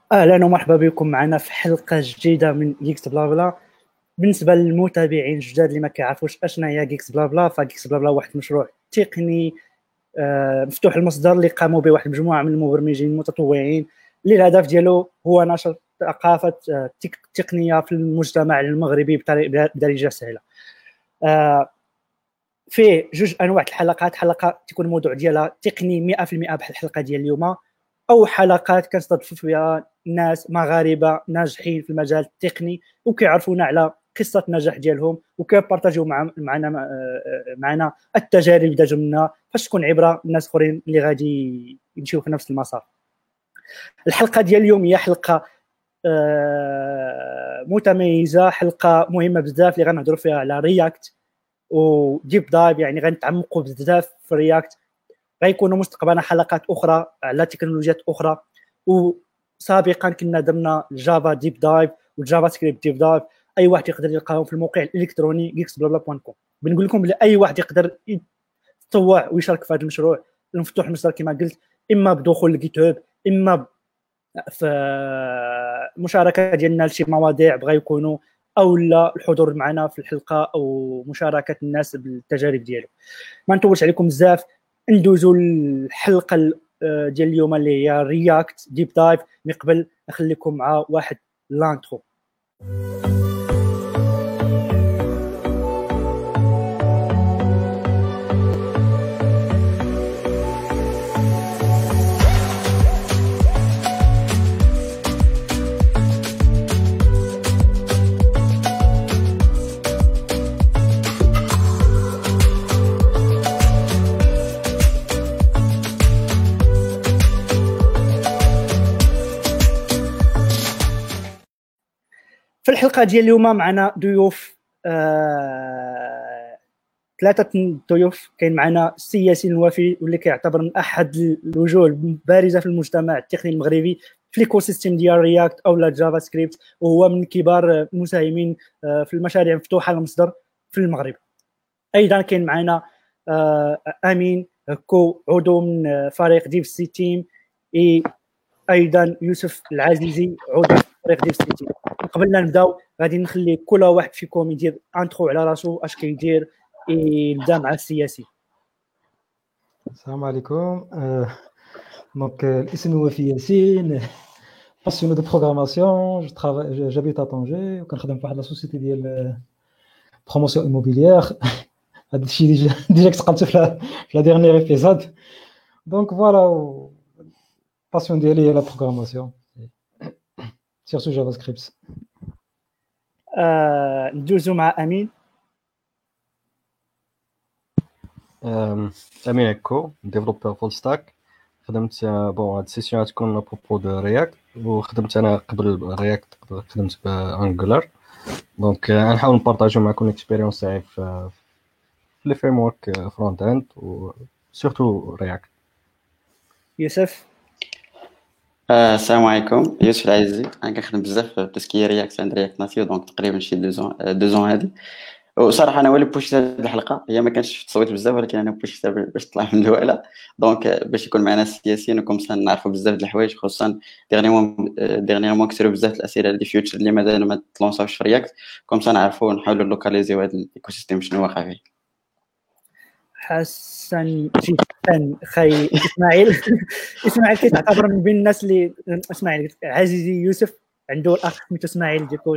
اهلا ومرحبا بكم معنا في حلقه جديده من جيكس بلا بلا. بالنسبه للمتابعين الجداد اللي ما كيعرفوش اشنا هي جيكس بلا بلا، فجيكس بلا بلا واحد المشروع تقني مفتوح المصدر اللي قاموا به واحد المجموعه من المبرمجين المتطوعين، اللي الهدف ديالو هو نشر ثقافه تقنيه في المجتمع المغربي بدارجه سهله. فيه جوج انواع الحلقات، حلقه تكون الموضوع ديالها تقني 100% بحال الحلقه ديال اليوم، او حلقات كنستضيف فيها ناس مغاربه ناجحين في المجال التقني وكيعرفونا على قصه النجاح ديالهم وكيبارطاجيو معنا التجارب ديالهم منا باش تكون عبره للناس اخرين اللي غادي يمشيو في نفس المسار. الحلقه ديال اليوم هي حلقه متميزه، حلقه مهمه بزاف اللي غنهضروا فيها على رياكت وديب دايف، يعني غنتعمقوا بزاف في رياكت. غيكونوا مستقبلا حلقات اخرى على تكنولوجيات اخرى، وسابقا كنا درنا جافا ديب دايف والجافا سكريبت ديب دايف. اي واحد يقدر يلقاهم في الموقع الالكتروني geeksblabla.com. بنقول لكم بلي اي واحد يقدر يتطوع ويشارك في هذا المشروع المفتوح المصدر كما قلت، اما بدخول الجيت هاب، اما في مشاركه ديالنا لشي مواضيع بغا يكونوا، او لا الحضور معنا في الحلقه او مشاركه الناس بالتجارب ديالو. ما نطولش عليكم بزاف، ندوزوا الحلقه ديال اليوم اللي هي رياكت ديب دايف. من قبل نخليكم مع واحد لانترو. في الحلقه ديال اليوم معنا ضيوف، ثلاثه ضيوف. كاين معنا السي ياسين الوفي، واللي كيعتبر من احد الوجوه البارزه في المجتمع التقني المغربي في الايكو سيستم ديال رياكت او لا جافا سكريبت، وهو من كبار المساهمين في المشاريع المفتوحه المصدر في المغرب. ايضا كاين معنا امين كو، عضو من فريق ديف سي تيم، ايضا يوسف العزيزي، عضو في فريق ديف سي تيم. قبل لا نبداو غادي نخلي كل واحد فيكم يدير انترو على راسو اش كيدير. نبدا مع السياسي. السلام عليكم. دونك الاسم هو وفي ياسين، passionné de programmation. J'habite à Tanger وكنخدم في واحد لا سوسيتي ديال بروموسيون immobilière. هذا الشيء ديجا تقلت في لا ديرنيير ايبيزود. دونك فوالا باسيون ديالي هي لا بروغراماسيون سيرتو جافا سكريبت. ندوزو مع امين. امين اكو، ديفلوبر فول ستاك. خدمت هاد السيسيون تكون ابروبو دو رياكت، وخدمت انا قبل رياكت خدمت بانجولار. دونك غنحاول نبارطاجيو معكم الاكسبيريونس تاعي في لي فريم ورك فرونت اند و سورتو رياكت. يوسف. السلام عليكم، يوسف العزيزي. انا كنخدم بزاف في تسكيه رياكت عند رياكت ناتيو، دونك تقريبا شي 2 زون هادي. وصراحه انا هو اللي بوشيت هذه الحلقه، هي ما كانش في التصويت بزاف، ولكن انا بوشيتها باش تطلع من الاولى. دونك باش يكون معنا السياسيين وكم نعرفوا بزاف د الحوايج، خصوصا ديرنييرمون كثروا بزاف الاسئله ديال فيوتشر اللي مازال ما تلونساوش في رياكت، كم نعرفوا نحاولوا لوكاليزيو هذا الايكو سيستيم شنو واقع فيه. حسن جدا خي اسماعيل. اسماعيل كيتعتبر من بين الناس اللي اسماعيل عزيزي يوسف عنده الاخ سميتو اسماعيل ديكو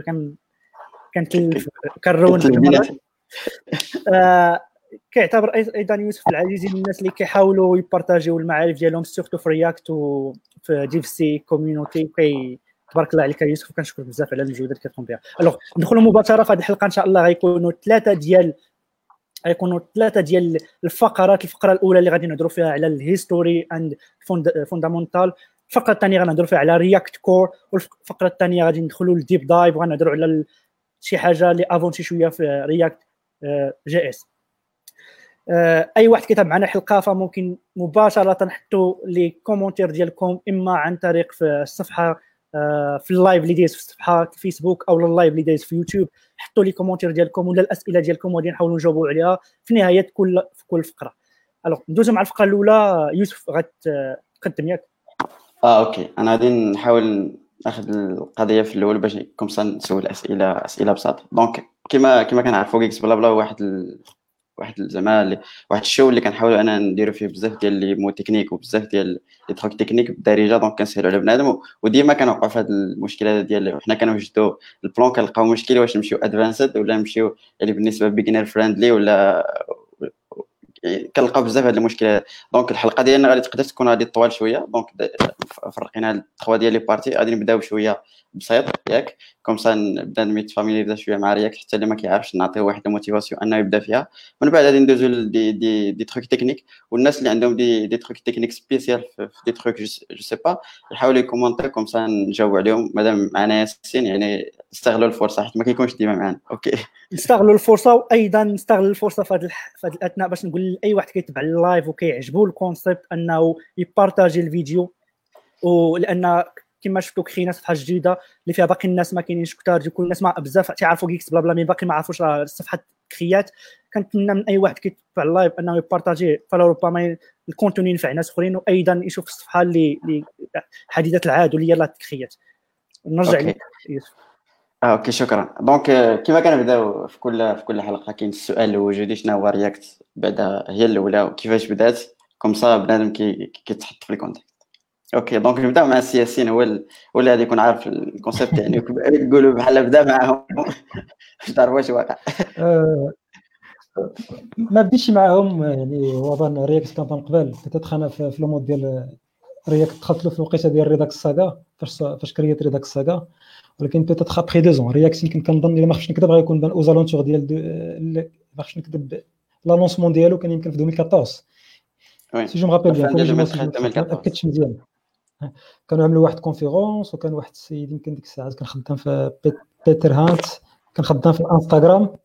كنرون كيعتبر ايضا يوسف العزيزي من الناس اللي كيحاولوا يبارطاجيو المعارف ديالهم سورتو في رياكت وفي ديف سي كوميونيتي. تبارك الله عليك يوسف، وكنشكرك بزاف على المجهودات اللي كتقوم بها. الوغ ندخلوا مباشره في هذه الحلقه ان شاء الله. غيكونوا ثلاثه ديال الفقرات. الفقره الاولى اللي غادي نهضروا فيها على الهيستوري اند فوندامنتال، الفقره الثانيه غنهضروا فيها على رياكت كور، والفقره الثانيه غادي ندخلوا للديب دايف وغنهضروا على شي حاجه اللي افونتي شويه في رياكت جي اس. اي واحد كيتابع معنا الحلقه فممكن مباشره نحطوا لي كومونتير ديالكم، اما عن طريق في الصفحه في اللايف اللي دايز في الصفحه في فيسبوك، او اللايف اللي دايز في يوتيوب. حطوا لي كومونتير ديالكم ولا الاسئله ديالكم وغادي نحاولوا نجاوبوا عليها في نهايه كل فقره. الوغ ندوزو مع الفقره الاولى. يوسف غتقدم ياك؟ اوكي، انا غادي نحاول اخذ القضيه في الاول باش كومسا نسول اسئله بساطه. دونك كما كنعرفوا كيكس بلا بلا واحد زعما واحد الشو اللي كنحاولوا انا نديروا فيه بزاف ديال لي مو تكنيك وبزاف ديال لي تروك تكنيك بالدارجه. دونك كنسهلوا على بنادم وديما كنوقعوا في هذه المشكله ديال حنا كنوجدوا البلان كنلقاو مشكل واش نمشيو ادفانسد ولا نمشيو اللي بالنسبه بيجنر فريندلي ولا كنلقاو بزاف هاد المشكله. دونك الحلقه ديالنا غادي تقدر تكون غادي طوال شويه. دونك فرقينا هاد 3 ديال لي بارتي. غادي نبداو شويه بسيط ياك كومسا نبدا نيتفاميليزا شويه مع رياكت حتى اللي ما كيعرفش نعطيه واحد الموتيفاسيون انه يبدا فيها. من بعد غادي ندوزو دي تروك تكنيك والناس اللي عندهم دي تروك تكنيك سبيسيال في دي تروك جو سي با يحاولوا يكومونتي كومسا نجاوب عليهم. مادام معنا ياسين يعني استغلوا الفرصه حيت ما كيكونش ديما معنا. اوكي نستغلوا الفرصه وايضا نستغل الفرصه في هذا الاثناء باش نقول لاي واحد كيتبع اللايف وكيعجبو الكونسيبت انه يبارطاجي الفيديو. ولان كما شفتوا كرينا صفحه جديده اللي فيها باقي الناس ما كاينينش كثار يكون الناس ما بزاف تعرفوا جيكس بلا بلا مي باقي ما عرفوش راه الصفحه كريات. كنتمنى من اي واحد كيتبع اللايف انه يبارطاجي فربما الكونتوني ينفع ناس اخرين وايضا يشوف الصفحه اللي حديثه العهد واللي يلاه كريات. نرجع لك يوسف. اوكي شكرا. دونك كما كنبداو في كل حلقه كاين السؤال الوجودي شنو هو رياكت بعدا هي الاولى وكيفاش بدات كومسا بنادم كيتحط في الكونتكست. اوكي دونك نبداو مع السياسيين هو اللي غادي يكون عارف الكونسيبت يعني يقولوا بحال بدا معاهم باش تعرفوا واش واقع. ما بديتش معاهم يعني هو بان رياكت كان من قبل بتاتخ انا في لو مود ديال رياكت دخلت له في الوقيته ديال ريداكس ساغا فاش كريت ريداكس ساغا. ولكن بتاتخ ابري 2 رياكت يمكن كنظن الا ما خفتش نكذب غيكون بان اوزالونتور ديال ما خفتش نكذب لانونسمون ديالو كان يمكن في 2014 سي جو مغابيل بيان ما تاكدتش مزيان. كانوا عملوا واحد كونفيرونس وكان واحد السيد يمكن ديك الساعات كان خدام في بيتر هانت كان خدام في الانستغرام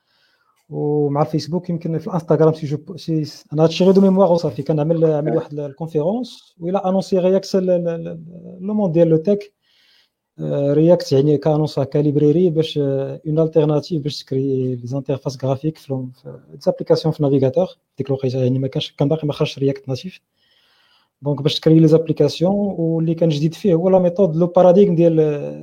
ومع الفيسبوك. يمكن في الانستغرام سي انا هادشي غير دو ميموار وصافي. كان عمل واحد الكونفيرونس ولا انونسي رياكت لو مون ديال لو تك رياكت يعني كانونسا كاليبريري باش اون التيرناتيف باش تكري لي زانترفاس غرافيك في ديزابليكاسيون في نافيغاتور. ديك الوقيته يعني ما كانش كان باقي ما خرجش رياكت ناتيف. دونك باش تكري لي زابليكاسيون واللي كان جديد فيه هو لا ميثود لو باراديغم ديال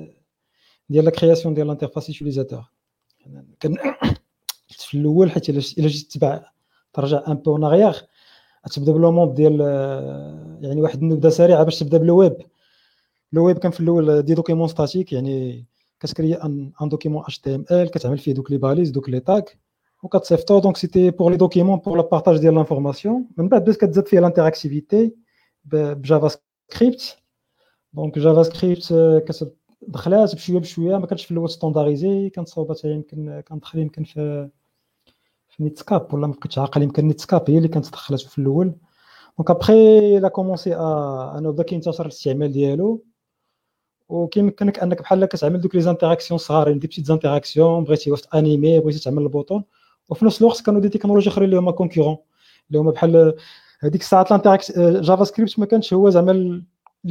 لا كرياسيون ديال الانترفاس يوتيليزاتور. كان في الاول حيت الا جيت تبع ترجع ان بو ناريير تبدا بلو مود ديال يعني واحد النبذه سريعه باش تبدا بالويب. لو ويب كان في الاول دي دوكيمون ستاتيك يعني كتكري ان دوكيمون اتش تي ام ال كتعمل فيه دوك لي باليز دوك لي تاغ وكتصيفطو. دونك سيتي بور لي دوكيمون بور لا بارطاج ديال لانفورماسيون. من بعد بدات كتزاد فيه لانتراكتيفيتي بجافا سكريبت. دونك جافا سكريبت دخلات بشويه ما كانتش في الاول ستاندارديزي. كانت صوبات يمكن كندخل يمكن في نيتسكاب ولا ما بقيتش عاقل. يمكن نيتسكاب هي اللي كانت دخلات في الاول. دونك ابري لا كومونسي انه بدا كينتشر الاستعمال ديالو وكيمكنك انك بحال كتعمل دوك لي زانتراكسيون صغارين دي بيتيت زانتراكسيون بغيتي واش انيمي بغيتي تعمل البوطون. وفي نفس الوقت كانوا دي تكنولوجي اخرين اللي هما كونكورون اللي هما بحال هذيك الساعات الانتراكس جافا سكريبت ما كانش هو زعما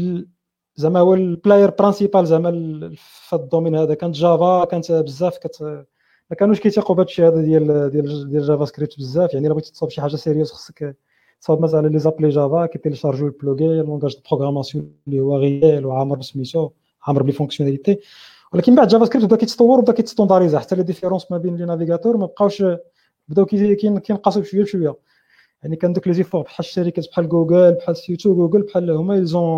هو البلاير برينسيبال زعما في الدومين هذا. كانت جافا كانت بزاف ما كانوش كيتيقوا بهذا الشيء هذا ديال جافا سكريبت بزاف. يعني الا بغيتي تصاوب شي حاجه سيريوس خصك تصاوب مثلا لي زابلي جافا كيتيليشارجيو البلوغي لونغاج دو بروغراماسيون اللي هو ريال وعامر بسميتو عامر بلي فونكسيوناليتي. ولكن بعد جافا سكريبت بدا كيتطور وبدا كيتستونداريزا حتى لي ديفيرونس ما بين لي نافيغاتور ما بقاوش بداو كينقصوا بشويه بشويه. يعني كان دوك لي زيفور بحال الشركات بحال جوجل بحال سيوتو جوجل بحال هما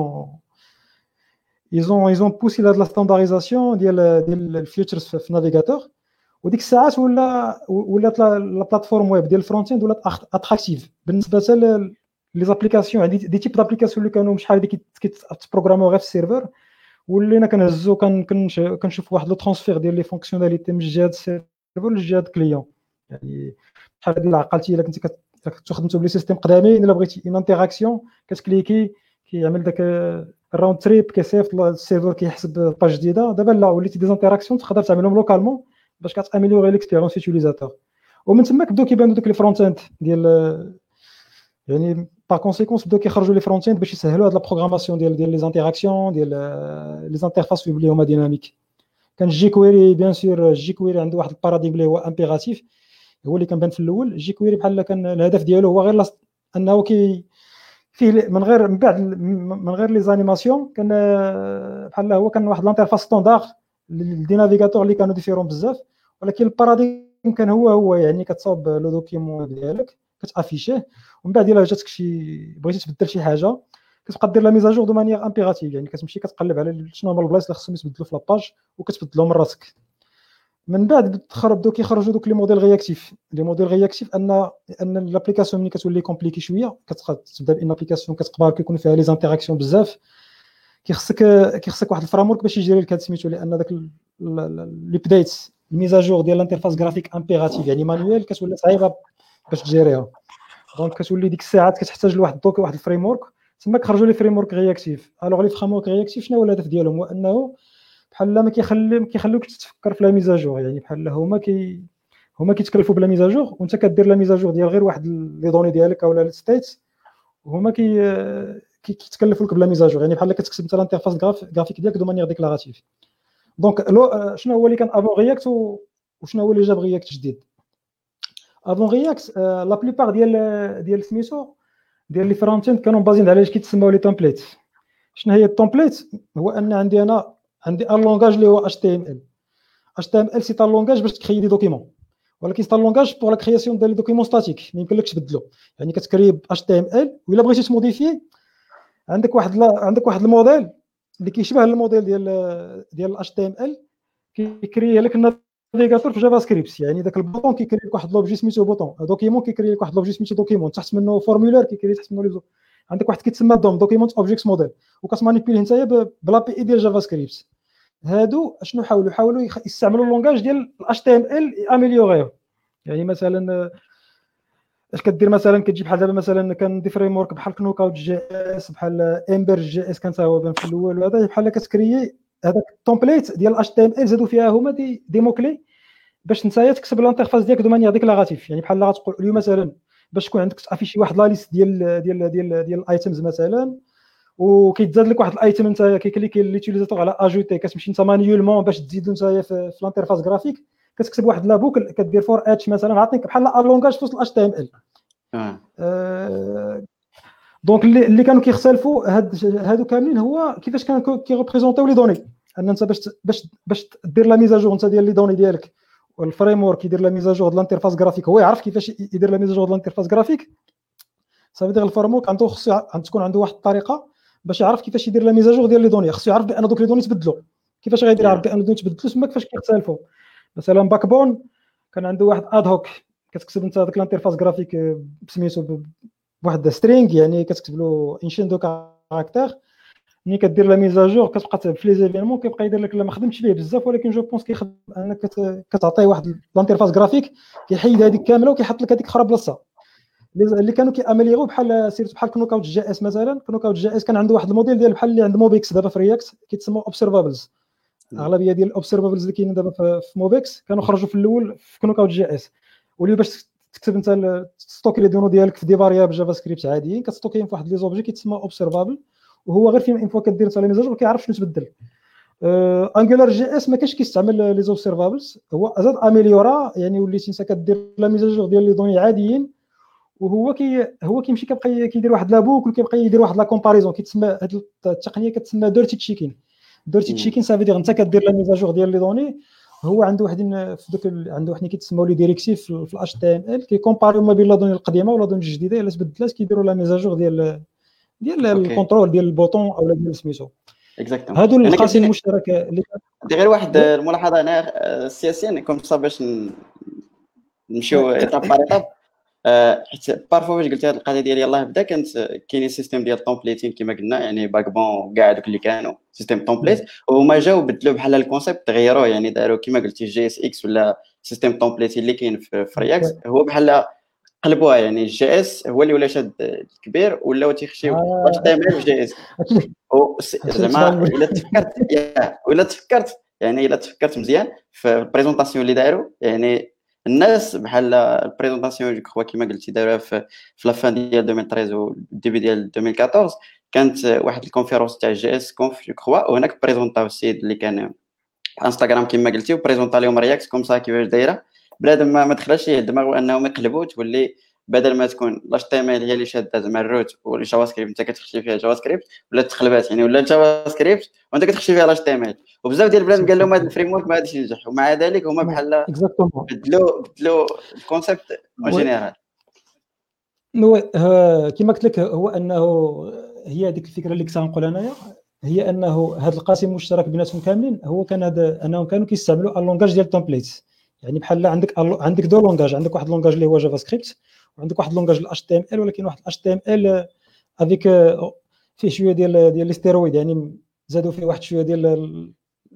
ils ont poussé la standardisation ديال الفيوتشرز في نافيغاتور. وديك الساعات ولات لا بلاتفورم ويب ديال الفرونت اند ولات اتراكتيف بالنسبه لي زابليكاسيون. عندي دي تيب دابليكاسيون اللي كانوا شحال هذيك كيتبروغرامو غير في السيرفر ولينا كنهزو كنشوف واحد لو ترانسفير ديال لي فونكسيوناليتي من جهه السيرفر لجهه الكليون. يعني بحال هذه عقلتي الا كنتي كتخدمتو بلي سيستيم قدامين الا بغيتي ان انتراكسيون كتكليكي كيعمل داك الراوند تريب كيصيفط السيرفر كيحسب باج جديده. دابا لا وليتي دي انتراكسيون تقدر تعملهم لوكالمون باش كتاميليوري ليكسبيريونس يوتيليزاتور. ومن تما كبداو كيبانو دوك لي فرونت اند ديال يعني با كونسيكونس بداو كيخرجوا لي فرونت اند باش يسهلوا هاد لا بروغراماسيون ديال لي زانتراكسيون ديال لي زانترفاس اللي هما ديناميك. كان جي كويري بيان سور جي كويري عنده واحد الباراديغم اللي هو امبيراتيف هو اللي كنبان في الاول. جي كويري بحال كان الهدف ديالو هو غير انه فيه من غير من بعد من غير لي زانيماسيون كان بحال هو كان واحد لانترفاس ستاندار دي نافيغاتور اللي كانوا ديفيرون بزاف، ولكن الباراديم كان هو يعني كتصاوب لو دوكيمون ديالك كتافيشيه، ومن بعد الا جاتك بغيتي تبدل شي حاجه كتبقى دير لا ميزاجور دو مانيير امبيراتيف، يعني كتمشي كتقلب على شنو هما البلايص اللي خصهم يتبدلوا في لاباج وكتبدلهم من راسك. من بعد بدو كيخرجوا دوك لي موديل رياكتيف. لي موديل رياكتيف ان لابليكاسيون ملي كتولي كومبليكي شويه تبدا بان ابليكاسيون كتقبل كيكون فيها لي زانتيراكسيون بزاف، كيخصك واحد الفريمورك باش يجري لك هاد سميتو، لان داك لي بدايت الميزاجور ديال الانترفاس غرافيك امبيراتيف يعني مانويل كتولي صعيبه باش تجيريها. دونك كتولي ديك الساعات كتحتاج لواحد الدوك واحد الفريمورك، تما كيخرجوا لي فريمورك رياكتيف. الوغ لي فريمورك رياكتيف شنو هو الهدف ديالهم؟ هو انه بحال ما كيخليوكش تفكر في لا ميزاجور، يعني بحال هما كيتكلفوا بلا ميزاجور وانت كدير لا ميزاجور ديال غير واحد لي دوني ديالك اولا الستيت، وهما كيتكلفوا لك بلا ميزاجور، يعني بحال كتكتب انت الانترفاس غرافيك ديالك دو مانيير ديكلاراتيف. دونك شنو هو اللي كان افون رياكت وشنو هو اللي جاب رياكت جديد؟ افون رياكت لا بليبار ديال سميتو ديال لي فرونت اند كانوا بازين على اش كيتسموا لي تمبليت. شنو هي التمبليت؟ هو ان عندي ان لونغاج اللي هو HTML. HTML سي ان لونغاج باش تكري دي دوكيمون، ولكن سي ان لونغاج بور لا كرياسيون ديال لي دوكيمون ستاتيك ما يمكنلكش تبدلو، يعني كتكري ب HTML ولا بغيتي تموديفي عندك واحد الموديل اللي كيشبه الموديل ديال HTML كيكري لك النافيغاتور في جافا سكريبت، يعني داك البوطون كيكري لك واحد لوبجي سميتو بوطون، دوكيمون كيكري لك واحد لوبجي سميتو دوكيمون، تحت منه فورمولير كيكري تحت منه عندك واحد كيتسمى دوكيمونت اوبجيكت موديل، وكتمانيبيليه نتايا بلا بي اي ديال جافا سكريبت. هادو اشنو حاولوا يستعملوا اللونغاج ديال HTML اميليوريو. يعني مثلا اش كدير؟ مثلا كتجي بحال دابا مثلا كان دي فريم ورك بحال كنوك اوت جي اس، بحال امبرج جي اس كان هو بان في الاول، وهذا بحال كتكريي هذاك التمبليت ديال HTML زادوا فيها هما دي موكلي باش نتايا تكتب الانترفاس ديالك دو مانيير ديكلاراتيف. يعني بحال غتقول اليوم مثلا باش تكون عندك تافيشي واحد لا ليست ديال الايتمز مثلا، وكيتزاد لك واحد الايتم نتايا كيكليكي ليوتيليزاتور على اجوتي، كتمشي نتا مانيولمون باش تزيدو نتايا في الانترفاس غرافيك كتكتب واحد لا بوكل كدير فور اتش مثلا، عطيك بحال لونغاج في وسط HTML. دونك اللي كانوا كيختلفوا هادو كاملين هو كيفاش كانوا كيريبريزونطيو لي دوني. ان انت باش دير لا ميزاجور انت ديال لي دوني ديالك، والفريم ورك يدير لا ميزاجور ديال الانترفاس غرافيك، هو يعرف كيفاش يدير لا ميزاجور ديال الانترفاس غرافيك. صافي ديال الفريم ورك عنده خصو تكون عنده واحد الطريقه باش يعرف كيفاش يدير لا ميزاجور ديال لي دوني، خصو يعرف بان دوك لي دوني تبدلوا. كيفاش غيدير يعرف بان دوني تبدلوا؟ تما كيفاش كيختلفوا. مثلا باك بون كان عنده واحد اد هوك، كتكتب انت داك الانترفاس غرافيك بسميتو بواحد سترينغ، يعني كتكتب له انشين دو كاركتير، ملي كدير لا ميزاجور كتبقى في لي زيفينمون كيبقى يدير لك. ما خدمتش فيه بزاف ولكن جو بونس كيخدم انك كتعطيه واحد الانترفاس غرافيك كيحيد هذيك كامله وكيحط لك هذيك اخرى بلاصه. اللي كانوا كيامليغو بحال سيرت بحال كنوك اوت جي اس مثلا. كنوك اوت جي اس كان عنده واحد الموديل ديال بحال اللي عند موبيكس دابا في رياكت كيتسموا اوبسيرفابلز. اغلبيه ديال الاوبسيرفابلز اللي كاينين دابا في موبيكس كانوا خرجوا في الاول في كنوك اوت جي اس. واللي باش تكتب انت تستوكي لي دونو ديالك في دي فاريابل جافا سكريبت عاديين كتستوكيهم في واحد لي زوبجي كيتسمى اوبسيرفابل، وهو غير فين فوا كدير انت لي ميزاج كيعرف شنو تبدل. انجولار جي اس ما كاينش كيستعمل لي اوبسيرفابلز، هو زاد اميليورا، يعني وليتي انت كدير لا ميزاج ديال لي دوني عاديين، وهو كيمشي كيبقى كيدير واحد لابوك وكيبقى يدير واحد لا كومباريزون. كيتسمى هذه التقنيه كتسمى ديرتي تشيكين. ديرتي تشيكين سافي دير انت كدير لا ميزاجور ديال لي دوني، هو عنده وحدين في دوك عنده وحدين كيتسموا لي ديريكتيف في الاش تي ام ال كيكومباريو ما بين لا دوني القديمه ولا دوني الجديده الا تبدلات كيديروا لا ميزاجور ديال الكونترول ديال البوطون اولا ديال سميتو. هادو القاسم المشترك اللي غير واحد الملاحظه هنا سياسيا كوم صا باش نمشيو ايطاب بار ايطاب. حيت بارفو فاش قلت هذه القضيه ديال يلاه بدا كانت كاينين سيستيم ديال التومبليتين كما قلنا، يعني باك بون كاع دوك اللي كانوا سيستيم تومبليت، وهما جاو بدلوا بحال الكونسيبت تغيروه، يعني داروا كما قلتي جي اس اكس ولا سيستيم تومبليتين اللي كاين في رياكت هو بحال قلبوها، يعني الجي اس هو اللي ولا شاد الكبير ولاو تيخشيو واش تعمل في جي اس. زعما الا تفكرت مزيان في البريزونطاسيون اللي داروا، يعني الناس بحال البريزونطاسيون جو كخوا كما قلتي داروها في لافان ديال 2013 والديبي ديال 2014 كانت واحد الكونفيرونس تاع جي اس كونف جو كخوا، وهناك بريزونطاو السيد اللي كان انستغرام كما قلتي وبريزونطا لهم رياكت كوم سا كيفاش دايره بلاد ما دخلش ليه الدماغ انهم يقلبوا تولي بدل ما تكون لاش تي ام ال هي اللي شاده زعما الروت والجافا سكريبت انت كتخشي فيها جافا سكريبت، ولا تقلبات يعني، ولا الجافا سكريبت وانت كتخشي فيها لاش تي ام ال. وبزاف ديال البلاد قال لهم هذا الفريم ورك ما غاديش ينجح، ومع ذلك هما بحال اكزاكتومون. بدلوا الكونسيبت اون جينيرال. كما قلت لك هو انه هي هذيك الفكره اللي كنت نقول انايا، هي انه هذا القاسم المشترك بيناتهم كاملين هو كان هذا انهم كانوا كيستعملوا اللونغاج ديال التمبليت. يعني بحال عندك دو لونغاج، عندك واحد لونغاج اللي هو جافا سكريبت، وعندك واحد لونغاج الاتش تي ام ال، ولكن واحد الاتش تي ام ال افيك فيه شويه ديال الاستيرويد، يعني زادوا فيه واحد شويه ديال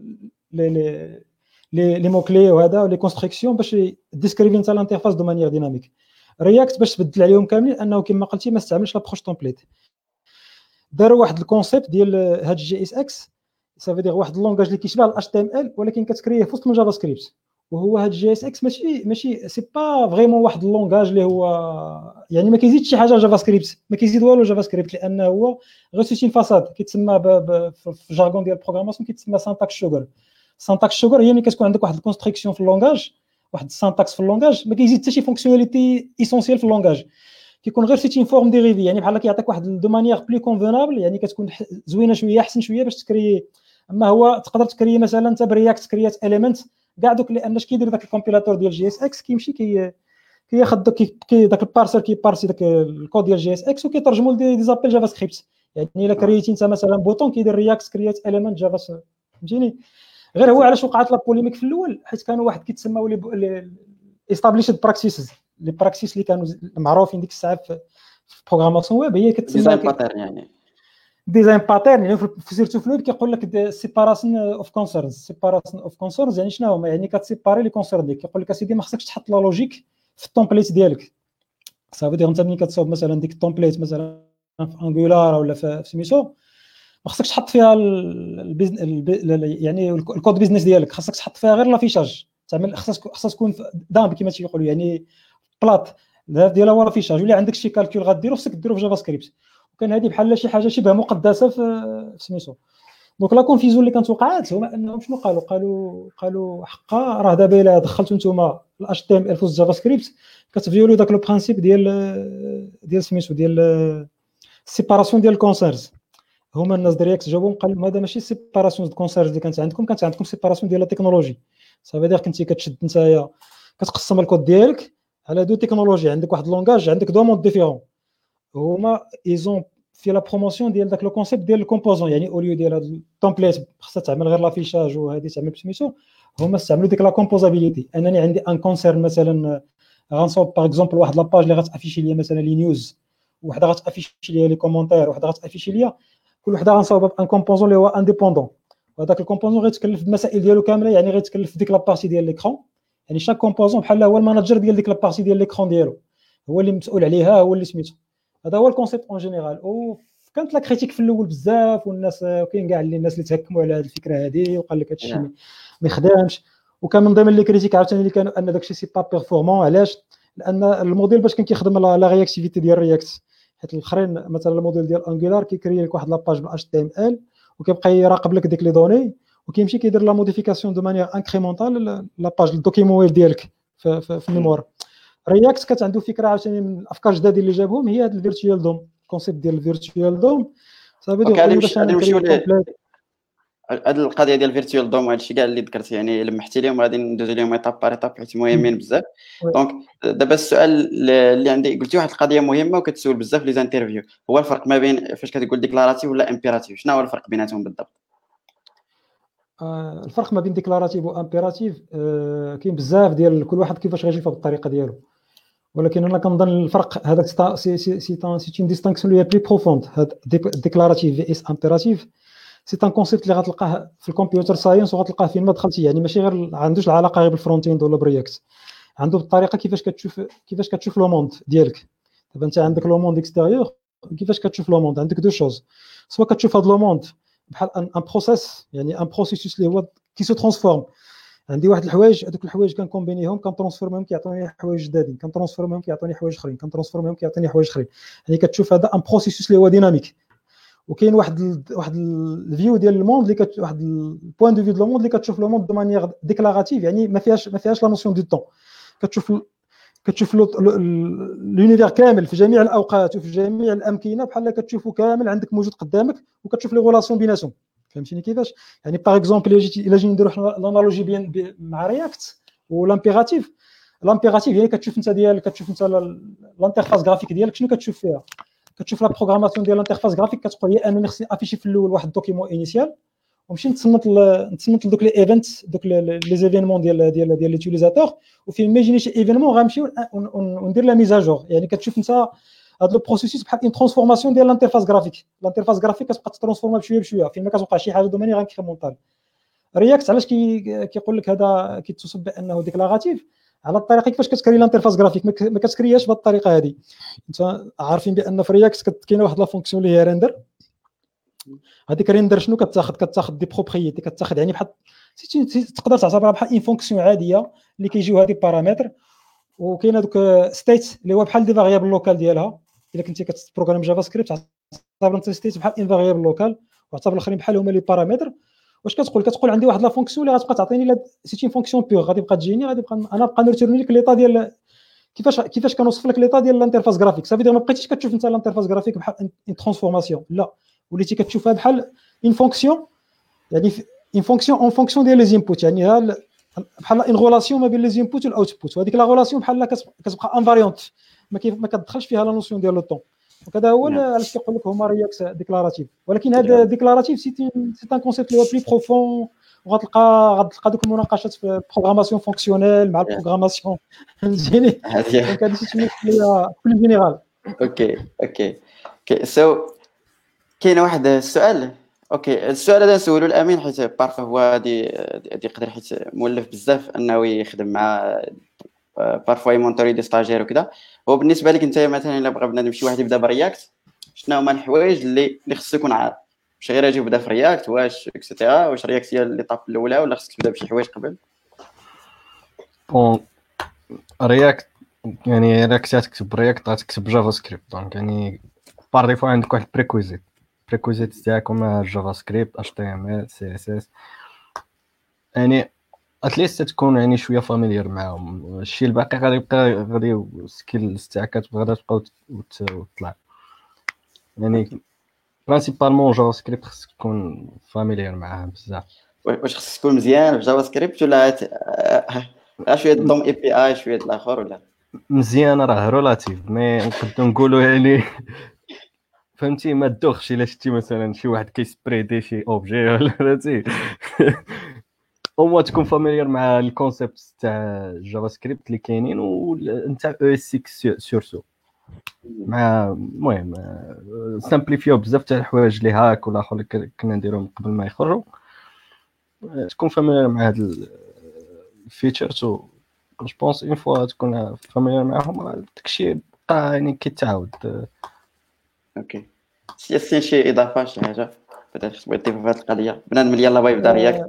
لي موكلي وهذا ولي كونستركسيون باش ديسكريفي نتا الانترفاس دو مانيير ديناميك. رياكت باش تبدل عليهم كاملين انه كما قلتي ما استعملش لابروش تمبليت، داروا واحد الكونسيبت ديال هاد جي اس اكس، سافي دير واحد اللونغاج اللي كيشبه الاتش تي ام ال ولكن كتكريه في وسط الجافا سكريبت. وهو هاد جي اس اكس ماشي سي با فريمون واحد اللونغاج اللي هو يعني ما كيزيدش شي حاجه جافا سكريبت، ما كيزيد والو جافا سكريبت، لانه هو غير سيتين فاساد كيتسمى في الجارغون ديال البروغراماسيون كيتسمى سانتاكس شوغر. سانتاكس شوغر هي ملي كتكون عندك واحد الكونستركسيون في اللونغاج، واحد السانتاكس في اللونغاج ما كيزيد حتى شي فونكسيوناليتي ايسونسيال في اللونغاج، كيكون غير سيتين فورم ديريفي، يعني بحال كيعطيك واحد دو مانيير بلي كونفونابل، يعني كتكون زوينه شويه احسن شويه باش تكري. اما هو تقدر تكري مثلا انت برياكت كريات اليمنت كاع دوك، لان اش كيدير داك الكومبيلاتور ديال جي اس اكس كيمشي كياخذ داك البارسر كيبارسي داك الكود ديال جي اس اكس وكيترجمو لدي زابيل جافا سكريبت. يعني الا كريتي انت مثلا بوطون كيدير رياكت كريات اليمنت جافا، فهمتيني. غير هو علاش وقعت لا بوليميك في الاول، حيت كانوا واحد كيتسماو لي استابليشد براكسيسز، لي براكسيس اللي كانوا معروفين ديك الساعه في بروغراماسيون ويب، هي كتسمى ديزاين باترن، يعني ديزاين باترن. يعني في سيرتو فلويد كيقول لك سيباراسيون اوف كونسيرنز. سيباراسيون اوف كونسيرنز يعني شنو هما؟ يعني كتسيباري لي كونسيرن ديالك. كيقول لك اسيدي ما خصكش تحط لا لوجيك في التمبليت ديالك. صافي دير انت ملي كتصاوب مثلا ديك التمبليت مثلا في انجولار ولا في سميتو، ما خصكش تحط فيها يعني الكود بيزنس ديالك، خصك تحط فيها غير لافيشاج. تعمل خصها تكون دامب كما تيقولوا، يعني بلات الهدف ديالها هو لافيشاج. ولا عندك شي كالكول غديرو خصك ديرو في جافا سكريبت، وكان هذه بحال شي حاجه شبه مقدسه في سميتو. دونك لا كونفيزيون اللي كانت وقعات هما انهم شنو قالوا حقا راه دابا الا دخلتوا نتوما الاتش تي ام ال في جافا سكريبت كتفيولو داك لو برينسيپ ديال سميتو ديال السيباراسيون ديال الكونسيرز. هما الناس ديال رياكت جاوبهم قال لهم هذا ماشي سيباراسيون ديال الكونسيرز اللي كانت عندكم سيباراسيون ديال التكنولوجي. صافي داير كنتي كتشد نتايا كتقسم الكود ديالك على دو تكنولوجي، عندك واحد لونغاج عندك دو مود ديفيرون. هما ايزون في لا بروموسيون ديال داك لو كونسيبت ديال الكومبوزون، يعني اوليو ديال هاد التمبليت خاصها تعمل غير لافيشاج وهذه تعمل بسميتو، هما استعملوا ديك لا كومبوزابيليتي. انني عندي ان كونسيرن مثلا غنصوب باغ اكزومبل واحد لاباج اللي غتافيشي ليا مثلا لي نيوز، وحده غتافيشي ليا لي كومونتير، وحده غتافيشي ليا، كل وحده غنصاوبها بان كومبوزون اللي هو انديبوندون، وهذاك الكومبوزون غيتكلف بالمسائل ديالو كامله، يعني غيتكلف في ديك لابارتي ديال ليكرون. يعني شاك كومبوزون بحال هو الماناجر ديال ديك لابارتي ديال ليكرون ديالو، هو اللي مسؤول عليها، هو اللي سميتو. هذا هو الكونسيبت اون جينيرال. وكانت لا كريتيك في الاول بزاف، والناس كاين كاع الناس اللي تهكموا على هذه الفكره هذه وقال لك هادشي ما يخدمش. وكان من ضمن لي كريتيك عاوتاني اللي كانوا ان داكشي سي با بيرفورمون. علاش؟ لان الموديل باش كان كيخدم لا رياكتيفيتي ديال رياكت، حيت الاخرين مثلا الموديل ديال انجولار كيكري لك واحد لاباج بال اتش تي ام ال وكيبقى يراقب لك ديك لي دوني، وكيمشي كيدير لا موديفيكاسيون دو مانيير انكريمونطال لاباج الدوكيمون ويب ديالك في الميموار. رياكت كانت عنده فكره عاوتاني من الافكار الجداد اللي جابهم، هي هذا الفيرتوال دوم، الكونسيبت ديال الفيرتوال دوم. صافي ديال نمشيو هاد القضيه ديال الفيرتوال دوم وهذا الشيء كاع اللي ذكرت، يعني لمحتي لهم غادي ندوزو لهم ايطاب بار ايطاب حيت مهمين بزاف. دونك دابا السؤال اللي عندي، قلتي واحد القضيه مهمه وكتسول بزاف لي زانترفيو، هو الفرق ما بين فاش كتقول ديكلاراتيف ولا امبيراتيف، شنو هو الفرق بيناتهم بالضبط؟ الفرق ما بين ديكلاراتيف وامبيراتيف كاين بزاف ديال كل واحد كيفاش غيجي بالطريقه ديالو، ولكن انا كنظن الفرق هذاك سي اون ديستانكسيون اللي هي بلي بروفوند. هاد ديكلاراتيف في اس امبيراتيف سي ان كونسيبت اللي غتلقاه في الكمبيوتر ساينس وغتلقاه فين ما دخلتي، يعني ماشي غير عندوش العلاقه غير بالفرونت اند ولا برياكت، عنده بالطريقه كيفاش كتشوف لو موند ديالك. دابا انت عندك لو موند اكستيريور، كيفاش كتشوف لو موند؟ عندك دو شوز، سواء كتشوف هذا لو موند بحال ان بروسيس، يعني ان بروسيسوس اللي هو كي سو ترانسفورم. عندي واحد الحوايج، هذوك الحوايج كنكومبينيهم كنترانسفورمهم كيعطوني حوايج جدادين، كنترانسفورمهم كيعطوني حوايج اخرين، كنترانسفورمهم كيعطوني حوايج اخرين. يعني كتشوف هذا ان بروسيسوس اللي هو ديناميك. وكاين واحد الفيو ديال الموند اللي واحد البوين دو فيو دو الموند اللي كتشوف لو موند دو مانيير ديكلاراتيف، يعني ما فيهاش لا نوسيون دو طون. كتشوف كتشوف لونيفير كامل في جميع الاوقات وفي جميع الامكنه، بحال كتشوفه كامل عندك موجود قدامك، وكتشوف لي غولاسيون بيناتهم. فهمتيني كيفاش؟ يعني باغ اكزومبل الا جينا نديرو حنا لانالوجي بين مع رياكت والامبيراتيف. الامبيراتيف يعني كتشوف انت الانترفاس جرافيك ديالك شنو كتشوف فيها؟ كتشوف لا بروغراماسيون ديال الانترفاس جرافيك، كتقول لي انني خصني افيشي في الاول واحد الدوكيمون انيسيال، ونمشي نتصنت دوك لي ايفنت، دوك لي زيفينمون ديال ليوتيليزاتور، وفي ميجيني شي ايفينمون غنمشيو وندير لا ميزاجور. يعني كتشوف انت هذا لو بروسيسوس بحال اون ترانسفورماسيون ديال الانترفاس جرافيك. الانترفاس جرافيك كتبقى تترانسفورما بشويه بشويه، فين ما كتوقع شي حاجه دوماني غنكريمونطال. رياكت علاش كيقول لك هذا كيتصف بانه ديكلاراتيف؟ على الطريقه كيفاش كتكري الانترفاس جرافيك ما كتكرياش بهذه الطريقه هذه. انت عارفين بان في رياكت كاينه واحد لا فونكسيون اللي هي ريندر. هذيك ريندر شنو كتاخذ دي بروبريتي، كتاخذ يعني بحال تقدر تعتبرها بحال اون فونكسيون عاديه اللي كيجيو هذه بارامتر، وكاينه دوك ستيت اللي هو بحال دي فاريابل لوكال ديالها. الا كنتي كتبروغرام جافا سكريبت تعتبر انت ستيت بحال ان فاريابل لوكال، وتعتبر الاخرين بحال هما لي بارامتر. واش كتقول عندي واحد لا فونكسيون اللي غتبقى تعطيني سيتي فونكسيون بيغ، غادي تبقى تجيني، غادي نبقى انا نرتورني لك ليطا ديال كيفاش كنوصف لك ليطا ديال الانترفاس جرافيك. صافي ما بقيتيش كتشوف انت الانترفاس جرافيك بحال ان ترانسفورماسيون، لا، وليتي كتشوفها بحال ان فونكسيون، يعني ان فونكسيون اون فونكسيون ديال لي زينبوت، يعني بحال ان غولاسيون ما بين لي زينبوت والاوتبوت. وهذيك لا غولاسيون بحال كتبقى انفاريونت، ما كتدخلش فيها لا نوسيون ديال لو طون. وكذا هو علاش كيقول لك هما رياكت ديكلاراتيف. ولكن هذا ديكلاراتيف سي ان كونسيبت اللي هو بلي بروفون، وغتلقى دوك المناقشات في البروغراماسيون فونكسيونيل مع البروغراماسيون فهمتيني. دونك هذا شي شويه كل جينيرال. اوكي سو كاين واحد السؤال. اوكي السؤال هذا نسولو الامين، حيت بارفو هو هادي يقدر، حيت مولف بزاف انه يخدم مع بارفو يمونطوري دي ستاجير وكذا. هو بالنسبه لك انت مثلا الا بغى بنادم شي واحد يبدا برياكت، شنو هما الحوايج اللي خصو يكون عارف؟ واش غير اجي يبدا في رياكت، واش اكسيتيرا، واش رياكت هي ليطاب الاولى، ولا خصك تبدا بشي حوايج قبل؟ بون رياكت يعني الا كنتي تكتب رياكت غتكتب جافا سكريبت، دونك يعني بار ديفو عندك واحد بريكويزيت تاعك هما جافا سكريبت، اتش تي ام ال، سي اس اس، يعني اتليست تكون يعني شويه فاميليير معاهم. الشيء الباقي غادي السكيلز تاعك غادي تبقاو وتطلع. يعني برينسيبالمون جافا سكريبت خصك تكون فاميليير معاها بزاف. واش خصك تكون مزيان في جافا سكريبت، ولا شويه دوم اي بي اي شويه الاخر، ولا مزيان؟ راه رولاتيف، مي نقدروا نقولوا يعني فهمتي ما تدوخش الا شتي مثلا شي واحد كيسبريدي شي اوبجي ولا فهمتي او تكون فاميليير مع الكونسيبت تاع جافا سكريبت اللي كاينين، وانت او اس 6 سورسو مع المهم سامبليفيو بزاف تاع الحوايج اللي هاك ولا اخر اللي كنا نديروهم قبل ما يخرجوا. تكون فاميليير مع هاد الفيتشرز، و جو بونس اون فوا تكون فاميليير معاهم داكشي بقى يعني كيتعاود. اوكي سي شي اضافه شي حاجه بدات تبغي تضيف في هذه القضيه بنادم اللي يلاه بغا يبدا رياكت؟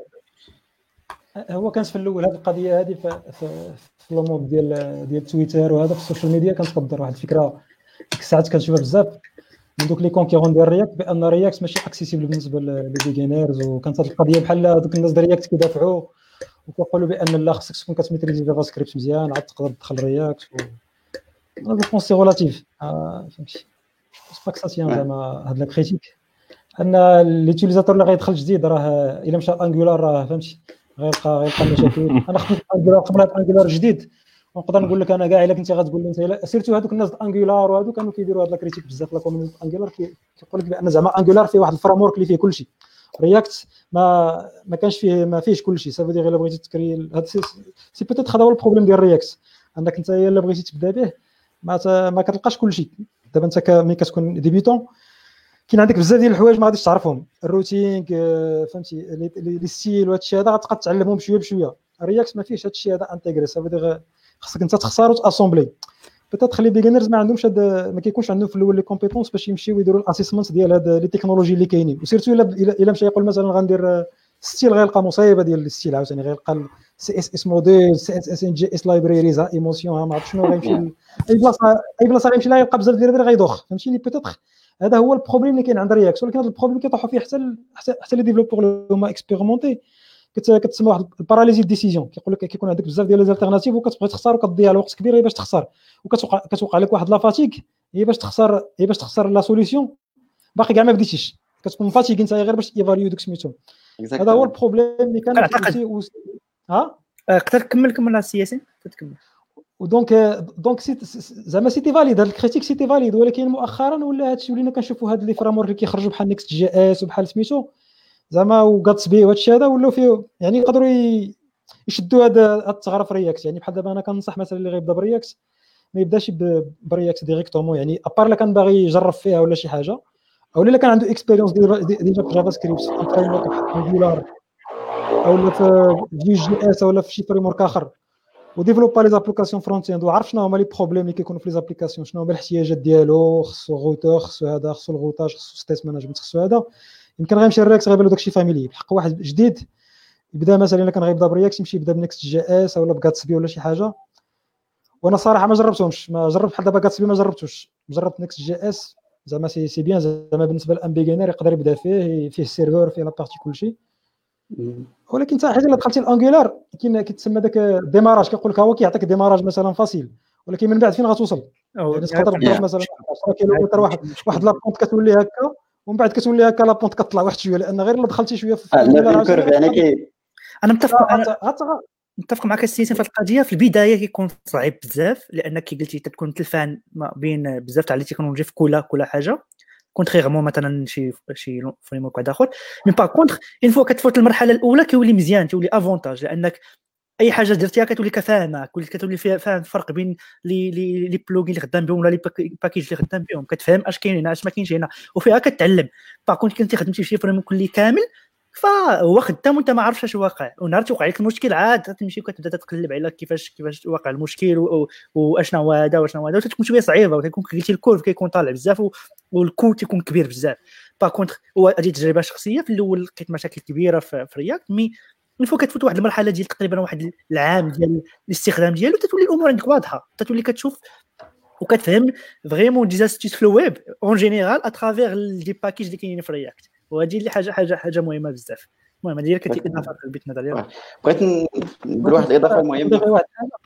هو كانت في الاول هذه القضيه هذه في لومود ديال تويتر وهذا في السوشيال ميديا، كنتقدر واحد الفكره ديك الساعات كنشوفها بزاف من دوك لي كونكيرون ديال رياكت، بان رياكت ماشي اكسيسيبل بالنسبه للبيجينرز. وكانت هذه القضيه بحال دوك الناس ديال رياكت كيدافعوا وكيقولوا بان لا خصك تكون كتميتريزي جافا سكريبت مزيان عاد تقدر تدخل رياكت. انا جو بونس سي ريلاتيف، فهمتي، با كساتيان زعما هاد لا كريتيك ان ليوتيليزاتور اللي غيدخل جديد راه الا مشى انجولار راه فهمتي غيلقى مشاكل. انا خديت انجولار قبل هاد انجولار جديد، ونقدر نقول لك انا كاع الا كنتي غتقول لي انت سيرتو هذوك الناس انجولار وهادو كانوا كيديروا هاد لا كريتيك بزاف لا كوميونيتي انجولار، كيقول لك بان زعما انجولار فيه واحد الفريم اللي فيه كلشي. رياكت ما كانش فيه، ما فيهش كلشي. صافي دير الا بغيتي تكري هاد سي بوتيت هذا هو البروبليم ديال رياكت، انك انت الا بغيتي تبدا به ما كتلقاش كلشي. دابا انت ملي كتكون ديبيتون كاين عندك بزاف ديال الحوايج ما غاديش تعرفهم، الروتين فهمتي لي ستيل وهذا الشيء هذا غتبقى تعلمهم بشويه بشويه. رياكت ما فيهش هذا الشيء هذا انتيغري، صافي دير خصك انت تختار وتاسومبلي. بيتيت لي بيجينرز ما عندهمش ما كيكونش عندهم في الاول لي كومبيتونس باش يمشيو يديروا الاسيسمنت ديال هاد لي تكنولوجي اللي كاينين. وسيرتو الا مشى يقول مثلا غندير ستيل غيلقى مصيبه ديال الستيل عاوتاني، غيلقى سي اس اس موديل، سي اس اس ان جي اس لايبريريز، ايموسيون، ما عرفت شنو غيمشي اي بلاصه غيمشي لها يلقى بزاف ديال غيدوخ، فهمتيني. بيتيت هذا هو البروبليم اللي كاين عند رياكت. ولكن هذا البروبليم كيطيحوا فيه حتى لي ديفلوبور اللي هما اكسبيرمونتي، كتسمى واحد الباراليزي ديسيجن، كيقول لك كيكون عندك بزاف ديال ليزالتيرناتيف وكتبغي تختار وكتضيع الوقت كبير باش تختار، وكتوقع لك واحد لا فاتيك هي باش تختار لا سوليسيون باقي كاع ما بديتيش، كتكون فاتيك انت غير باش ايفاليو دوك سميتهم. هذا هو البروبليم اللي كان قدر كمل السياسي تتكمل. ودونك زعما سيتي فاليد هذا الكريتيك سيتي فاليد، ولكن مؤخرا ولا هادشي ولينا كنشوفوا هاد لي فرامورك اللي كيخرجوا بحال نيكست جي اس وبحال سميتو زعما وغاتسبي وهادشي هذا ولاو فيه يعني يقدروا يشدوا هذا الثغره في رياكت. يعني بحال دابا انا كنصح مثلا اللي غيبدا برياكت ما يبداش برياكت ديريكتومون، يعني ابار الا كان باغي يجرب فيها ولا شي حاجه، او الا كان عنده اكسبيريونس ديجا في جافا سكريبت في فريم ورك بحال انجولار او في جي اس ولا في شي فريم ورك اخر، وديفلوبا لي زابليكاسيون فرونت اند وعرف شنو هما لي بروبليم اللي كيكونوا في لي زابليكاسيون، شنو هما الاحتياجات ديالو، خصو غوتور، خصو هذا، خصو الغوتاج، خصو ستيت مانجمنت، خصو هذا. يمكن غيمشي الرياكت غيبان له داكشي فاميلي. بحق واحد جديد يبدا مثلا الا كان غيبدا برياكت يمشي يبدا بنكست جي اس ولا بغاتسبي ولا شي حاجه. وانا صراحه ما جربتهمش، ما جربت بحال دابا غاتسبي ما جربتوش، جربت نكست جي اس زعما سي بيان زعما بالنسبه للان بيجينير يقدر يبدا فيه السيرفر فيه لا بارتي كلشي. ولكن حتى حاجه الا دخلتي الانجولار كيتسمى داك الديماراج، كيقول لك هو كيعطيك ديماراج مثلا فاسيل، ولكن من بعد فين غتوصل؟ يعني تقدر تضرب مثلا 10 كيلومتر واحد لابونت كتولي هكا ومن بعد كتولي هكا لابونت كطلع واحد شويه، لان غير الا دخلتي شويه في الكيرف يعني انا متفق معك السياسي في القضيه. في البدايه كيكون صعيب بزاف لانك قلتي تكون تلفان ما بين بزاف تاع لي تكنولوجي في كل حاجه، كونتريغمون مثلا شي فريم ورك واحد اخر. مي باغ كونطخ اون فوا كتفوت المرحله الاولى كيولي مزيان، كيولي افونتاج، لانك اي حاجه درتيها كتولي كفاهمه، كتولي فاهم الفرق بين لي بلوغين اللي خدام بهم ولا لي باكيج اللي خدام بهم، كتفهم اش كاين هنا اش ما كاينش هنا، وفيها كتعلم. باغ كونطخ كنتي خدمتي شي فريم كلي كامل فهو خدام وانت ما عارفش اش واقع، ونهار توقع لك المشكل عاد تمشي وكتبدا تقلب على كيفاش واقع المشكل واشنا هو هذا واشنا هو هذا، وتكون شويه صعيبه وكيكون قلتي الكورف كيكون طالع بزاف والكود تيكون كبير بزاف. باغ كونطخ هذه تجربه شخصيه، في الاول لقيت مشاكل كبيره في رياكت، مي الفو كتفوت واحد المرحله ديال تقريبا واحد العام ديال الاستخدام ديالو تتولي الامور عندك واضحه، تتولي كتشوف وكتفهم فريمون دي زاستيس في الويب اون جينيرال اترافير لي باكيج اللي كاينين في رياكت، وهذه اللي حاجه مهمه بزاف. المهم هذه كتي اضافه في البيت نظر ديالك. بغيت ندير واحد الاضافه مهمه.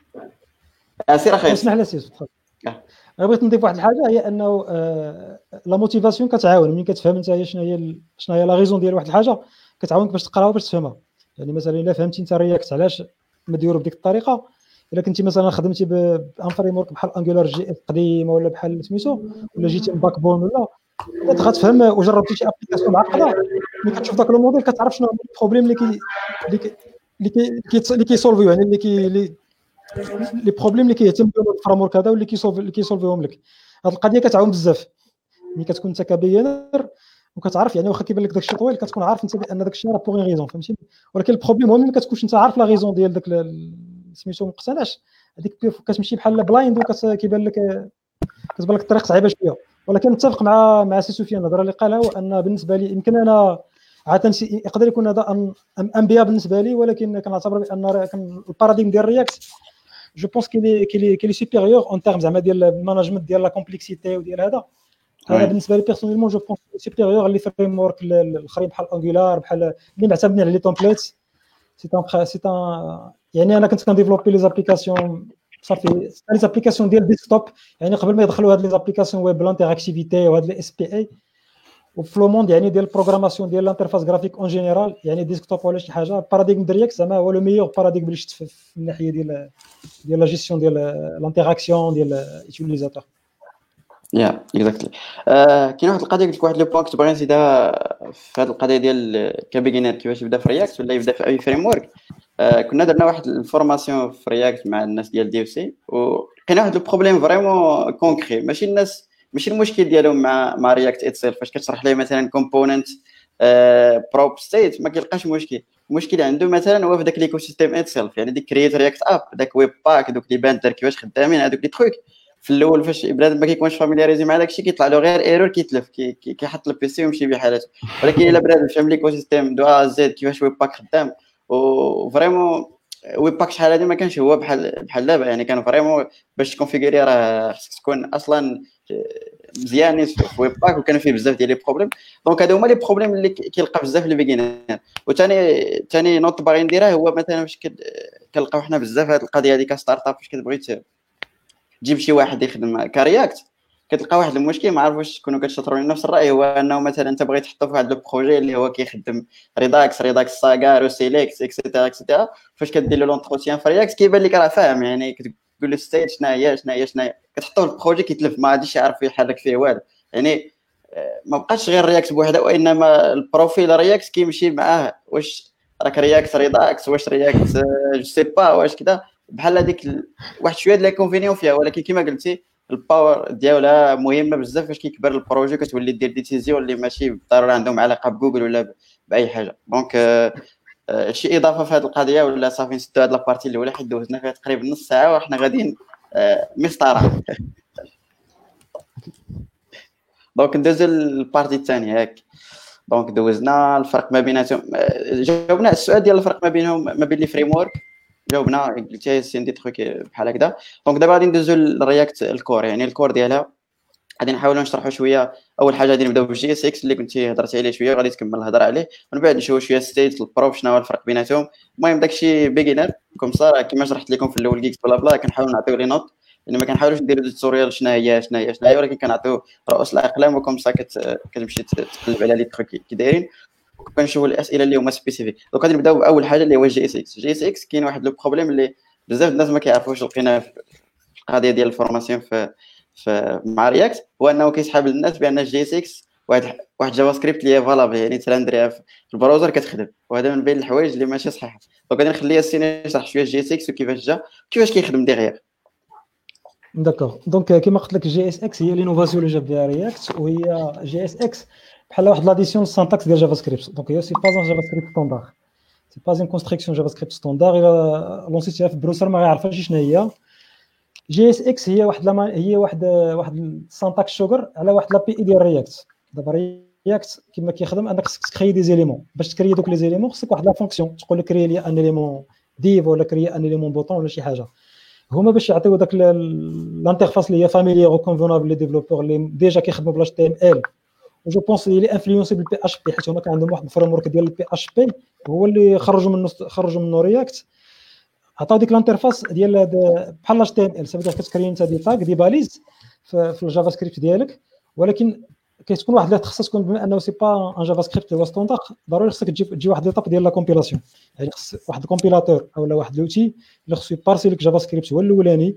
سير اخي اسمح لي سير تفضل. بغيت نضيف واحد الحاجه، هي انه لا موتيفاسيون كتعاون. ملي كتفهم انت شنو هي لا ريزون ديال واحد الحاجه كتعاونك باش تقراها باش تفهمها. يعني مثلا الا فهمتي انت رياكت علاش مديرو بديك الطريقه، الا كنتي مثلا خدمتي بان فريم ورك بحال انجولار جي اف قديمه ولا بحال سميتو ولا جيتي من باك بون ولا غتفهم وجربتي شي ابليكاسيون معقده، ملي كتشوف داك الموديل كتعرف شنو هو البروبليم اللي كيسولفيو، يعني لي بروبليم اللي كيهتم بهم الفريم ورك هذا واللي كيسولفيهم لك. هذه القضيه كتعاون بزاف ملي كتكون انت كبيانر وكتعرف، يعني واخا كيبان لك داكشي طويل كتكون عارف انت بان داكشي راه بوغ ريزون، فهمتي. ولكن البروبليم هو ملي كتكونش انت عارف لا ريزون ديال داك سميتو مقتنعش، هذيك كتمشي بحال بلايند وكتبان لك الطريق صعيبه شويه. ولكن نتفق مع سي سفيان الهضره اللي قالها، وان بالنسبه لي يمكن انا عاده يقدر يكون هذا انبياء بالنسبه لي، ولكن كنعتبر بان الباراديم ديال رياكت جو بونس كي سوبيريور اون تيرم زعما ديال المانجمنت ديال لا كومبلكسيتي وديال هذا بالنسبه لي بيرسونيلمون جو بونس سوبيريور لي فريم ورك الاخرين بحال انجولار بحال اللي معتمدين على لي تومبليت. سي يعني انا كنت كنديفلوبي لي زابليكاسيون صافي لي زابليكاسيون ديال ديسكتوب، يعني قبل ما يدخلوا هاد لي زابليكاسيون ويب لانتيراكتيفيتي وهاد لي اس بي اي وفي لو موند يعني ديال البروغراماسيون ديال الانترفاس جرافيك اون جينيرال، يعني ديسكتوب ولا شي حاجه باراديغم ديال رياكت زعما هو لو ميور باراديغم اللي شفت في الناحيه ديال لا جيستيون ديال الانتيراكسيون ديال اليوتيليزاتور. يا اكزاكتلي. كاين واحد القضيه قلت لك، واحد لو بوين كنت باغي نزيدها في هذه القضيه ديال كبيجينير كيفاش يبدا في رياكت ولا يبدا في اي فريم ورك. كنا درنا واحد الفورماسيون في رياكت مع الناس ديال دي اف سي، وكاين واحد البروبليم فريمون كونكري، ماشي المشكل ديالهم مع رياكت اتسيلف. فاش كتشرح ليه مثلا كومبوننت بروب ستيت ما كيلقاش المشكل عنده مثلا هو في داك ليكو سيستيم اتسيلف، يعني ديك كرييت رياكت اب، داك ويب باك، دوك لي باندر كيفاش خدامين، هذوك لي تروك في الاول فاش بنادم ما كيكونش فاميلياريزي مع داكشي كيطلع له غير ايرور، كيتلف كيحط البيسي ويمشي بحالته. ولكن الا بنادم فهم ليكو سيستيم دو ا زد كيفاش ويب باك خدام، وفريمون ويب باك شحال هادي ما كانش هو بحال دابا، يعني كان فريمون باش تكونفيغوري راه خصك تكون اصلا مزيانين في ويب باك وكانوا فيه بزاف ديال لي بروبليم. دونك هادو هما لي بروبليم اللي كيلقى بزاف لي بيجينير. وثاني نوت باغي نديرها هو مثلا واش كنلقاو حنا بزاف هاد القضيه هذه كستارت اب، فاش كتبغي تجيب شي واحد يخدم كرياكت كتلقى واحد المشكل ما عارف واش تكونوا كتشاطروا نفس الراي، هو انه مثلا انت بغيت تحطو في واحد لو بروجي اللي هو كيخدم ريداكس ساغار وسيليكت اكسيتيرا فاش كدير له لونتروتيان في رياكت كيبان لك راه فاهم، يعني كتقول له ستيج شناهي كتحطوه في البروجي كيتلف ما غاديش يعرف يحرك فيه والو. يعني ما بقاش غير رياكت بوحده، وانما البروفيل رياكت كيمشي معاه، واش راك رياكت ريداكس، واش رياكت جو سي با، واش كذا بحال هذيك واحد شويه د ليكونفينيون فيها. ولكن كما قلتي الباور ديالها مهمه بزاف فاش كيكبر البروجي، كتولي دير ديسيزيون اللي ماشي بالضروره عندهم علاقه بجوجل ولا باي حاجه. دونك شي اضافه في هذه القضيه ولا صافي نسدوا هذه لابارتي الاولى حيت دوزنا فيها تقريبا نص ساعه وحنا غاديين مسطره. دونك ندوزو للبارتي الثانيه ياك. دونك دوزنا الفرق ما بيناتهم، جاوبنا على السؤال ديال الفرق ما بينهم ما بين لي فريم ورك، جاوبنا قلتي سي دي تروك بحال هكذا. دونك دابا غادي ندوزو للرياكت الكور، يعني الكور ديالها غادي نحاولوا نشرحوا شويه. اول حاجه غادي نبداو بالجي اس اكس اللي كنتي هضرتي عليه شويه وغادي تكمل الهضره عليه، ومن بعد نشوفوا شويه ستيت البروف شنو هو الفرق بيناتهم. المهم داكشي بيجينر كوم صار كما شرحت لكم في الاول جيكس بلا بلا، كنحاولوا نعطيو لي نوت، يعني ما كنحاولوش نديروا دي توتوريال شنو هي ولكن كنعطيو رؤوس الاقلام وكم سا كتمشي تقلب على لي تروك كي دايرين وكنشوفوا الاسئله اللي هما سبيسيفيك. دونك غادي نبداو باول حاجه اللي هو الجي اس اكس. الجي اس اكس كاين واحد لو بروبليم اللي بزاف الناس ما كيعرفوش، لقينا في القضيه ديال الفورماسيون في مع رياكت، هو انه كيسحب للناس بان الجي اس اكس واحد جافا سكريبت اللي هي فالابل، يعني ترندريها في البراوزر كتخدم، وهذا من بين الحوايج اللي ماشي صحيحه. دونك غادي نخليها السيني يشرح شويه الجي اس اكس وكيفاش جا كيفاش كيخدم ديغيغ. داكوغ. دونك كما قلت لك الجي اس اكس هي لينوفاسيون اللي جاب بها رياكت، وهي جي اس اكس بحال واحد لاديسيون للسانتاكس ديال جافا سكريبت. دونك هي سي با ان جافا سكريبت ستاندار، سي با ان كونستركسيون جافا سكريبت ستاندار. الا لونسيتيها في البروسر ما غيعرفهاش شنو هي. جي اس اكس هي واحد السانتاكس شوغر على واحد لابي اي ديال رياكت. دابا رياكت كما كيخدم انك خصك تكري دي زيليمون، باش تكري دوك لي زيليمون خصك واحد لا فونكسيون تقول لك كري لي ان اليمون ديف ولا كري ان اليمون بوطون ولا شي حاجه. هما باش يعطيو داك الانترفاس اللي هي فاميليير وكونفونابل لي ديفلوبور اللي ديجا كيخدموا بلا اتش تي ام ال. وجو بونس لي انفلونسي بالبي اش بي، حيت هما كان عندهم واحد الفريم ورك ديال البي اش بي هو اللي خرجوا منه رياكت. عطاو ديك الانترفاس ديال بحال اتش تي ام ال، صافي كتكري انت دي تاغ دي باليز في الجافا سكريبت ديالك، ولكن كتكون واحد اللي خصها تكون بما انه سي با ان جافا سكريبت اللي هو ستاندار، ضروري خصك تجي واحد ليطاب ديال لا كومبيلاسيون. يعني خص واحد الكومبيلاتور اولا واحد لوتي اللي خصو يبارسي لك جافا سكريبت هو الاولاني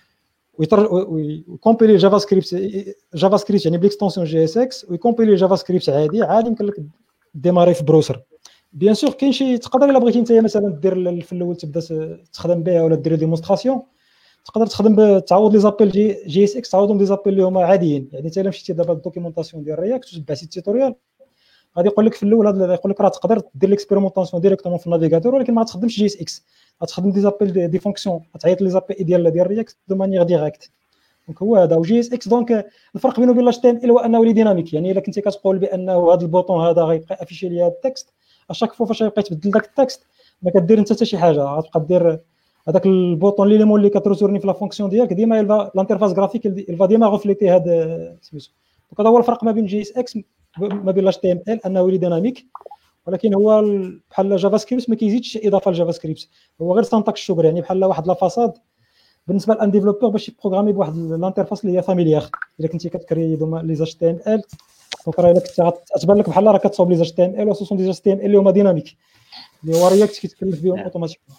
ويكومبيلي جافا سكريبت يعني بالاكستنسيون جي اس اكس، ويكومبيلي جافا سكريبت عادي يمكن لك ديماري في بروسر. بيان سور كاين شي تقدر الا بغيتي انت مثلا دير في الاول تبدا تخدم بها ولا دير ديمونستراسيون، تقدر تخدم تعوض لي زابيل جي اس اكس، تعوضهم دي زابيل اللي هما عاديين. يعني انت الا مشيتي دابا الدوكيومونطاسيون ديال رياكت وتبعتي التيتوريال غادي يقول لك في الاول هذا يقول لك راه تقدر دير ليكسبيريمونطاسيون ديريكتومون في النافيغاتور، ولكن ما تخدمش جي اس اكس، غتخدم دي زابيل دي فونكسيون، غتعيط لي زابيل ديال رياكت دو مانيير ديريكت. دونك هو هذا وجي اس اكس. دونك الفرق بينه وبين اتش تي ام ال هو انه لي ديناميك، يعني الا كنتي كتقول بانه هذا البوطون هذا غيبقى افيشي لي هذا التكست اشاك فوا فاش غيبقى تبدل داك التكست ما كدير انت حتى شي حاجه، غتبقى دير هذاك البوطون ليليمون اللي كتروتورني في لا فونكسيون ديالك ديما الانترفاس غرافيك الفا ديما غوفليتي هذا سميتو. دونك هذا هو الفرق ما بين جي اس اكس ما بين اتش تي ام ال، انه لي ديناميك، ولكن هو بحال جافا سكريبت ما كيزيدش اضافه لجافا سكريبت، هو غير سانتاكس شوغر، يعني بحال واحد لا فاصاد بالنسبه لان ديفلوبور باش يبروغرامي بواحد الانترفاس اللي هي فاميليير. الا كنتي كتكري دوما لي اتش تي ام ال دونك راه الا كنت غتبان لك بحال راه كتصاوب لي اتش تي ام ال وخصوصا دي اتش تي ام ال اللي هما ديناميك اللي هو رياكت كيتكلف بهم اوتوماتيكمون.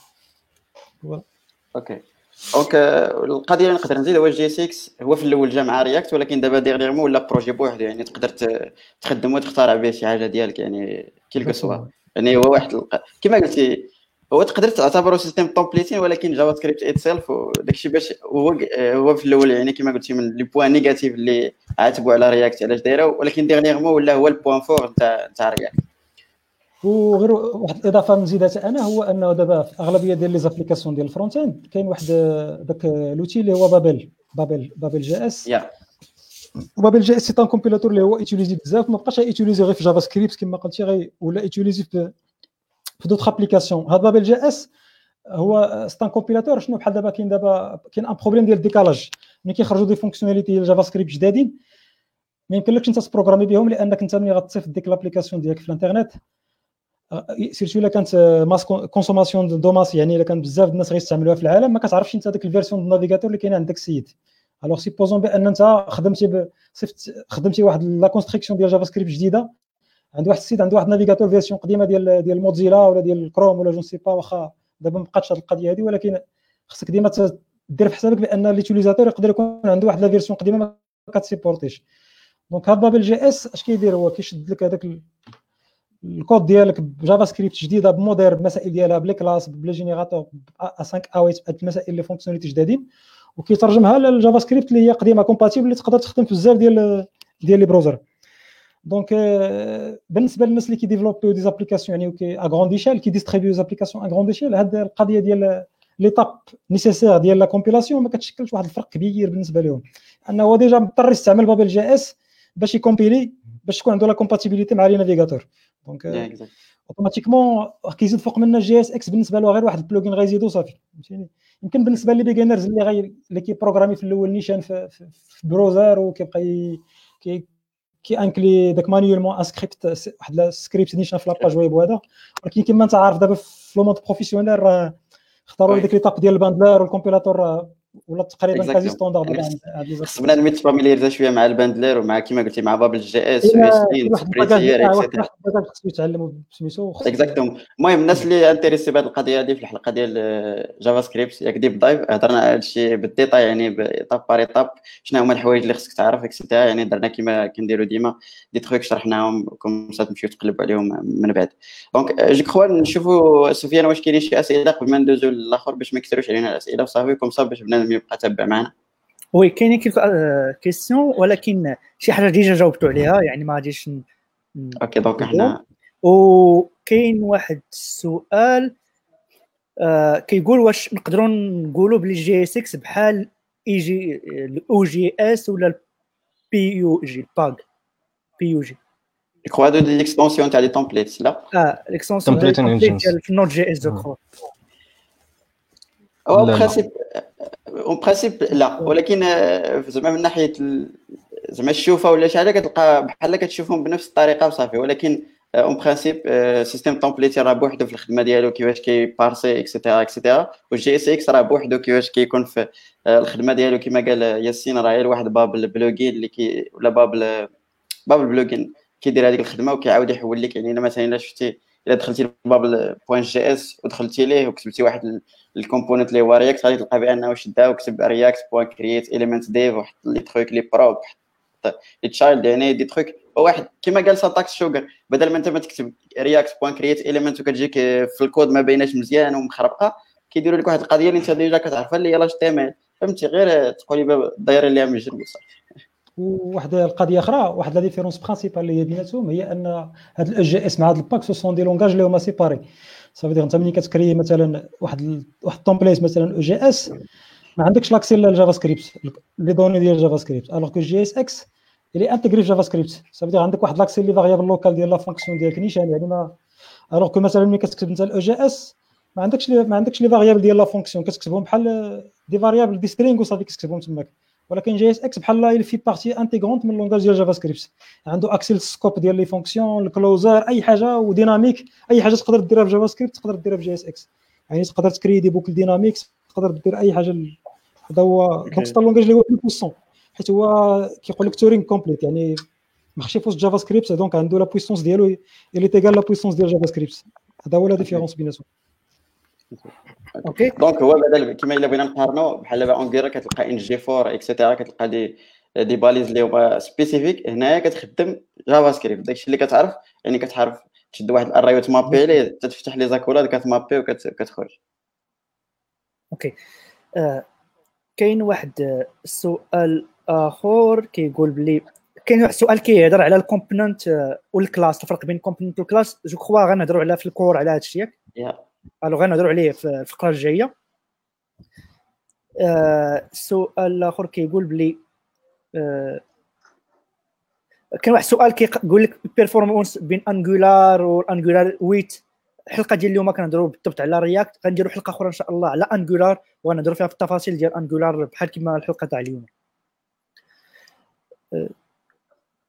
اوكي دونك القضيه اللي نقدر نزيد هو الجي اس اكس هو في الاول جا مع رياكت، ولكن دابا ديغنيغمون ولا بروجي بوحدو، يعني تقدر تخدم وتخترع به شي حاجه ديالك، يعني كيلكو سوا. يعني هو واحد كما قلتي هو تقدر تعتبره سيستم تومبليتين، ولكن جافا سكريبت اتسيلف وداكشي باش هو في الاول يعني كما قلتي من لي بوين نيجاتيف اللي عاتبوا على رياكت علاش دايره، ولكن ديغنيغمون ولا هو البوين فور نتاع رياكت. وغير واحد الاضافه نزيدها انا هو انه دابا في اغلبيه ديال لي زابليكاسيون ديال الفرونت اند كاين واحد داك لوتي اللي هو بابل جي اس. بابل جي اس سي ان كومبيلاتور اللي هو ايتيليزي بزاف، ما بقاش ايتيليزي غير في جافا سكريبت كما قلتي ولا ايتيليزي في دوطخ ابليكاسيون. هذا بابل جي اس هو ستان كومبيلاتور شنو بحال دابا كاين ان بروبليم ديال الديكالاج ملي كيخرجوا دي فونكسيوناليتي ديال جافا سكريبت جدادين، ما يمكنلكش انت تبروغرامي بهم، لانك انت ملي غتصيفط ديك لابليكاسيون ديالك في الانترنت سيرتو الا كانت ماس كونسوماسيون دو ماس، يعني الا كان بزاف الناس غيستعملوها في العالم، ما كتعرفش انت ديك الفيرسيون دو نافيغاتور اللي كاينه عندك السيد. الوغ سيبوزون بان انت خدمتي واحد لا كونستركسيون ديال جافا سكريبت جديده عند واحد السيد عنده واحد نافيغاتور فيرسيون قديمه ديال موزيلا ولا ديال كروم ولا جون سي با، واخا دابا ما بقاتش هذه القضيه هذه، ولكن خصك ديما دير في حسابك بان ليتيليزاتور يقدر يكون عنده واحد لا فيرسيون قديمه ما كتسيبورتيش. دونك هاد بابل جي اس اش كيدير هو كيشد لك هذاك الكود ديالك بجافا سكريبت جديده بمودير بمسائل ديالها بلي كلاس بلي جينيراتور ا 5 ا 8 المسائل اللي فونكسيوناليتي جدادين، وكيترجمها للجافا سكريبت اللي هي قديمه كومباتيبل اللي تقدر تخدم في بزاف ديال لي بروزر. دونك بالنسبه للناس اللي كيديفلوبيو دي زابليكاسيون يعني ا غروند ايشيل كيديستريبيو زابليكاسيون ا غروند ايشيل، هاد القضيه ديال ليطاب نيسيسير ديال لا كومبيلاسيون ما كتشكلش واحد الفرق كبير بالنسبه لهم، انه هو ديجا مضطر يستعمل بابل جي اس باش يكومبيلي باش تكون عنده لا كومباتيبيليتي مع لي نافيغاتور. دونك اوتوماتيكمون كيزيد فوق منه جي اس اكس بالنسبه له غير واحد البلوجين غيزيدو صافي، فهمتيني. يمكن بالنسبه لي بيجينرز اللي كيبروغرامي في الاول نيشان في بروزر وكيبقى انكلي داك مانيولمون ان سكريبت واحد السكريبت نيشان في لاباج ويب وهذا، ولكن كما انت عارف دابا في لو موند بروفيسيونيل راه اختاروا ديك ليطاب ديال الباندلر والكومبيلاتور ولا تقريبا كازي ستاندارد. خص بنادم يتفاميليزا شويه مع الباندلر ومع كما قلتي مع بابل جي اس واسلين سبريتير اكسيتيرا. واحد خصو يتعلموا بسميتو اكزاكتوم. المهم الناس اللي انتريسي بهذه القضيه هذه في الحلقه ديال جافا سكريبت ياك ديب دايف هضرنا على هادشي بالديتاي، يعني بايطاب بار ايطاب شنو هما الحوايج اللي خصك تعرف اكسيتيرا، يعني درنا كما كنديروا ديما دي تروك شرحناهم كوم سا تمشيو تقلبوا عليهم من بعد. دونك جو كخوا نشوفوا سفيان واش كاينين شي اسئله قبل ما ندوزو للاخر باش ما يكثروش علينا الاسئله وصافي كوم سا باش بنادم يبقى تابع معنا. وي كاينين كيلكو كيسيون ولكن شي حاجه ديجا جاوبتوا عليها يعني ما غاديش اوكي. دونك حنا وكاين واحد السؤال كيقول واش نقدروا نقولوا بلي جي اس اكس بحال اي جي الاو جي اس ولا البي يو جي باغ بي يو جي كوا دو ليكستونسيون تاع لي تمبليتس لا ليكستونسيون ديال في نوت جي اس جو كخوا او برينسيپ لا، ولكن زعما من ناحيه زعما الشوفه ولا شي حاجه كتلقى بحال كتشوفهم بنفس الطريقه وصافي، ولكن اون برينسيپ سيستيم تمبليتي راه بوحدو في الخدمه ديالو كيفاش كيبارسي اكسيتيرا والجي اس اكس راه بوحدو كيفاش كيكون في الخدمه ديالو كما قال ياسين راه غير واحد باب البلوجين اللي ولا باب البلوجين كيدير هذيك الخدمه وكيعاود يحول لك. يعني مثلا الا شفتي الا دخلتي لباب بوين جي اس ودخلتي ليه وكتبتي واحد الكومبوننت اللي هو رياكت غادي تلقى بانه شدا وكتب رياكت بوين كرييت اليمنت ديف وحط لي تروك لي بروب لي تشايلد، يعني دي تروك واحد كما قال ساتاكس شوغر بدل ما انت ما تكتب رياكت بوين كرييت اليمنت وكتجيك في الكود ما بيناش مزيان ومخربقه، كيديروا لك واحد القضيه اللي انت ديجا كتعرفها اللي هي لاش تي ام ال، فهمتي غير تقولي دايره ليها من الجنب وصافي. وواحد القضيه اخرى واحد لا ديفيرونس برينسيبال اللي هي بيناتهم هي ان هاد الاو جي اس مع هاد الباك سو سون دي لونغاج اللي هما سيباري. صافي دير انت ملي كتكري مثلا واحد التمبليت مثلا او جي اس ما عندكش لاكسي للجافا سكريبت لي دوني ديال جافا سكريبت، الوغ كو جي اس اكس اللي انتغري في جافا سكريبت صافي دير عندك واحد لاكسي لي فاريابل لوكال ديال لا فونكسيون ديالك نيشان، يعني ما الوغ كو مثلا ملي كتكتب انت الاو جي اس ما عندكش لي فاريابل ديال لا فونكسيون كتكتبهم بحال دي فاريابل دي سترينغ وصافي كتكتبهم تماك، ولكن جي اس اكس بحال لا في بارتي انتيغرونت من لونغاج ديال جافا سكريبت، عنده اكسي للسكوب ديال لي فونكسيون الكلوزر اي حاجه وديناميك اي حاجه تقدر ديرها في جافا سكريبت تقدر ديرها في جي اس اكس، يعني تقدر تكري دي بوكل ديناميكس تقدر دير اي حاجه. هذا هو دونك ستار لونغاج اللي هو بويسون حيت هو كيقول لك تورينغ كومبليت، يعني ماشي فوسط جافا سكريبت دونك عنده لا بويسونس ديالو اللي تيغال لا بويسونس ديال جافا سكريبت، هذا هو لا ديفيرونس بيناتهم. اوكي دونك هو بدل كما الا بغينا نقارنوا بحال دابا اونغيرا كتلقى ان جي 4 اكسيتيرا كتلقى دي باليز اللي هما سبيسيفيك، هنايا كتخدم جافا سكريبت داكشي اللي كتعرف، يعني كتعرف تشد واحد الاري وتمابي ليه تفتح لي زاكولاد كتمابي وكتخرج. اوكي كاين واحد السؤال اخر كيقول بلي كاين واحد السؤال كيهضر على الكومبوننت والكلاس، الفرق بين الكومبوننت والكلاس. جو كخوا غنهضروا على في الكور على هذا الشيء الو غنهضروا عليه في الفقره الجايه. السؤال الاخر كيقول بلي كاين واحد السؤال كيقول لك البيرفورمانس بين انجولار وانجولار 8. الحلقه ديال اليوم كنهضروا بالضبط على رياكت، غنديروا حلقه اخرى ان شاء الله على انجولار وغنهضروا فيها في التفاصيل ديال انجولار بحال كما الحلقه تاع اليوم.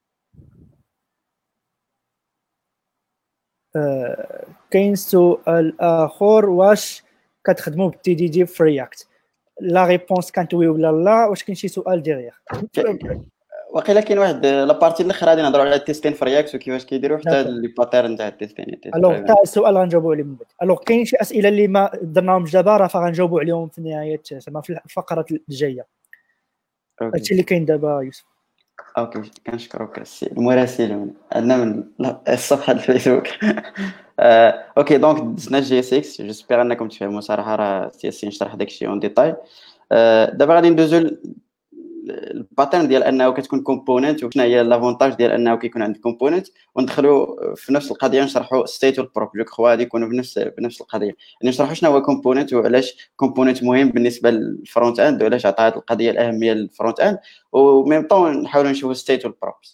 كاين سؤال اخر، واش كتخدموا بالتي دي دي في رياكت؟ لا ريبونس كانت وي ولا لا؟ واش كاين شي سؤال ديغيغ؟ وقيلا كاين واحد لابارتي الاخر غادي نهضروا على التيستين في رياكت وكيفاش كيديروا حتى لي باترن تاع التيستين. الوغ تاع السؤال غنجاوبوا عليه من بعد. الوغ كاين شي اسئله اللي ما درناهمش دابا راه فغنجاوبوا عليهم في نهايه زعما في الفقرات الجايه. هادشي اللي كاين دابا يوسف. اوكي كنشكرك السي المراسل عندنا من الصفحه الفيسبوك. اوكي دونك دزنا جي اس اكس، جيسبيغ انكم تفهموا صراحه، راه ياسين شرح داكشي اون ديتاي. دابا غادي ندوزو الباترن ديال انه كتكون كومبوننت، وشنو هي لافونتاج ديال انه كيكون عندك كومبوننت، وندخلوا في نفس القضيه نشرحوا ستيت والبروب. جو كخوا غادي يكونوا بنفس القضيه، يعني نشرحوا شنو هو كومبوننت وعلاش كومبوننت مهم بالنسبه للفرونت اند، وعلاش عطى هذه القضيه الاهميه للفرونت اند، وميم طون نحاولوا نشوفوا ستيت والبروبس.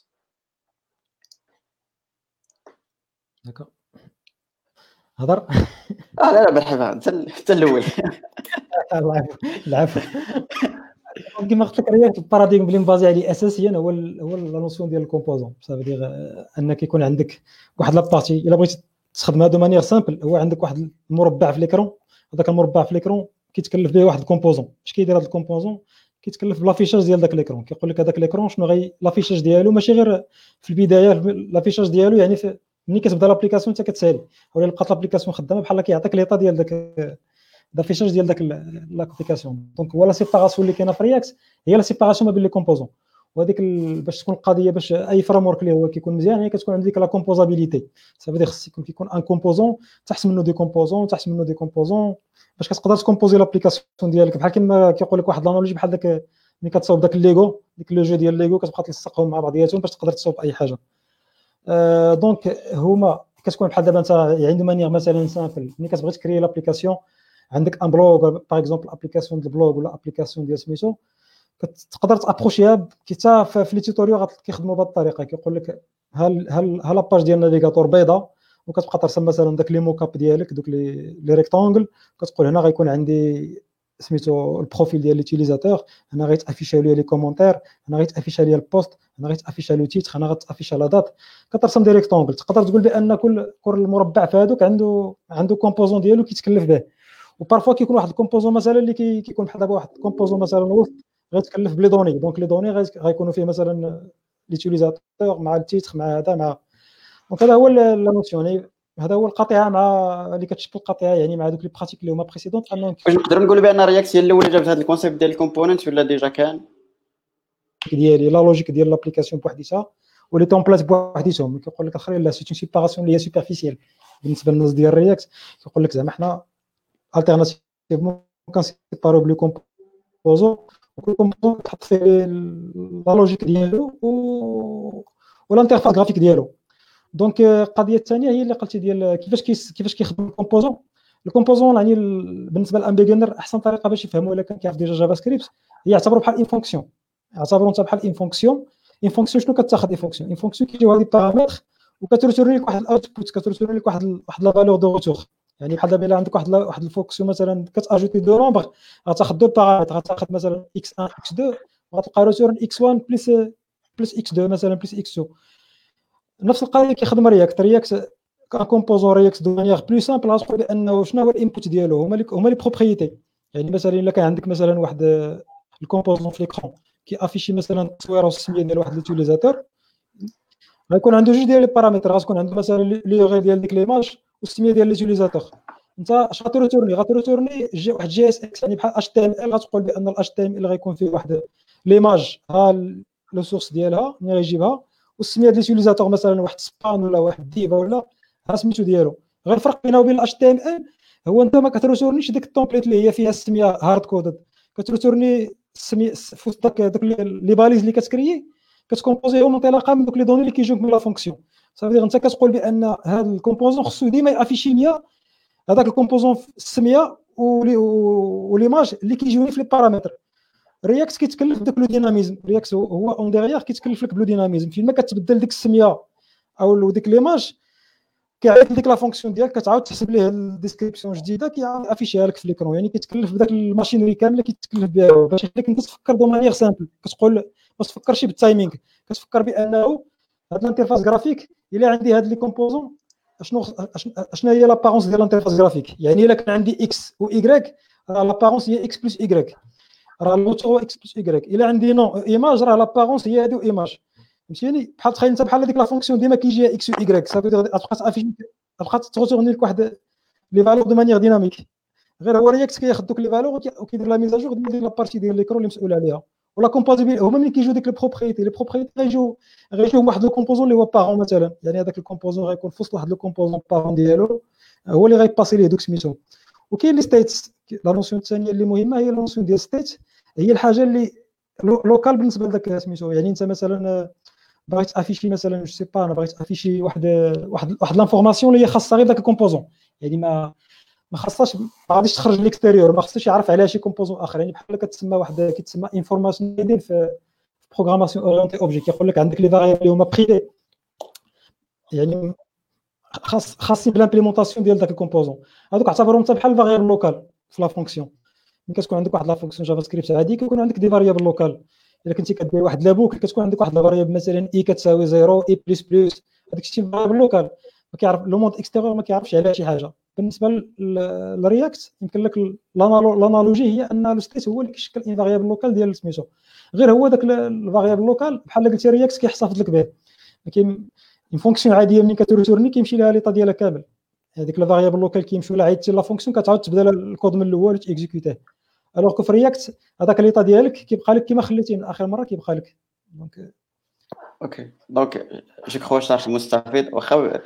داكا هضر. لا مرحبا، انت الاول. العفو. كما قلت لك رياكت الباراديغم اللي مبازي عليه اساسيا هو لا نوسيون ديال الكومبوزون. صافي دير انك يكون عندك واحد لابارتي، الا بغيتي تستخدمها دو مانيير سامبل، هو عندك واحد المربع في ليكرون، هذاك المربع في ليكرون كيتكلف به واحد الكومبوزون. اش كيدير هذا الكومبوزون؟ كيتكلف بلافيشاج ديال داك ليكرون. كيقول لك هذاك ليكرون شنو غي لافيشاج ديالو، ماشي غير في البدايه لافيشاج ديالو، يعني ملي كتبدا لابليكاسيون حتى كتسالي، ولا بقات لابليكاسيون خدامه بحال كيعطيك ليطا ديال داك لافيشاج ديال داك لابليكاسيون. دونك هو لا سيباراسيون اللي كاينه في رياكت هي لا سيباراسيون ما بين لي كومبوزون. وهذيك باش تكون القضيه، باش اي فريم ورك اللي هو كيكون مزيان، يعني كتكون عندك لا كومبوزابيليتي. صافي خص كيكون ان كومبوزون تحت منه دي كومبوزون تحت منه دي كومبوزون، باش كتقدر تكومبوزي لابليكاسيون ديالك. بحال كما كيقول لك واحد لانالوجي، بحال داك ملي كتصاوب داك الليغو، ديك لو جو ديال الليغو، كتبقى تلصقهم مع بعضياتهم باش تقدر تصاوب اي حاجه. دونك هما كتكون بحال دابا انت عنده مانيير مثلا سامبل، ملي كتبغي تكري لابليكاسيون، عندك ان بلوغ باغ اكزومبل، ابليكاسيون ديال البلوغ ولا ابليكاسيون ديال سميتو، كتقدر تابروشيها حتى في لي توتوريال كيخدموا بهذه الطريقه. كيقول لك هل لاباج ديال النافيغاتور بيضاء، وكتبقى ترسم مثلا داك لي موكاب ديالك، دوك لي ريكتانغل، كتقول هنا غيكون عندي سميتو البروفيل ديال ليوتيليزاتور، هنا غيتافيشا لي كومونتير، هنا غيتافيشا لي البوست، هنا غيتافيشا له تيتر، هنا غتافيشا لا دات. كترسم دي ريكتانغل. تقدر تقول بان كل مربع في هذوك عنده كومبوزون ديالو كيتكلف به. وبارفوا كيكون واحد الكومبوزون مثلا اللي كيكون بحال دابا واحد الكومبوزون مثلا وسط غيتكلف بلي دوني. دونك لي دوني غيكونوا فيه مثلا ليوتيليزاتور مع التيتر مع هذا مع. دونك هذا هو لا نوسيون، هذا هو القطيعه مع اللي كتشكل القطيعه، يعني مع دوك لي براتيك اللي هما بريسيدونت. انهم واش نقدروا نقولوا بان رياكت هي الاولى جابت هذا الكونسيبت ديال الكومبوننت، ولا ديجا كان ديالي لا لوجيك ديال لابليكاسيون بوحديتها ولي تومبليت بوحديتهم؟ كيقول لك اخرين لا، سي اون سيباراسيون اللي هي سوبرفيسيال بالنسبه للناس ديال رياكت. كيقول لك زعما حنا التيرناتيفمون كنسيبارو بلي كومبوزون، وكل كومبوزون تحط فيه لا لوجيك ديالو والانترفاس غرافيك ديالو. دونك القضيه الثانيه هي اللي قلتي ديال كيفاش كيخدم الكومبوزون. الكومبوزون يعني بالنسبه للان بيجنر احسن طريقه باش يفهموا الا كان كيعرف ديجا جافا سكريبت هي يعتبروا بحال ان فونكسيون. اعتبروا انت بحال ان فونكسيون. ان فونكسيون شنو كتاخذ؟ ان فونكسيون كيجيو هاد لي بارامتر وكترسوري لك واحد الاوتبوت، كترسوري لك واحد لا فالور دو روتور. يعني بحال دابا الا عندك واحد الفونكسيون مثلا كتاجوتي دو نومبر، غتاخذ دو بارامتر، غتاخذ مثلا x1 x2 وغتلقى ريتورن x1 بلس x2 مثلا بلس x2. نفس القضيه كيخدم رياكت كان كومبوزون رياكت دو مانيير بلو سامبل. غتقول بانه شنو هو الانبوت ديالو، هما لي بروبريتي. يعني مثلا الا كان عندك مثلا واحد الكومبوزون في ليكرون كيافيشي مثلا التصويره والسميه ديال واحد ليوتيليزاتور، غيكون عنده جوج ديال لي بارامتر. غتكون عنده مثلا لي غير ديال ديك ليماج والسميه ديال ليوتيليزاتور. انت اش غتريتورني واحد جي اس اكس، يعني بحال اتش تي ام ال. غتقول بان الاتش تي ام ال غيكون فيه واحد ليماج، ها لو سورس ديالها ملي غيجيبها، والسميه ديال ليوتيليزاتور مثلا واحد سبان ولا واحد ديفا ولا ها سميتو ديالو. غير الفرق بينه وبين الاتش تي ام ال هو انت ما كتريتورنيش ديك التومبليت اللي هي فيها السميه هارد كودد، كتريتورني السميه في وسط داك لي باليز اللي كتكريي، كتكومبوزيهم انطلاقا من دوك لي دوني اللي كيجيوك من لا فونكسيون. صافي انت كتقول بان هذا الكومبوزون خصو ديما يافيشي ليا هذاك الكومبوزون السميه وليماج اللي كيجيوني في لي بارامتر. رياكت كيتكلف بداك لو ديناميزم. رياكت هو اون ديغيغ كيتكلف لك بلو ديناميزم. فين ما كتبدل ديك السميه او ديك ليماج، كيعيط لك لا فونكسيون ديالك، كتعاود تحسب ليه الديسكريبسيون جديده كيافيشيها لك في ليكرون. يعني كيتكلف بداك الماشينري كامله كيتكلف بها باش يخليك انت تفكر دو مانيير سامبل. كتقول ما تفكرش بالتايمينغ، كتفكر بانه هاد الانترفاس غرافيك الا عندي هاد لي كومبوزون شنو هي لابارونس ديال الانترفاس جرافيك. يعني الا كان عندي اكس و ايغريك راه لابارونس هي اكس بلس ايغريك، راه الموتور هو اكس بلس ايغريك. الا عندي نون ايماج راه لابارونس هي هادو ايماج، فهمتيني؟ بحال تخيل انت بحال هذيك لا فونكسيون ديما كيجيها اكس و ايغريك، صافي تبقى تافيشي، تبقى تغتورني لك واحد لي فالور دو مانيير ديناميك. غير هو رياكت كياخذ دوك لي فالور وكيدير لا ميزاجور ديال لابارتي ديال ليكرون اللي مسؤول عليها. ولا كومباتيبل هما ملي كيجيو ديك البروبريتي، لي بروبريتي غيجيو واحد لو كومبوزون اللي هو بارون مثلا. يعني هذاك الكومبوزون غيكون في وسط واحد لو كومبوزون بارون ديالو هو اللي غيباسي ليه دوك سميتو. وكاين لي ستيتس. لا نوسيون الثانيه اللي مهمه هي لا نوسيون ديال ستيت، هي الحاجه اللي لوكال بالنسبه لذاك سميتو. يعني انت مثلا بغيت افيشي مثلا جو سي با، انا بغيت افيشي واحد لانفورماسيون اللي هي خاصه غير داك الكومبوزون، يعني ما خاصهاش، ما غاديش تخرج ليكستيريور، ما خاصش يعرف عليها شي كومبوزون اخر. يعني بحال كتسمى واحد كيتسمى انفورماسيون ديال في بروغراماسيون اورينتي اوبجي، كيقول لك عندك لي فاريابل اللي هما بريفي، يعني خاصين بالامبليمونطاسيون ديال داك الكومبوزون. هذوك اعتبرهم حتى بحال فاريابل لوكال في لا فونكسيون. ملي كتكون عندك واحد لا فونكسيون جافا سكريبت عادي كيكون عندك دي فاريابل لوكال. الا كنتي كدير واحد لابوك كتكون عندك واحد الفاريابل مثلا اي كتساوي 0 اي بلس بلس، هذاك الشيء فاريابل لوكال ما كيعرف لو موند اكستيريور، ما كيعرفش عليها شي حاجه. بالنسبه للرياكت يمكن لك لانالوجي هي ان لو ستيت هو اللي كيشكل ان فاريابل لوكال ديال سميتو. غير هو داك الفاريابل لوكال بحال قلتي رياكت كيحتفظ لك به. كاين اون فونكسيون عاديه ملي كتورني كيمشي لها ليطا ديالها كامل، هذيك الفاريابل لوكال كيمشيو لها عيطتي لا فونكسيون كتعاود تبدا الكود من الاول وتيكزيكوتيه. الوغ كو في رياكت هذاك ليطا ديالك كيبقى لك كما خليتيه من اخر مره كيبقى لك. دونك جو كخوا شرح مستفيد، واخا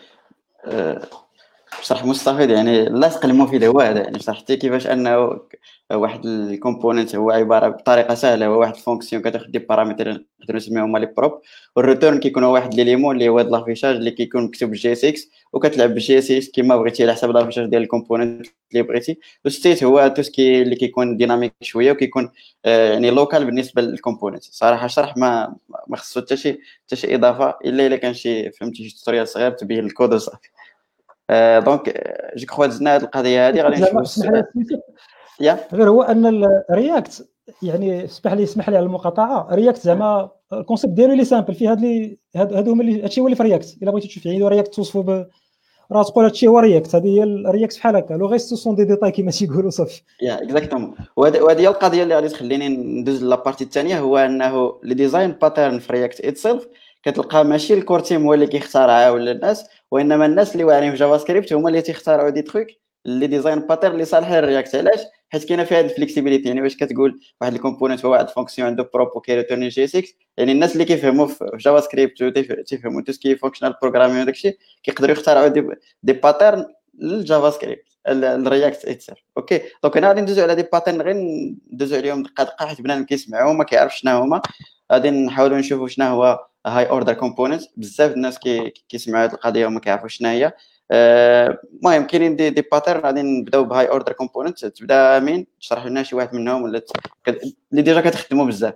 شرح مستفيد يعني لاصق المفيد هو هذا. يعني شرحتي كيفاش انه واحد الكومبوننت هو عباره بطريقه سهله هو واحد الفونكسيون كتاخذ دي بارامتر نقدروا نسميهم لي بروب، والريتورن كيكون هو واحد ليليمون اللي هو هذا لافيشاج اللي كيكون مكتوب بالجي اس اكس، وكتلعب بالجي اس اكس كما بغيتي على حسب لافيشاج ديال الكومبوننت اللي بغيتي. والستيت هو توسكي اللي كيكون ديناميك شويه وكيكون يعني لوكال بالنسبه للكومبوننت. صراحه شرح ما خصو حتى شي اضافه الا كان شي فهمتي شي توتوريال صغير تبين الكود وصافي. دونك جو كخوا دزنا هذه القضيه هذه غادي نشوفوا السؤال. غير هو ان الرياكت يعني اسمح لي على المقاطعه. رياكت زعما الكونسيبت ديالو اللي سامبل فيه هادو هما اللي هادشي هو اللي في رياكت. الا بغيتي تشوف يعني رياكت توصفوا راه تقول هادشي هو رياكت، هذه هي الرياكت بحال هكا. لو غيست سون دي ديتاي كما تيقولوا صافي. اكزاكتومون. وهذه هي القضيه اللي غادي تخليني ندوز لابارتي الثانيه، هو انه لي ديزاين باترن في رياكت اتسيلف كتلقى ماشي الكور تيم هو اللي كيختارها ولا الناس، وانما الناس اللي واعرين في جافا سكريبت هما اللي تيختاروا دي تروك لي ديزاين باترن اللي صالحين للرياكت. علاش؟ حيت كاينه فيها هذه الفليكسيبيليتي. يعني واش كتقول واحد الكومبوننت هو واحد الفونكسيون عنده بروب وكيريتورني جي 6، يعني الناس اللي كيفهموا في جافا سكريبت وتيفهموا تو سكي فونكشنال بروغرامين وداكشي كيقدروا يختاروا دي باترن للجافا سكريبت الرياكت اتسيلف. اوكي دونك انا غادي ندوزو على دي باترن غير ندوزو عليهم دقه دقه حيت بنادم كيسمعوا وما كيعرفش شنو هما. غادي نحاولوا نشوفوا شنو هو هاي اوردر كومبوننت. بزاف الناس كيسمعوا هذه القضيه وما كيعرفوش شنو هي. المهم كاينين دي باترن غادي نبداو بهاي اوردر كومبوننت. تبدا مين تشرح لنا شي واحد منهم ولا اللي ديجا كتخدموا بزاف؟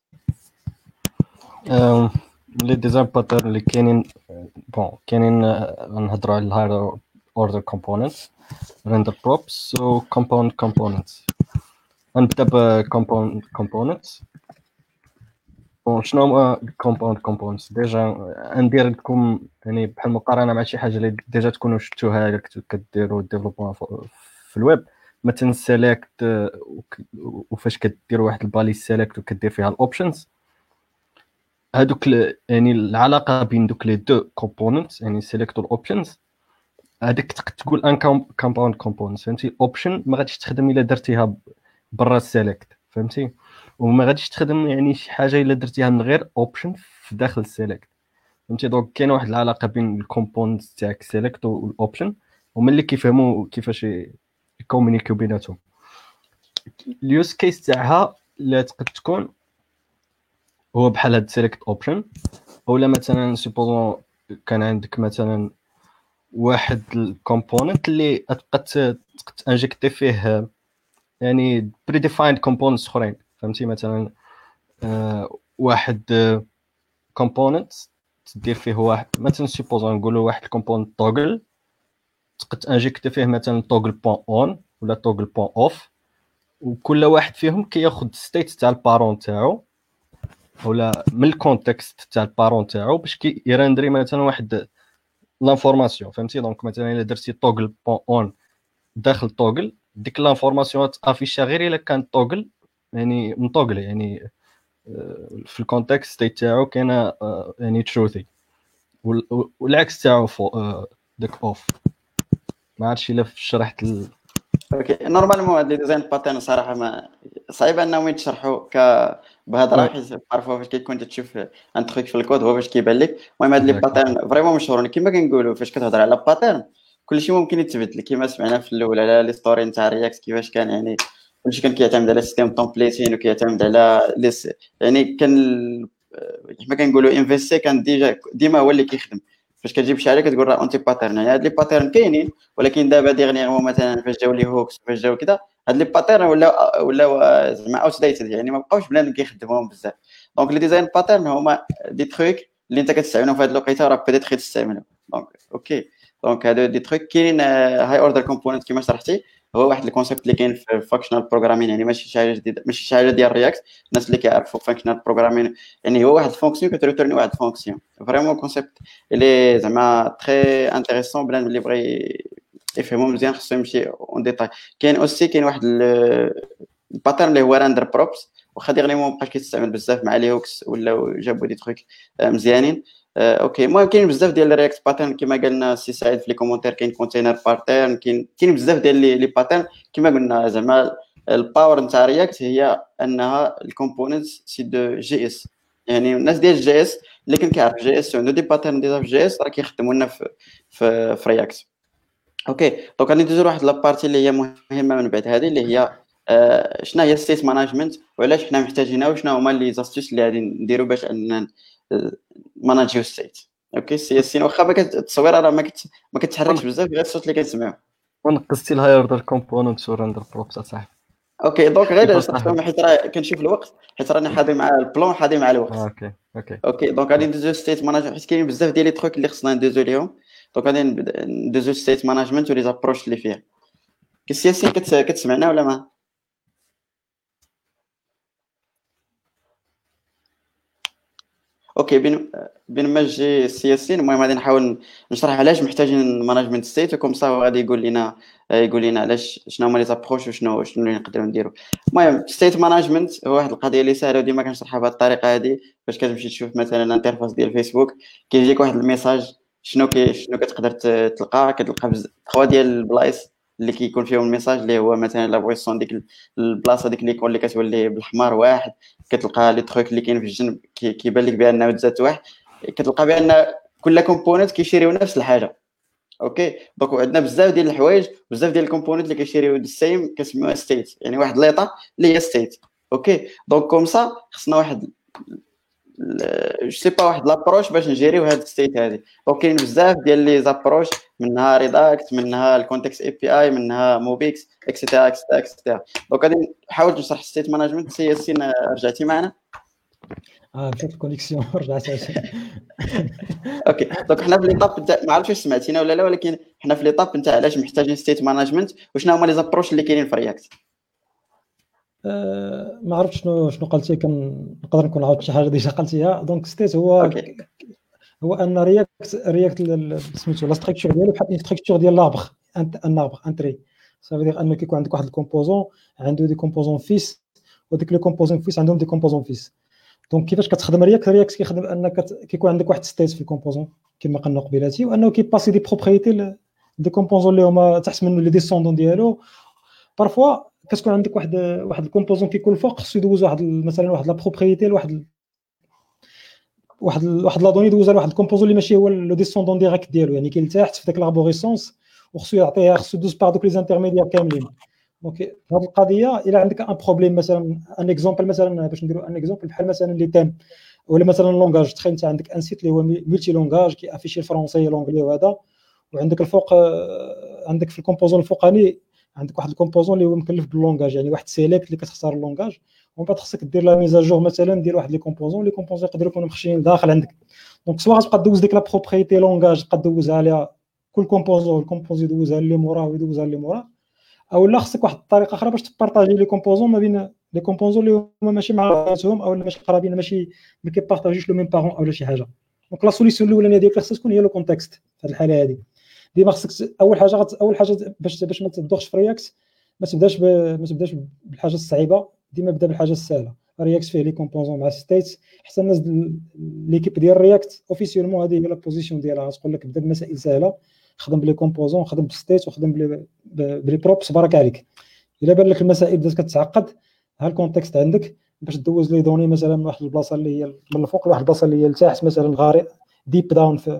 لي ديزاين باترن اللي كاينين كاينين غنهضروا على الهاير اوردر كومبوننت، render props و component components. غنبدا ب component. شنو هما component components؟ ديجا ندير لكم يعني بحال مقارنه مع شي حاجه اللي ديجا تكونوا شفتوها كديروا ديفلوبمون في الويب. مثلا سيليكت وفاش كدير واحد البالي سيليكت وكدير فيها الاوبشنز، هذوك يعني العلاقه بين دوك لي دو كومبوننت يعني سيليكت والاوبشنز هذيك تقول ان كومباوند كومبوننت. فهمتي؟ اوبشن ما غاديش تخدم الا درتيها برا السيليكت، فهمتي؟ وما غاديش تخدم يعني شي حاجه الا درتيها من غير اوبشن في داخل السيليكت، فهمتي؟ دونك كاين واحد العلاقه بين الكومبوننت تاعك سيليكت والاوبشن ومن اللي كيفهموا كيفاش يكومونيكيو بيناتهم. اليوز كيس تاعها لا تقد تكون هو بحال هاد سيليكت اوبشن، اولا مثلا سوبوزون كان عندك مثلا واحد الكومبوننت اللي تبقى تانجكتي فيه يعني بريديفايند كومبوننتس اخرين، فهمتي؟ مثلا واحد كومبوننت تدير فيه واحد مثلا سوبوزون نقولوا واحد الكومبوننت توغل تقدر تانجكتي فيه مثلا توغل بوين اون ولا توغل بوين اوف، وكل واحد فيهم كياخذ ستيت تاع البارون تاعو ولا من الكونتكست تاع البارون تاعو باش يرندري مثلا واحد لانفورماسيون فهمتي. دونك مثلا الا درتي توغل بون اون داخل توغل، ديك لانفورماسيون تافيشا غير الا كان توغل يعني مطوغل، يعني في الكونتكست ستيت تاعو كاينه يعني تروثي، والعكس تاعو داك اوف. ما عرفتش الا شرحت اوكي. نورمالمون هاد لي ديزاين باترن صراحه ما صعيب انهم يتشرحوا بهضره، حيت عارفوا فاش كيكون تشوف ان تروك في الكود هو باش كيبان لك. المهم هاد لي باترن فريمون مشهورين كما كنقولوا. فاش كتهضر على باترن كلشي ممكن يتبدل، كما سمعنا في الاول على لي ستوري نتاع رياكت كيفاش كان، يعني كلشي كان كيعتمد على سيستم تومبليتين وكيعتمد على يعني كان كما كنقولوا انفيستي كان ديما هو اللي كيخدم. فاش كتجيب شي حاجه كتقول راه اونتي باترن، يعني هاد لي باترن كاينين، ولكن دابا ديغنيغمون مثلا فاش جاو لي هوكس فاش جاو كذا هاد لي باترن ولا زعما اوت ديتد، يعني ما بقاوش بنادم كيخدمهم بزاف. دونك لي ديزاين باترن هما دي تروك اللي انت كتستعملهم في هاد الوقيته راه بيتيت تستعملهم. دونك اوكي، دونك هادو دي تروك كاينين. هاي اوردر كومبوننت كما شرحتي هو واحد الكونسيبت اللي كاين في فانكشنال بروغرامين، يعني ماشي شي حاجه جديده، ماشي شي حاجه ديال رياكت. الناس اللي كيعرفوا فانكشنال بروغرامين يعني هو واحد الفونكسيون كتريتورني واحد الفونكسيون. فريمون كونسيبت اللي زعما تري انتريسون، بلان اللي بغى يفهموا مزيان خصو يمشي اون ديتاي. كاين اوسي كاين واحد الباترن اللي هو راندر بروبس، واخا ديغنيغمون مابقاش كيتستعمل بزاف مع لي هوكس ولا جابوا دي تروك مزيانين. اوكي. المهم كاين بزاف ديال الرياكت باترن كما قالنا السي سعيد في لي كومونتير. كاين كونتينر باترن، كاين بزاف ديال لي باترن. كما قلنا زعما الباور نتاع رياكت هي انها الكومبوننتس سي دو جي اس، يعني الناس ديال جي اس اللي كان كيعرف جي اس عنده دي باترن ديال في جي اس راه كيخدموا لنا في رياكت. اوكي. دونك غادي ندوزو لواحد لابارتي اللي هي مهمه من بعد هذه، اللي هي شنو هي ستيت مانجمنت وعلاش حنا محتاجينها، وشنو هما لي زاستيس اللي غادي نديرو باش اننا ماناجيو ستيت. اوكي. السياسيين واخا التصويره راه ما كتحركش بزاف، غير الصوت اللي كنسمعو. ونقصتي الهاي اوردر كومبوننت وراندر بروبس صاحبي. اوكي. دونك غير صراحه حيت راه كنشوف الوقت، حيت راني حاضي مع البلان حاضي مع الوقت. اوكي. دونك غادي ندوزو ستيت ماناجمنت حيت كاين بزاف ديال لي تروك اللي خصنا ندوزو ليهم. دونك غادي ندوزو ستيت ماناجمنت ولي زابروش اللي فيها. كالسياسيين كتسمعنا ولا ما؟ اوكي. بين ما جي السياسيين المهم غادي نحاول نشرح علاش محتاجين ماناجمنت ستيت، وكم صا غادي يقول لنا علاش شنو هما لي زابروش وشنو اللي نقدروا نديروا. المهم ستيت ماناجمنت هو واحد القضيه اللي سهله وديما كنشرحها بهذه الطريقه هذه. باش كتمشي تشوف مثلا الانترفاس ديال فيسبوك كيجيك واحد الميساج، شنو كتقدر تلقى 3 ديال البلايص اللي كيكون فيهم الميساج، اللي هو مثلا لا بويسون ديك البلاصه ديك ليكون اللي كتولي بالاحمر واحد، كتلقى لي تروك اللي كاين في الجنب كيبان لك بانه تزاد واحد، كتلقى بان كل كومبوننت كيشيريو نفس الحاجه. اوكي. دونك عندنا بزاف ديال الحوايج، بزاف ديال الكومبوننت اللي كيشيريو السيم كنسميوها ستيت، يعني واحد ليطا اللي هي ستيت. اوكي. دونك كوم سا خصنا واحد جو سي با واحد لابروش باش نجيريو هاد الستيت هادي. دونك كاين بزاف ديال لي زابروش، منها ريداكت، منها الكونتكست اي بي اي، منها موبيكس اكسيتيرا اكسيتيرا اكسيتيرا. دونك غادي نحاول نشرح ستيت مانجمنت. سي ياسين رجعتي معنا؟ مشات الكونيكسيون رجعت عشان اوكي. دونك حنا في ليطاب نتاع ما عرفتش واش سمعتينا ولا لا، ولكن حنا في ليطاب نتاع علاش محتاجين ستيت مانجمنت وشنو هما لي زابروش اللي كاينين في رياكت. ما عرفتش شنو قلتي، نقدر نكون عاودت شي حاجه ديجا قلتيها. دونك ستيت هو ان رياكت سميتو لا ستركتور ديالو بحال ستركتور ديال لابغ انتري. صافي دير انه كيكون عندك واحد الكومبوزون عنده دي كومبوزون فيس، وديك لي كومبوزون فيس عندهم دي كومبوزون فيس. دونك كيفاش كتخدم رياكت كيخدم انك كيكون عندك واحد ستيت في الكومبوزون كما قلنا قبيلاتي، وانه كيباسي دي بروبريتي دي كومبوزون اللي هما تحت منه لي ديسوندون ديالو. بارفوا كتكون عندك واحد الكومبوزون كيكون الفوق خصو يدوز مثلا واحد لا بروبريتي واحد لا دوني يدوزها لواحد الكومبوزون اللي ماشي هو لو ديسوندون ديريكت ديالو، يعني كاين تحت في داك لاربوريسونس وخصو يعطيها، خصو يدوز بار دوك لي انترميديير كاملين. دونك هذه القضيه الا عندك ان بروبليم مثلا ان اكزومبل، مثلا باش نديروا ان اكزومبل بحال مثلا لي تيم ولا مثلا اللونغاج. تخيل انت عندك ان سيت اللي هو ملتي لونغاج كيافيشي الفرونسي لونغلي وهذا، وعندك الفوق عندك في الكومبوزون الفوقاني عندك واحد الكومبوزون اللي هو مكلف باللونغاج، يعني واحد سيليكت اللي كتختار اللونغاج، ومن بعد خصك دير لا ميزاجور مثلا ديال واحد لي كومبوزون يقدروا يكونوا مخشيين داخل عندك. دونك سواء غتبقى دوز ديك لا بروبريتي لونغاج تبقى دوزها عليها كل كومبوزون يدوزها اللي موراه ويدوزها اللي موراه، او لا خصك واحد الطريقه اخرى باش تبارطاجي لي كومبوزون ما بين لي كومبوزون اللي هما ماشي مع بعضهم او ماشي قرابين، ماشي ما كيبارطاجيوش لو ميم بارون او شي حاجه. دونك لا سوليسيون الاولانيه ديالك خاصها تكون هي لو كونتكست في هذه الحاله هذه. ديما خاصك اول حاجه باش ما تدوخش في رياكت، ما تبداش بالحاجه الصعيبه، ديما بدا بالحاجه السهله. رياكت فيه لي كومبوزون مع ستيت، حتى الناس ليكيب ديال رياكت اوفيسيولمون هذه هي لا بوزيسيون ديالها، تقول لك بدا بمسائل سهله، خدم بلي كومبوزون، خدم بالستيت، وخدم بلي بروبس، بارك عليك. الا بان لك المسائل بدات كتعقد، ها الكونتكست عندك باش دوز لي دوني مثلا من واحد البلاصه اللي هي من الفوق لواحد البلاصه اللي هي لتحت، مثلا غارق ديب داون في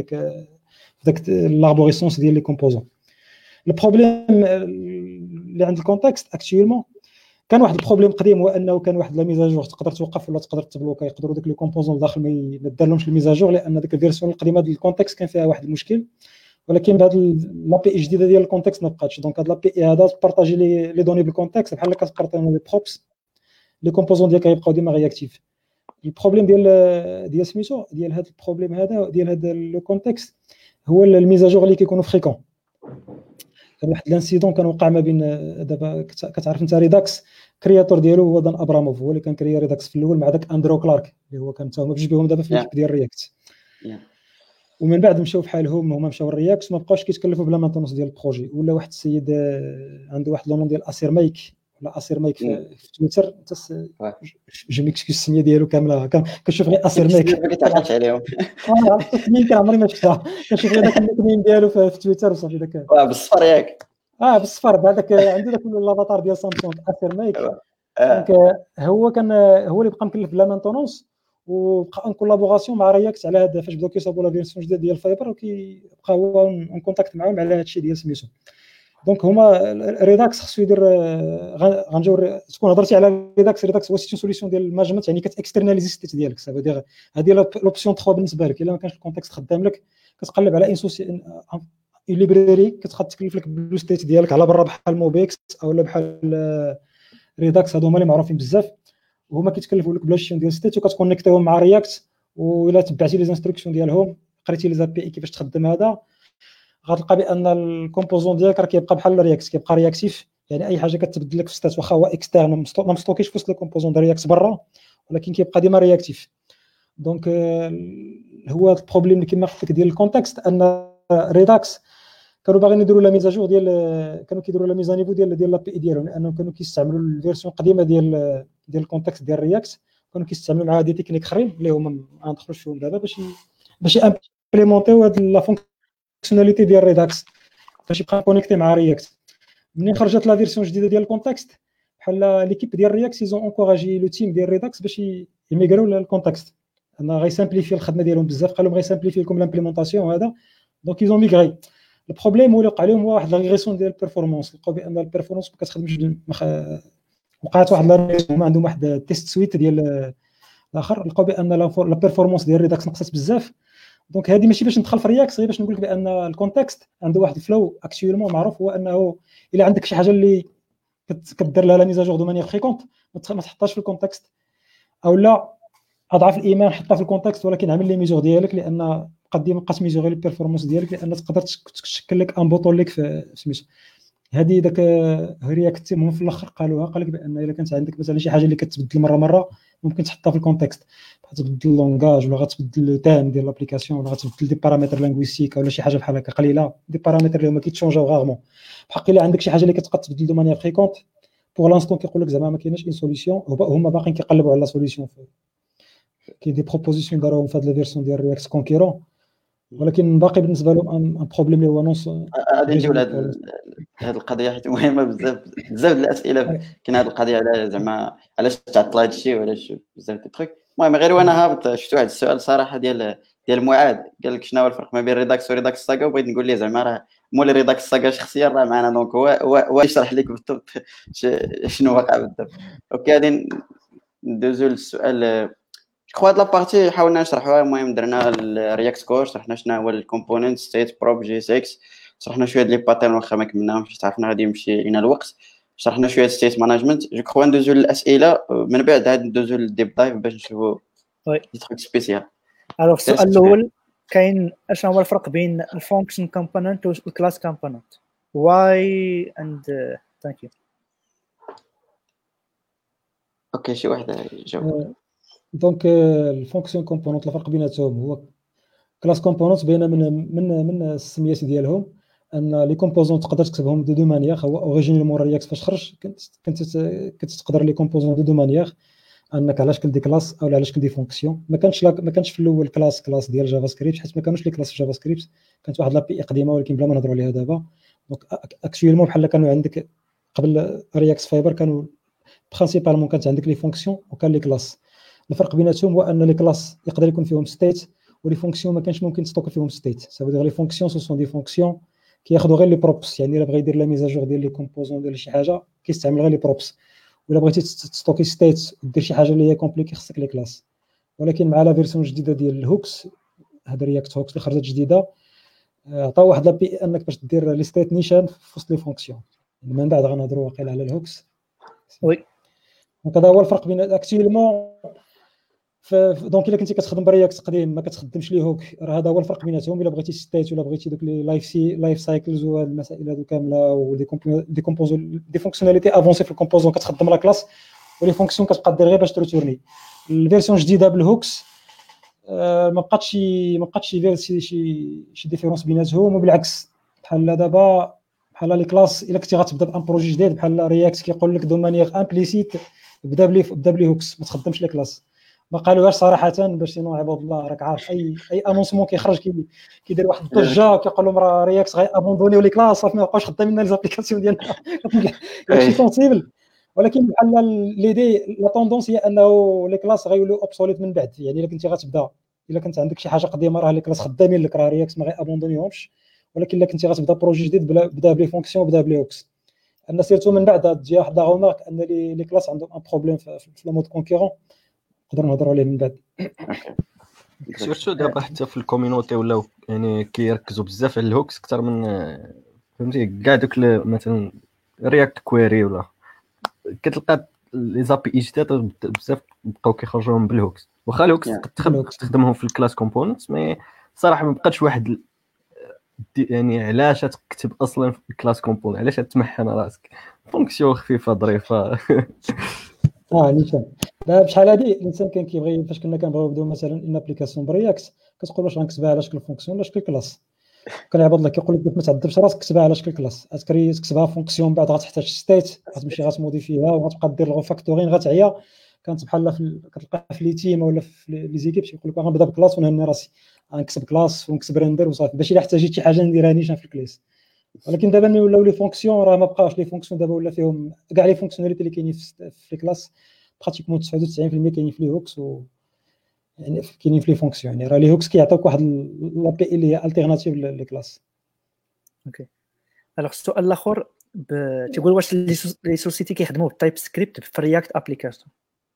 داك لابوريسونس ديال لي كومبوزون. البروبليم اللي عند الكونتكست اكطوالمون كان واحد البروبليم قديم، هو انه كان واحد لا ميزاجور تقدر توقف ولا تقدر تبلوكا، يقدروا داك لي كومبوزون داخل ما دارلهمش الميزاجور، لان ديك الفيرسيون القديمه ديال الكونتكست كان فيها واحد المشكل. ولكن بهذه لابي الجديده ديال الكونتكست ما بقاتش. دونك هاد لابي هذا تبارطاجي لي دوني بالكونتكست بحال كتبارطاجي لي بروبس، لي كومبوزون ديالك يبقاو ديما رياكتيف. البروبليم ديال سميتو ديال هذا البروبليم هذا ديال هذا لو كونتكست هو الميزاجور اللي كيكونوا فريكون. كان واحد الانسيدون كان وقع ما بين دابا كتعرف انت ريداكس كرياتور ديالو هو دان ابراموف، هو اللي كان كريا ريداكس في الاول مع داك اندرو كلارك اللي هو كان تاهما بجوج بهم دابا في الكيب ديال رياكت. ومن بعد مشاو بحالهم، هما مشاو الرياكت، ما بقاوش كيتكلفوا بلا مانتونس ديال البروجي. ولا واحد السيد عنده واحد لونون ديال اسير مايك ولا اسير مايك في تويتر، جو ميكسكيوز السميه ديالو كامله، كنشوف غير اسير مايك ما كتعقلش عليهم. عرفت السميه كان عمري ما شفتها، كنشوف غير داك النيكنيم ديالو في تويتر وصافي. داك بالصفر ياك بالصفر، بهذاك عنده داك الافاتار ديال سامسونج اسير مايك. دونك هو كان هو اللي بقى مكلف بلا مانتونونس، وبقى ان كولابوراسيون مع رياكت على هذا. فاش بداو كيصاوبوا لا فيرسيون جديده ديال الفايبر، وكيبقى هو اون كونتاكت معاهم على هذا الشيء ديال سميتو. دونك هما ريداكس خصو يدير غنجيو تكون هضرتي على ريداكس هو سيتي سوليسيون ديال المانجمنت، يعني كتاكسترناليزي ستيت ديالك. سافو دير هذه لوبسيون 3 بالنسبه لك. الا ما كانش الكونتكست خدام لك، كتقلب على ان ليبراري كتخد تكلف لك بلو ستيت ديالك على برا، بحال موبيكس او بحال ريداكس. هادو هما اللي معروفين بزاف، وهما كيتكلفوا لك بلا شيون ديال ستيت، وكتكونيكتيهم مع رياكت. والا تبعتي لي زانستركسيون ديالهم، قريتي لي زابي اي كيفاش تخدم هذا، غتلقى بان الكومبوزون ديالك راه كيبقى بحال الرياكت، كيبقى رياكتيف. يعني اي حاجه كتبدل لك في ستات واخا هو اكسترن ما مستوكيش في وسط الكومبوزون ديال رياكت برا، ولكن كيبقى ديما رياكتيف. دونك هو البروبليم اللي كما قلت لك ديال الكونتكست، ان ريداكس كانوا باغيين يديروا لا ميزاجور كانوا كيديروا لا ميزانيفو ديال لابي اي ديالهم، لانهم كانوا كيستعملوا الفيرسيون القديمه ديال الكونتكست ديال رياكت، كانوا كيستعملوا معها دي تكنيك اخرين اللي هما ما ندخلوش فيهم دابا، باش امبليمونطيو هاد لا فونكسيوناليتي ديال ريداكس باش يبقى كونيكتي مع رياكت. منين خرجت لا فيرسيون جديده ديال الكونتكست، بحال ليكيب ديال رياكت يزون انكوراجي لو تيم ديال ريداكس باش يميغريو للكونتكست، انا غيسامبليفي الخدمه ديالهم بزاف، قال لهم غيسامبليفي لكم لامبليمونطاسيون هذا. دونك يزون ميغري. البروبليم هو اللي وقع لهم هو واحد لا ريغريسيون ديال البيرفورمانس، لقاو بان البيرفورمانس ما كتخدمش. وقعت واحد لا ريغريسيون، عندهم واحد تيست سويت ديال الاخر، لقاو بان لا بيرفورمانس ديال ريداكس نقصت بزاف. دونك هذه ماشي باش ندخل في رياكس، غير باش نقول لك بان الكونتكست عنده واحد الفلو اكطوالمون معروف، هو انه الا عندك شي حاجه اللي كدير لها لا ميزاجور دو مانيير فريكونت، ما تحطهاش في الكونتكست، او لا اضعف الايمان حطها في الكونتكست، ولكن عمل لي ميزور ديالك، لان قد ما بقات ميزوري البيرفورمانس ديالك، لان تقدر تشكل لك ان بوطون ليك في سميتو. هذه داك رياكت تيم في الاخر قالوها، قال لك بان الا كانت عندك مثلا شي حاجه اللي كتبدل مره ممكن تحطها في الكونتكست، غتبدل اللونغاج ولا غتبدل التايم ديال لابليكاسيون ولا غتبدل دي بارامتر لينغويستيك ولا شي حاجه بحال هكا قليله، دي بارامتر اللي هما كيتشونجاو غارمون. بحق الا عندك شي حاجه اللي كتبقى تبدل دو مانيير فريكونت، بور لانستون كيقول لك زعما ما كايناش اون سوليسيون، هما باقيين كيقلبوا على سوليسيون. كاين دي بروبوزيسيون داروهم في هاد لا فيرسيون ديال رياكت كونكيرون، ولكن باقي بالنسبه لهم ان بروبليم اللي هو نونس. غادي نجيو لهاد القضيه حيت مهمه بزاف بزاف الاسئله. كاين هاد القضيه على زعما علاش تعطل هاد الشيء وعلاش بزاف د التروك. المهم غير وانا هابط شفت واحد السؤال صراحه ديال معاذ، قال لك شنو هو الفرق ما بين ريداكس وريداكس ساغا، وبغيت نقول ليه زعما راه مول ريداكس ساغا شخصيا راه معنا، دونك هو يشرح لك بالضبط شنو واقع بالضبط. اوكي غادي ندوزو للسؤال. جو هاد لابارتي حاولنا نشرحوها. المهم درنا الرياكت كور، شرحنا شنو هو الكومبوننت ستيت بروب جي 6، شرحنا شويه لي باترن واخا ما كملناهمش، تعرفنا غادي يمشي لينا الوقت، شرحنا شويه ستيت مانجمنت. جو كخوا ندوزو للاسئله، من بعد عاد ندوزو للديب دايف باش نشوفوا دي تروك سبيسيال. الوغ السؤال الاول كاين اشنو هو الفرق بين الفانكشن كومبوننت والكلاس كومبوننت؟ واي اند ثانك يو. اوكي شي واحد يجاوب. دونك الفونكسيون كومبوننت الفرق بيناتهم هو كلاس كومبوننت باينه من السميات ديالهم ان لي كومبوزون تقدر تكتبهم دو مانيير. هو اوريجينالمون رياكت فاش خرج كنت تقدر لي كومبوزون دو مانيير، انك علاش كندي كلاس او علاش كندي فونكسيون. ما كانش في الاول كلاس ديال جافا سكريبت، حيت ما كانوش لي كلاس في جافا سكريبت، كانت واحد لابي قديمه ولكن بلا ما نهضروا عليها دابا. دونك اكشويلمون بحال كانوا عندك قبل رياكت فايبر كانوا برينسيبالمون كانت عندك لي فونكسيون وكان لي كلاس. الفرق بيناتهم هو ان لي كلاس يقدر يكون فيهم ستيت ولي فونكسيون ما كانش ممكن تستوك فيهم ستيت. سافو دير لي فونكسيون سو سون دي فونكسيون كياخذوا غير لي بروبس، يعني الا بغى يدير لا ميزاجور ديال لي كومبوزون ديال شي حاجه كيستعمل غير لي بروبس، ولا بغيتي تستوكي ستيت ودير شي حاجه اللي هي كومبليكي خصك لي كلاس. ولكن مع لا فيرسيون الجديده ديال الهوكس، هاد رياكت هوكس اللي خرجت جديده، عطاو واحد لابي انك باش دير لي ستيت نيشان في وسط لي فونكسيون. من بعد غنهضروا واقيلا على الهوكس. وي دونك هذا هو الفرق بين اكتيلمون. دونك الا كنتي كتخدم برياكت قديم ما كتخدمش لي هوك، راه هذا هو الفرق بيناتهم. الا بغيتي ستيت ولا بغيتي دوك لي لايف سايكلز وهاد المسائل هادو كامله ودي كومبوزون دي فونكسيوناليتي افونسي في الكومبوزون كتخدم لا كلاس، ولي فونكسيون كتبقى دير غير باش تورني. الفيرسيون الجديده بالهوكس ما بقاتش شي ديفيرونس بيناتهم، وبالعكس بحال دابا بحال لي كلاس الا كنتي غتبدا بان بروجي جديد بحال رياكت كيقول لك دو مانيير امبليسيت بدا بلي هوكس، ما تخدمش لي كلاس. ما قالوهاش صراحه باش سينو عباد الله راك عارف اي انونسمون كيخرج كيدير واحد الضجه كيقول لهم راه رياكت غي ابوندونيو لي كلاس صافي ما بقاوش خدامين لي زابليكاسيون ديالنا داكشي سونسيبل. ولكن بحال ليدي لا طوندونس هي انه لي كلاس غيوليو اوبسوليت من بعد. يعني الا كنتي غتبدا الا كنت عندك شي حاجه قديمه راه لي كلاس خدامين لك، راه رياكت ما غي ابوندونيوهمش. ولكن الا كنتي غتبدا بروجي جديد بدا بلي فونكسيون بدا بلي هوكس. ان سيرتو من بعد تجي واحد لا غومارك ان لي كلاس عندهم ان بروبليم في لو مود كونكورون، نقدروا نهضروا عليه من بعد. سيرتو دابا حتى في الكوميونيتي ولاو يعني كيركزوا بزاف على الهوكس اكثر من فهمتي كاع دوك مثلا رياكت كويري ولا كتلقى لي زابي اي جداد بزاف بقاو كيخرجوهم بالهوكس. واخا الهوكس تخدمهم في الكلاس كومبوننتس، مي صراحه ما بقاتش واحد يعني علاش تكتب اصلا في الكلاس كومبوننت، علاش تمحن راسك فونكسيون خفيفه ظريفه نيشان. لا بشحال هادي الانسان كان كيبغي فاش كنا كنبغيو نبداو مثلا ان ابليكاسيون برياكت كتقول واش غنكتبها على شكل فونكسيون ولا شكل كلاس. كان عباد الله كيقول لك ما تعذبش راسك كتبها على شكل كلاس، تكتبها فونكسيون بعد غتحتاج ستيت غتمشي غتموديفيها وغتبقى دير الغوفاكتورين غتعيا. كانت بحال كتلقى في لي تيم ولا في لي زيكيب يقول لك غنبدا بكلاس ونهني راسي غنكتب كلاس ونكتب ريندر وصافي باش الا احتاجيت شي حاجه نديرها نيشان في الكلاس. ولكن دابا ملي ولاو لي فونكسيون راه ما بقاوش لي فونكسيون دابا ولا فيهم كاع لي فونكسيوناليتي اللي كاينين في كلاس براتيكمون 99% كاينين في لي هوكس يعني كاينين في لي فونكسيون. يعني راه لي هوكس كيعطيوك واحد لابي اللي هي التيرناتيف لي كلاس. اوكي. الوغ السؤال الاخر تيقول واش لي سوسيتي كيخدموا بالتايب سكريبت في رياكت ابليكاسيون؟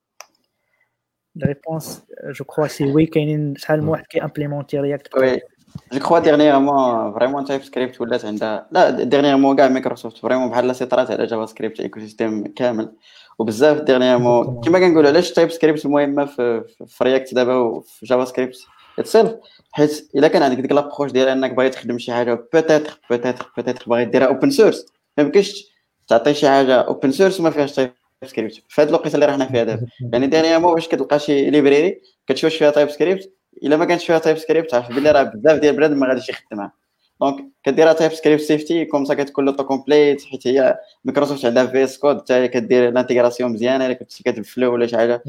لا ريبونس جو كخوا سي وي. كاينين شحال من واحد كي امبليمونتي رياكت. وي جو كخوا ديرنييرمون فريمون تايب سكريبت ولات عندها، لا ديرنييرمون كاع مايكروسوفت فريمون بحال سيطرات على جافا سكريبت ايكو سيستيم كامل. وبزاف ديرنييرمون كما كنقولوا علاش تايب سكريبت المهمه في رياكت دابا وفي جافا سكريبت اتسيلف، حيت الا كان عندك ديك لابروش ديال انك باغي تخدم شي حاجه بوتيتر باغي ديرها اوبن سورس، ما يمكنش تعطي شي حاجه اوبن سورس وما فيهاش تايب سكريبت في هذه الوقيته اللي راحنا فيها دابا. يعني ديرنييرمون واش كتلقى شي ليبراري كتشوف فيها تايب سكريبت، الا ما كانش فيها تايب سكريبت عارف بلي راه بزاف ديال البلاد ما غاديش يخدمها. دونك كديرها تايب سكريبت سيفتي كوم سا كتكون لوطو كومبليت، حيت هي مايكروسوفت عندها في اس كود حتى هي كدير الانتيغراسيون مزيانه. الا كنتي كاتب فلو ولا شي حاجه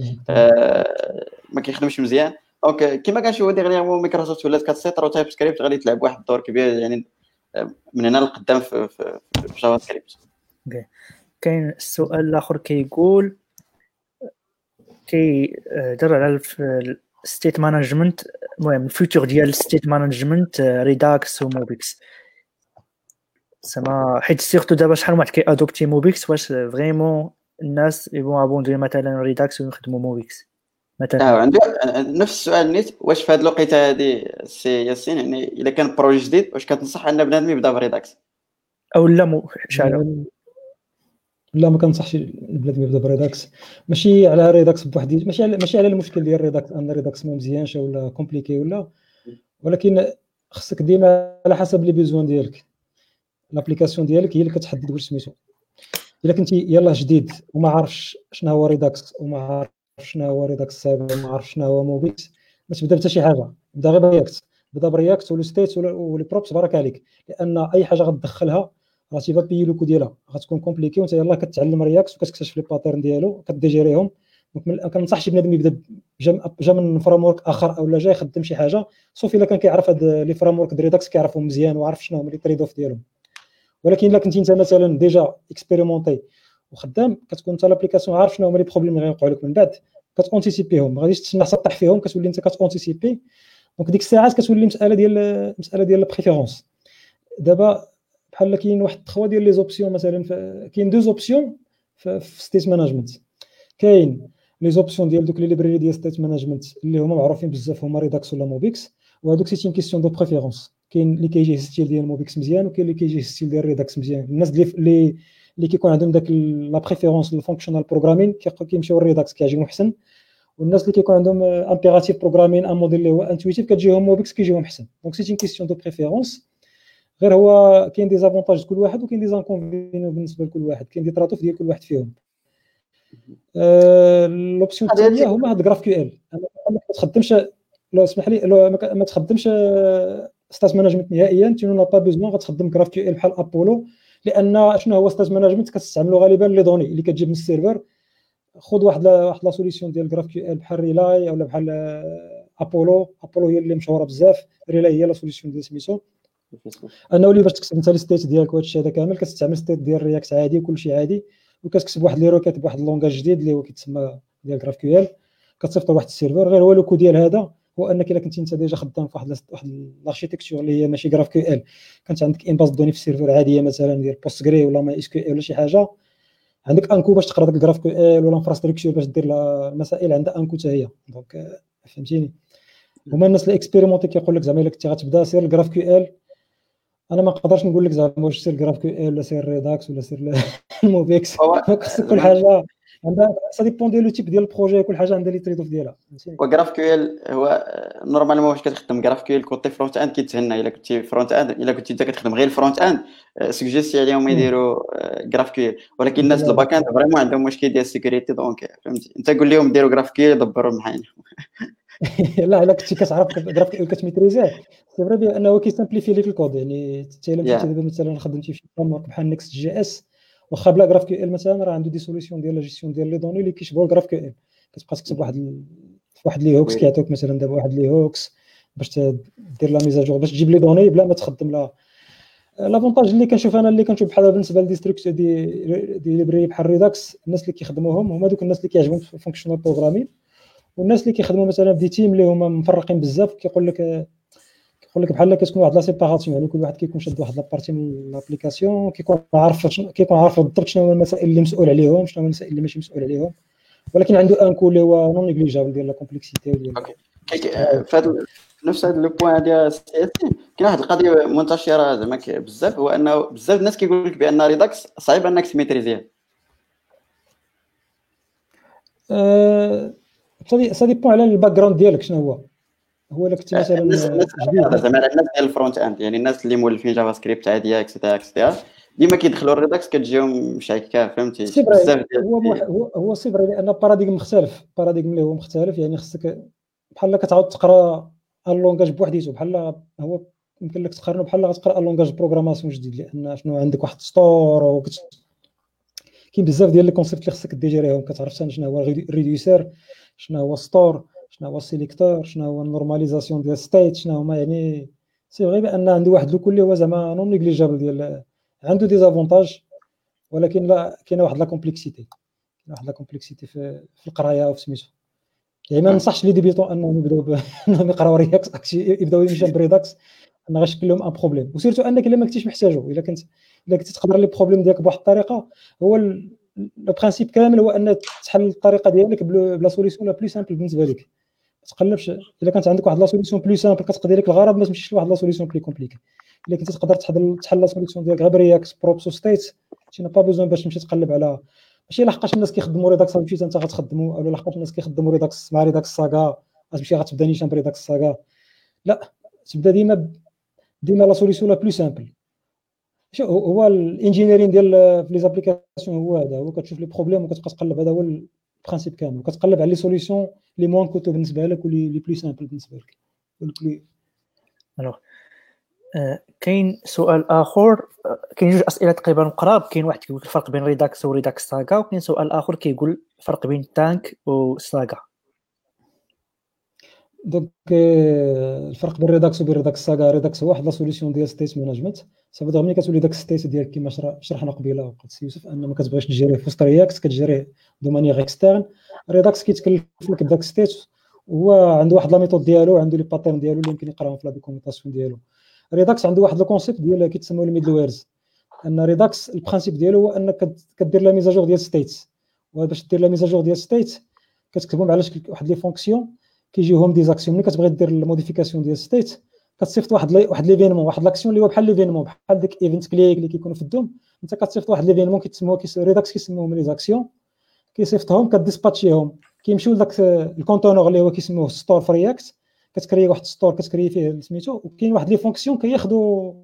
ما كيخدمش مزيان. دونك كما كنشوفوا ديغنييرمون مايكروسوفت ولات كتسيطر وتايب سكريبت غادي تلعب واحد الدور كبير يعني من هنا لقدام في جافا سكريبت. كاين السؤال الاخر كيقول كيدر على ستيت مانجمنت، المهم الفيوتشر ديال ستيت مانجمنت ريداكس وموبيكس سما، حيت سيرتو دابا شحال واحد كي ادوبتي موبيكس، واش فريمون الناس يبغوا ابوندي مثلا ريداكس ويخدموا موبيكس مثلا؟ عندي نفس السؤال نيت، واش في هذه الوقيته هذه سي ياسين يعني الا كان بروجي جديد واش كتنصح ان بنادم يبدا بريداكس او لا شحال؟ لا ما كنصحش البلاد يبدا بريداكس. ماشي على ريداكس بوحدي، ماشي على المشكل ديال ريداكس ان ريداكس ما مزيانش ولا كومبليكي ولا، ولكن خصك ديما على حسب لي بيزوان ديالك. الابليكاسيون ديالك هي اللي كتحدد واش سميتو. الا كنتي يلاه جديد وما عارفش شنو هو ريداكس وما عارفش شنو هو ريداكس سايبر وما عارفش شنو هو موبيكس، ما تبدا حتى شي حاجه، بدا غير برياكت. بدا برياكت ولا ستيت ولا بروبس بارك عليك، لان اي حاجه غتدخلها راه تيبا بيي لو كو ديالها غتكون كومبليكي، وانت يلاه كتعلم رياكت وكتكتشف لي باترن ديالو كديجيريهم. دونك ما كنصحش بنادم يبدا جا من فريم ورك اخر او لا جاي يخدم شي حاجه صوفي الا كان كيعرف هاد لي فريم ورك ريداكس كيعرفهم مزيان وعارف شنو هما لي تريد اوف ديالهم. ولكن الا كنتي انت مثلا ديجا اكسبيريمونتي وخدام، كتكون انت لابليكاسيون عارف شنو هما لي بروبليم اللي غيوقعوا لك من بعد، كتونتيسيبيهم، ما غاديش تسنى حتى طيح فيهم، كتولي انت كتونتيسيبي. دونك ديك الساعات كتولي مساله ديال البريفيرونس. دابا بحال كاين واحد 3 ديال لي زوبسيون، مثلا كاين 2 زوبسيون في ستيت مانجمنت. كاين لي زوبسيون ديال دوك لي ليبراري ديال ستيت مانجمنت اللي هما معروفين بزاف، هما ريداكس ولا موبيكس، وهذوك سي تين كيسيون دو بريفيرونس. كاين اللي كيجي ستيل ديال موبيكس مزيان، وكاين اللي كيجي ستيل ديال ريداكس مزيان. الناس اللي كيكون عندهم داك لا بريفيرونس للفونكشنال بروغرامين كيمشيو للريداكس كيعجبهم احسن، والناس اللي كيكون عندهم امبيراتيف بروغرامين ان موديل اللي هو انتويتيف كتجيهم موبيكس كيجيهم احسن. دونك سي تين كيسيون دو بريفيرونس. غير هو كاين دي زافونتاج لكل واحد وكاين دي زانكونفينيون بالنسبه لكل واحد، كاين دي تراتوف ديال كل واحد فيهم. لوبسيون الثانيه هما هاد جراف كيو ال. ما تخدمش، لو اسمح لي، ما تخدمش ستاس مانجمنت نهائيا، تي نو با بيزوان غتخدم جراف كيو ال بحال ابولو، لان شنو هو ستاس مانجمنت كتستعملوا غالبا لي دوني اللي كتجيب من السيرفر. خذ واحد لا سوليسيون ديال جراف كيو ال بحال ريلاي اولا بحال ابولو هي اللي مشهوره بزاف. ريلاي هي لا سوليسيون ديال سميتو انه اللي باش تكتب انت لي ستيت ديالك وهادشي هذا كامل كتستعمل ستيت ديال رياكت عادي وكلشي عادي، وكتكتب واحد لي روكيت بواحد اللونغاج جديد اللي هو كيتسمى ديال جراف كيو ال، كتصيفط لواحد السيرفر. غير هو لوكو ديال هذا هو انك الا كنتي انت ديجا خدام في واحد الاركيتكتور اللي هي ماشي جراف كيو ال، كانت عندك ان باز دوني في السيرفر عاديه مثلا ديال بوستغري ولا ماي اس كيو ال ولا شي حاجه، عندك انكو باش تقرا داك الجراف كيو ال ولا انفراستركتور باش دير المسائل عندها انكو حتى هي. دونك فهمتيني. هما الناس اللي اكسبيريمونتي كيقول لك زعما الا كنتي غتبدا سير الجراف كيو ال. انا ما نقدرش نقول لك زعما واش سير جراف كيو ال ولا سير ريداكس ولا سير الموبيكس. خاصك كل حاجه عندها سا ديبون ديال لو تيب ديال البروجي، كل حاجه عندها لي تريد اوف ديالها. وجراف كيو ال هو نورمالمون واش كتخدم جراف كيو ال كوتي فرونت اند كيتهنى. الا كنتي فرونت اند، الا كنتي انت كتخدم غير الفرونت اند سوجيستي عليهم يديروا جراف كيو ال، ولكن الناس الباك اند فريمون عندهم مشكل ديال السيكوريتي. دونك فهمتي انت قول لهم ديروا جراف كيو ال يدبروا معايا. لا الا كنتي كتعرف جراف كيو ال كتميتريزيه سي فري بانه كيسامبليفي لك الكود. يعني حتى الا مشيتي دابا مثلا خدمتي في شي فريم ورك بحال نيكست جي اس، واخا بلا جراف كيو ال مثلا راه عنده دي سوليسيون ديال لا جيستيون ديال لي دوني اللي كيشبهوا الجراف كيو ال. كتبقى تكتب واحد لي هوكس كيعطيوك مثلا دابا واحد لي هوكس باش دير لا ميزاجور باش تجيب لي دوني بلا ما تخدم لا. لافونتاج اللي كنشوف انا بحال بالنسبه للديستركت دي ليبراري بحال ريداكس، الناس اللي كيخدموهم هما دوك الناس اللي كيعجبهم في الفونكشنال بروغرامين، والناس اللي كيخدموا مثلا في تيم اللي هما مفرقين بزاف كيقول لك بحال كتكون واحد لا سيباراسيون. يعني كل واحد كيكون شاد واحد لابارتي من لابليكاسيون، كيكون عارف بالضبط شنو هما المسائل اللي مسؤول عليهم، شنو هما المسائل اللي ماشي مسؤول عليهم، ولكن عنده ان كو اللي هو نون نيغليجابل ديال لا كومبلكسيتي ديال. في نفس هذا لو بوين ديال سي اس كاين واحد القضيه منتشره زعما بزاف، هو انه بزاف الناس كيقول لك بان ريداكس صعيب انك تميتريزيه. سا ديبون على الباك جراوند ديالك شنو هو الا كنتي مثلا جديد زعما على الناس ديال الفرونت اند، يعني الناس اللي مولفين جافا سكريبت عاديه اكسترا ديما كيدخلوا الريداكس كتجيهم مشاكل فهمتي بزاف. هو صفر لان باراديغم مختلف، باراديغم اللي هو مختلف. يعني خصك بحال كتعاود تقرا اللونغاج بوحديته، بحال هو يمكن لك تقارنه بحال غتقرا اللونغاج بروغراماسيون جديد، لان شنو عندك واحد ستور كاين بزاف ديال لي كونسيبت اللي خصك ديجيريهم. كتعرف شنو هو ريديوسر، شنو هو ستور، شنو هو سيليكتور، شنو هو النورماليزاسيون ديال ستيت، شنو هما. يعني سي غير بان عنده واحد لو كل هو زعما نون نيغليجابل ديال، عنده دي زافونتاج، ولكن لا كاينه واحد لا كومبلكسيتي في القرايه وفي سميتو. يعني ما ننصحش لي ديبيتون انهم يبداو انهم يقراو رياكس يبداو يمشيو بريداكس، انا غنشكل لهم ان بروبليم. وسيرتو انك الا ما كنتيش محتاجو، الا كنتي تقدر لي بروبليم ديالك بواحد الطريقه، هو لو برينسيپ كامل هو ان تحل الطريقه ديالك بلا سوليسيون لا بلو سامبل بالنسبه لك. ما تقلبش الا كانت عندك واحد لا سوليسيون بلو سامبل كتقضي لك الغرض، ما تمشيش لواحد لا سوليسيون بلو كومبليكي. الا كنتي تقدر تحل لا سوليسيون ديالك غير برياكس بروبس ستيت، تينا با بيزون باش تمشي تقلب على ماشي لحقاش الناس كيخدموا ريداكس غتمشي انت غتخدموا، او لحقاش الناس كيخدموا ريداكس مع ريداكس ساغا غتمشي غتبدا نيشان بريداكس ساغا. لا، تبدا ديما لا سوليسيون لا بلو سامبل. شو هو الانجينيرين ديال في لي زابليكاسيون هو هذا، هو كتشوف لي بروبليم وكتبقى تقلب. هذا هو البرانسيپ كامل، وكتقلب على لي سوليسيون لي موان كوتو بالنسبه لك ولي بلو سامبل بالنسبه لك. الوغ كاين سؤال اخر، كاين جوج اسئله تقريبا قراب. كاين واحد كيقول الفرق بين ريداكس وريداكس ساغا، وكاين سؤال اخر كيقول الفرق بين تانك وساغا. دونك الفرق بين ريداكس وبين ريداكس ساغا، ريداكس هو واحد لا سوليسيون ديال ستيت مانجمنت. صافي ملي كتولي داك الستيت ديالك كما شرحنا قبيله وقت سي يوسف، ان ما كتبغيش تجيريه في وسط رياكت، كتجيريه دو مانيير اكسترن. ريداكس كيتكلف لك بداك الستيت، وهو عنده واحد لا ميثود ديالو، عنده لي باترن ديالو اللي يمكن يقراهم في لا دوكيومونطاسيون ديالو. ريداكس عنده واحد لو كونسيبت ديال كيتسموا الميدل ويرز. ان ريداكس البرانسيپ ديالو هو انك كدير لا ميزاجور ديال ستيت، وباش دير لا ميزاجور ديال ستيت كتكتبهم على شكل واحد لي فونكسيون كيجيوهم دي زاكسيون. ملي كتبغي دير الموديفيكاسيون ديال ستيت كتصيفط واحد ليفينمون، واحد لاكسيون اللي هو بحال ليفينمون، بحال ديك ايفنت كليك اللي كيكونوا في الدوم. انت كتصيفط واحد ليفينمون كيتسموا ريداكس كيسموهم لي زاكسيون، كيصيفطهم كديسباتشيهم، كيمشيو لذاك الكونتونور اللي هو كيسموه ستور في رياكت. كتكري واحد ستور كتكري فيه سميتو، وكاين واحد لي فونكسيون كياخذوا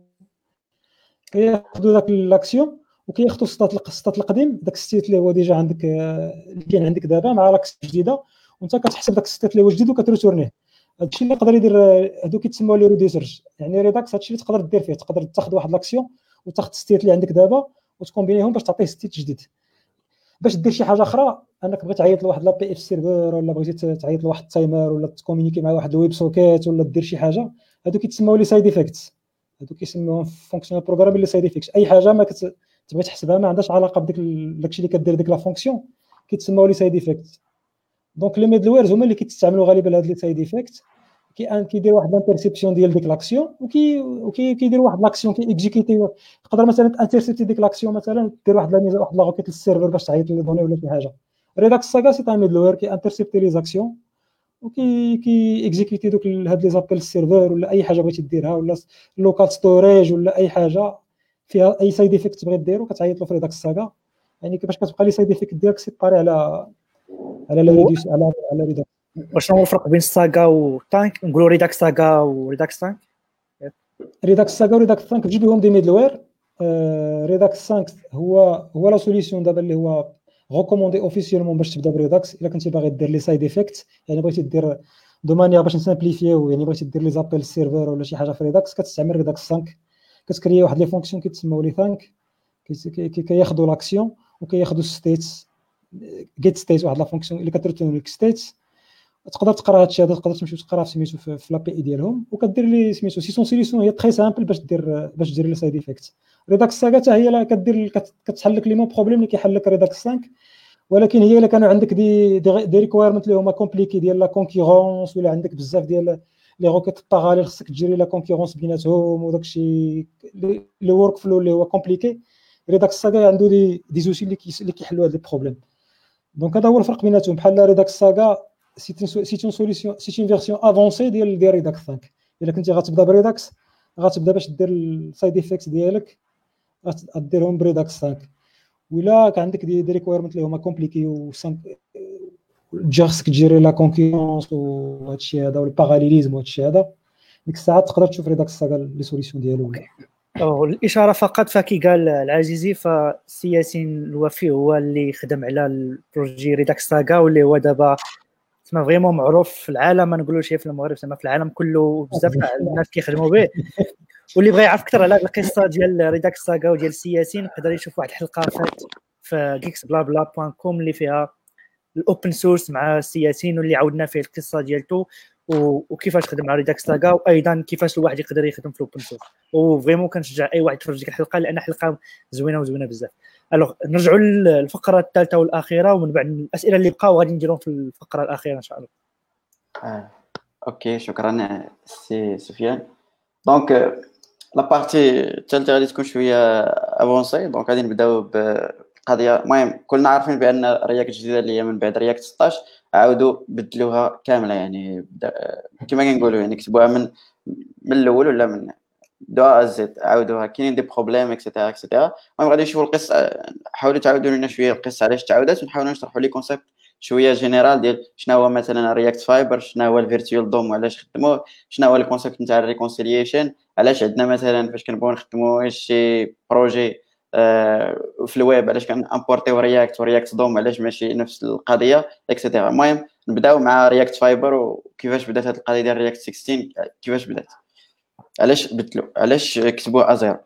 داك لاكسيون وكياخذوا السطات القديم، داك الستيت اللي هو ديجا عندك اللي كاين عندك دابا مع لاكس جديده، وانت كتحسب داك الستيت اللي هو جديد وكتريتورنيه. هادشي اللي يقدر يدير هادو كيتسموا لي ريديسرج. يعني ريداكس هادشي اللي تقدر دير فيه، تقدر تاخذ واحد لاكسيون وتاخذ الستيت اللي عندك دابا وتكومبينيهم باش تعطيه ستيت جديد. باش دير شي حاجه اخرى، انك بغيت تعيط لواحد لا بي اف سيرفر، ولا بغيتي تعيط لواحد التايمر، ولا تكومونيكي مع واحد الويب سوكيت، ولا دير شي حاجه، هادو كيتسموا لي سايد افكتس. هادو كيسموهم فونكسيونال بروغرام اللي سايد افكتس. اي حاجه ما تبغي تحسبها ما عندهاش علاقه بديك داكشي اللي كدير ديك لا فونكسيون كيتسموا لي سايد افكتس. دونك لي ميدل ويرز هما اللي كيتستعملوا غالبا هاد لي سايد افكت. كيدير واحد لانترسيبسيون ديال ديك لاكسيون، كيدير واحد لاكسيون اكزيكيتي. تقدر مثلا انترسيبتي ديك لاكسيون، مثلا دير واحد لا ميزه، واحد لا روكيت للسيرفر باش تعيط لي دوني ولا شي حاجه. ريداكس ساغا سي ان ميدل وير كي انترسيبتي لي زاكسيون كي اكزيكيتي دوك هاد لي زابيل للسيرفر، ولا اي حاجه بغيتي ديرها، ولا لوكال ستوريج، ولا اي حاجه فيها اي سايد افكت تبغي ديرو كتعيط له في ريداكس ساغا. يعني كيفاش كتبقى لي سايد افكت ديالك سيباري على لا ريديوس على ريداكس. وشنو هو الفرق بين الساغا وتانك؟ نقولوا ريداكس ساغا وريداكس تانك. ريداكس ساغا وريداكس 5 بجوج بهم دي ميدل وير. ريداكس 5 هو لا سوليسيون دابا اللي هو ريكوموندي اوفيسيالمون باش تبدا بريداكس. الا كنتي باغي دير لي سايد افكت، يعني بغيتي دير دو مانيير باش نسامبليفيو، يعني بغيتي دير لي زابيل سيرفر ولا شي حاجه في ريداكس، كتستعمل ريداكس 5. كتكري واحد لي فونكسيون كيتسموا لي ثانك، كياخذوا لاكسيون وكياخذوا ستيتس، جيت ستيت، واحد لا فونكسيون اللي كتريتورن لك ستيتس. تقدر تقرا هادشي هذا، تقدر تمشي تقرا في سميتو في لابي اي ديالهم، وكدير لي سميتو سي سون سوليسيون هي تري سامبل باش دير لي سايد افكت. ريداكس ساغا حتى هي كدير كتحل لك لي مون بروبليم اللي كيحل لك ريداكس 5، ولكن هي الا كانوا عندك دي ريكويرمنت اللي هما كومبليكي ديال لا كونكورونس، ولا عندك بزاف ديال لي روكيت باراليل خصك تجري لا كونكورونس بيناتهم، وداكشي لي ورك فلو اللي هو كومبليكي، ريداكس ساغا عنده دي زوسي اللي كيحلوا هاد البروبليم. دونك هذا هو الفرق بيناتهم. بحال ريداكس ساغا سي اون سوليسيون، سي اون فيرسيون افونسي ديال ريداكس 5. الا كنتي غتبدا بريداكس، غتبدا باش دير السايد افكت ديالك غديرهم بريداكس 5. ولا كان عندك دي ريكويرمنت اللي هما كومبليكي و خصك تجيري لا كونكورونس وهادشي هذا والباراليليزم وهادشي هذا، ديك الساعه تقدر تشوف ريداكس ساغا لي سوليسيون ديالو. الاشاره فقط، فكي قال العزيزي فسي ياسين الوفي هو اللي خدم على البروجي ريداكس ساغا، واللي هو دابا تما فريمون معروف في العالم، ما نقولوش في المغرب، تما في العالم كله بزاف تاع الناس كيخدموا به. واللي بغى يعرف اكثر على القصه ديال ريداكس ساغا وديال سي ياسين يقدر يشوف واحد الحلقه فات في geeksblabla.com اللي فيها الاوبن سورس مع سي ياسين، واللي عاودنا فيه القصه ديالته وكيفاش خدم على ريداكس ساغا، وايضا كيفاش الواحد يقدر يخدم في الاوبن سورس. وفريمون كنشجع اي واحد يتفرج ديك الحلقه لان حلقه زوينه بزاف. الوغ نرجعوا للفقره الثالثه والاخيره، ومن بعد الاسئله اللي بقاو غادي نديرهم في الفقره الاخيره ان شاء الله. اوكي، شكرا سي سفيان. دونك لا بارتي الثالثه غادي تكون شويه افونسي. دونك غادي نبداو بقضيه. المهم كلنا عارفين بان رياكت الجديده اللي هي من بعد رياكت 16 عاودوا بدلوها كامله، يعني كما كنقولوا يعني كتبوها من الاول ولا من دو زد، عاودوها كاينين دي بروبليم اكسيتيرا اكسيتيرا. المهم غادي نشوفوا القصه، حاولوا تعاودوا لنا شويه القصه علاش تعاودات، ونحاولوا نشرحوا لي كونسيبت شويه جينيرال ديال شنو هو مثلا رياكت فايبر، شنو هو الفيرتوال دوم وعلاش خدموه، شنو هو الكونسيبت نتاع الريكونسيليشن، علاش عندنا مثلا فاش كنبغيو نخدموا شي بروجي في الويب علاش كنامبورتيو رياكت دوم، علاش ماشي نفس القضيه اكسيتيرا. المهم نبداو مع رياكت فايبر وكيفاش بدات هذه القضيه ديال رياكت 16 كيفاش بدات. علاش بدلوا علاش كتبوه ازيرو؟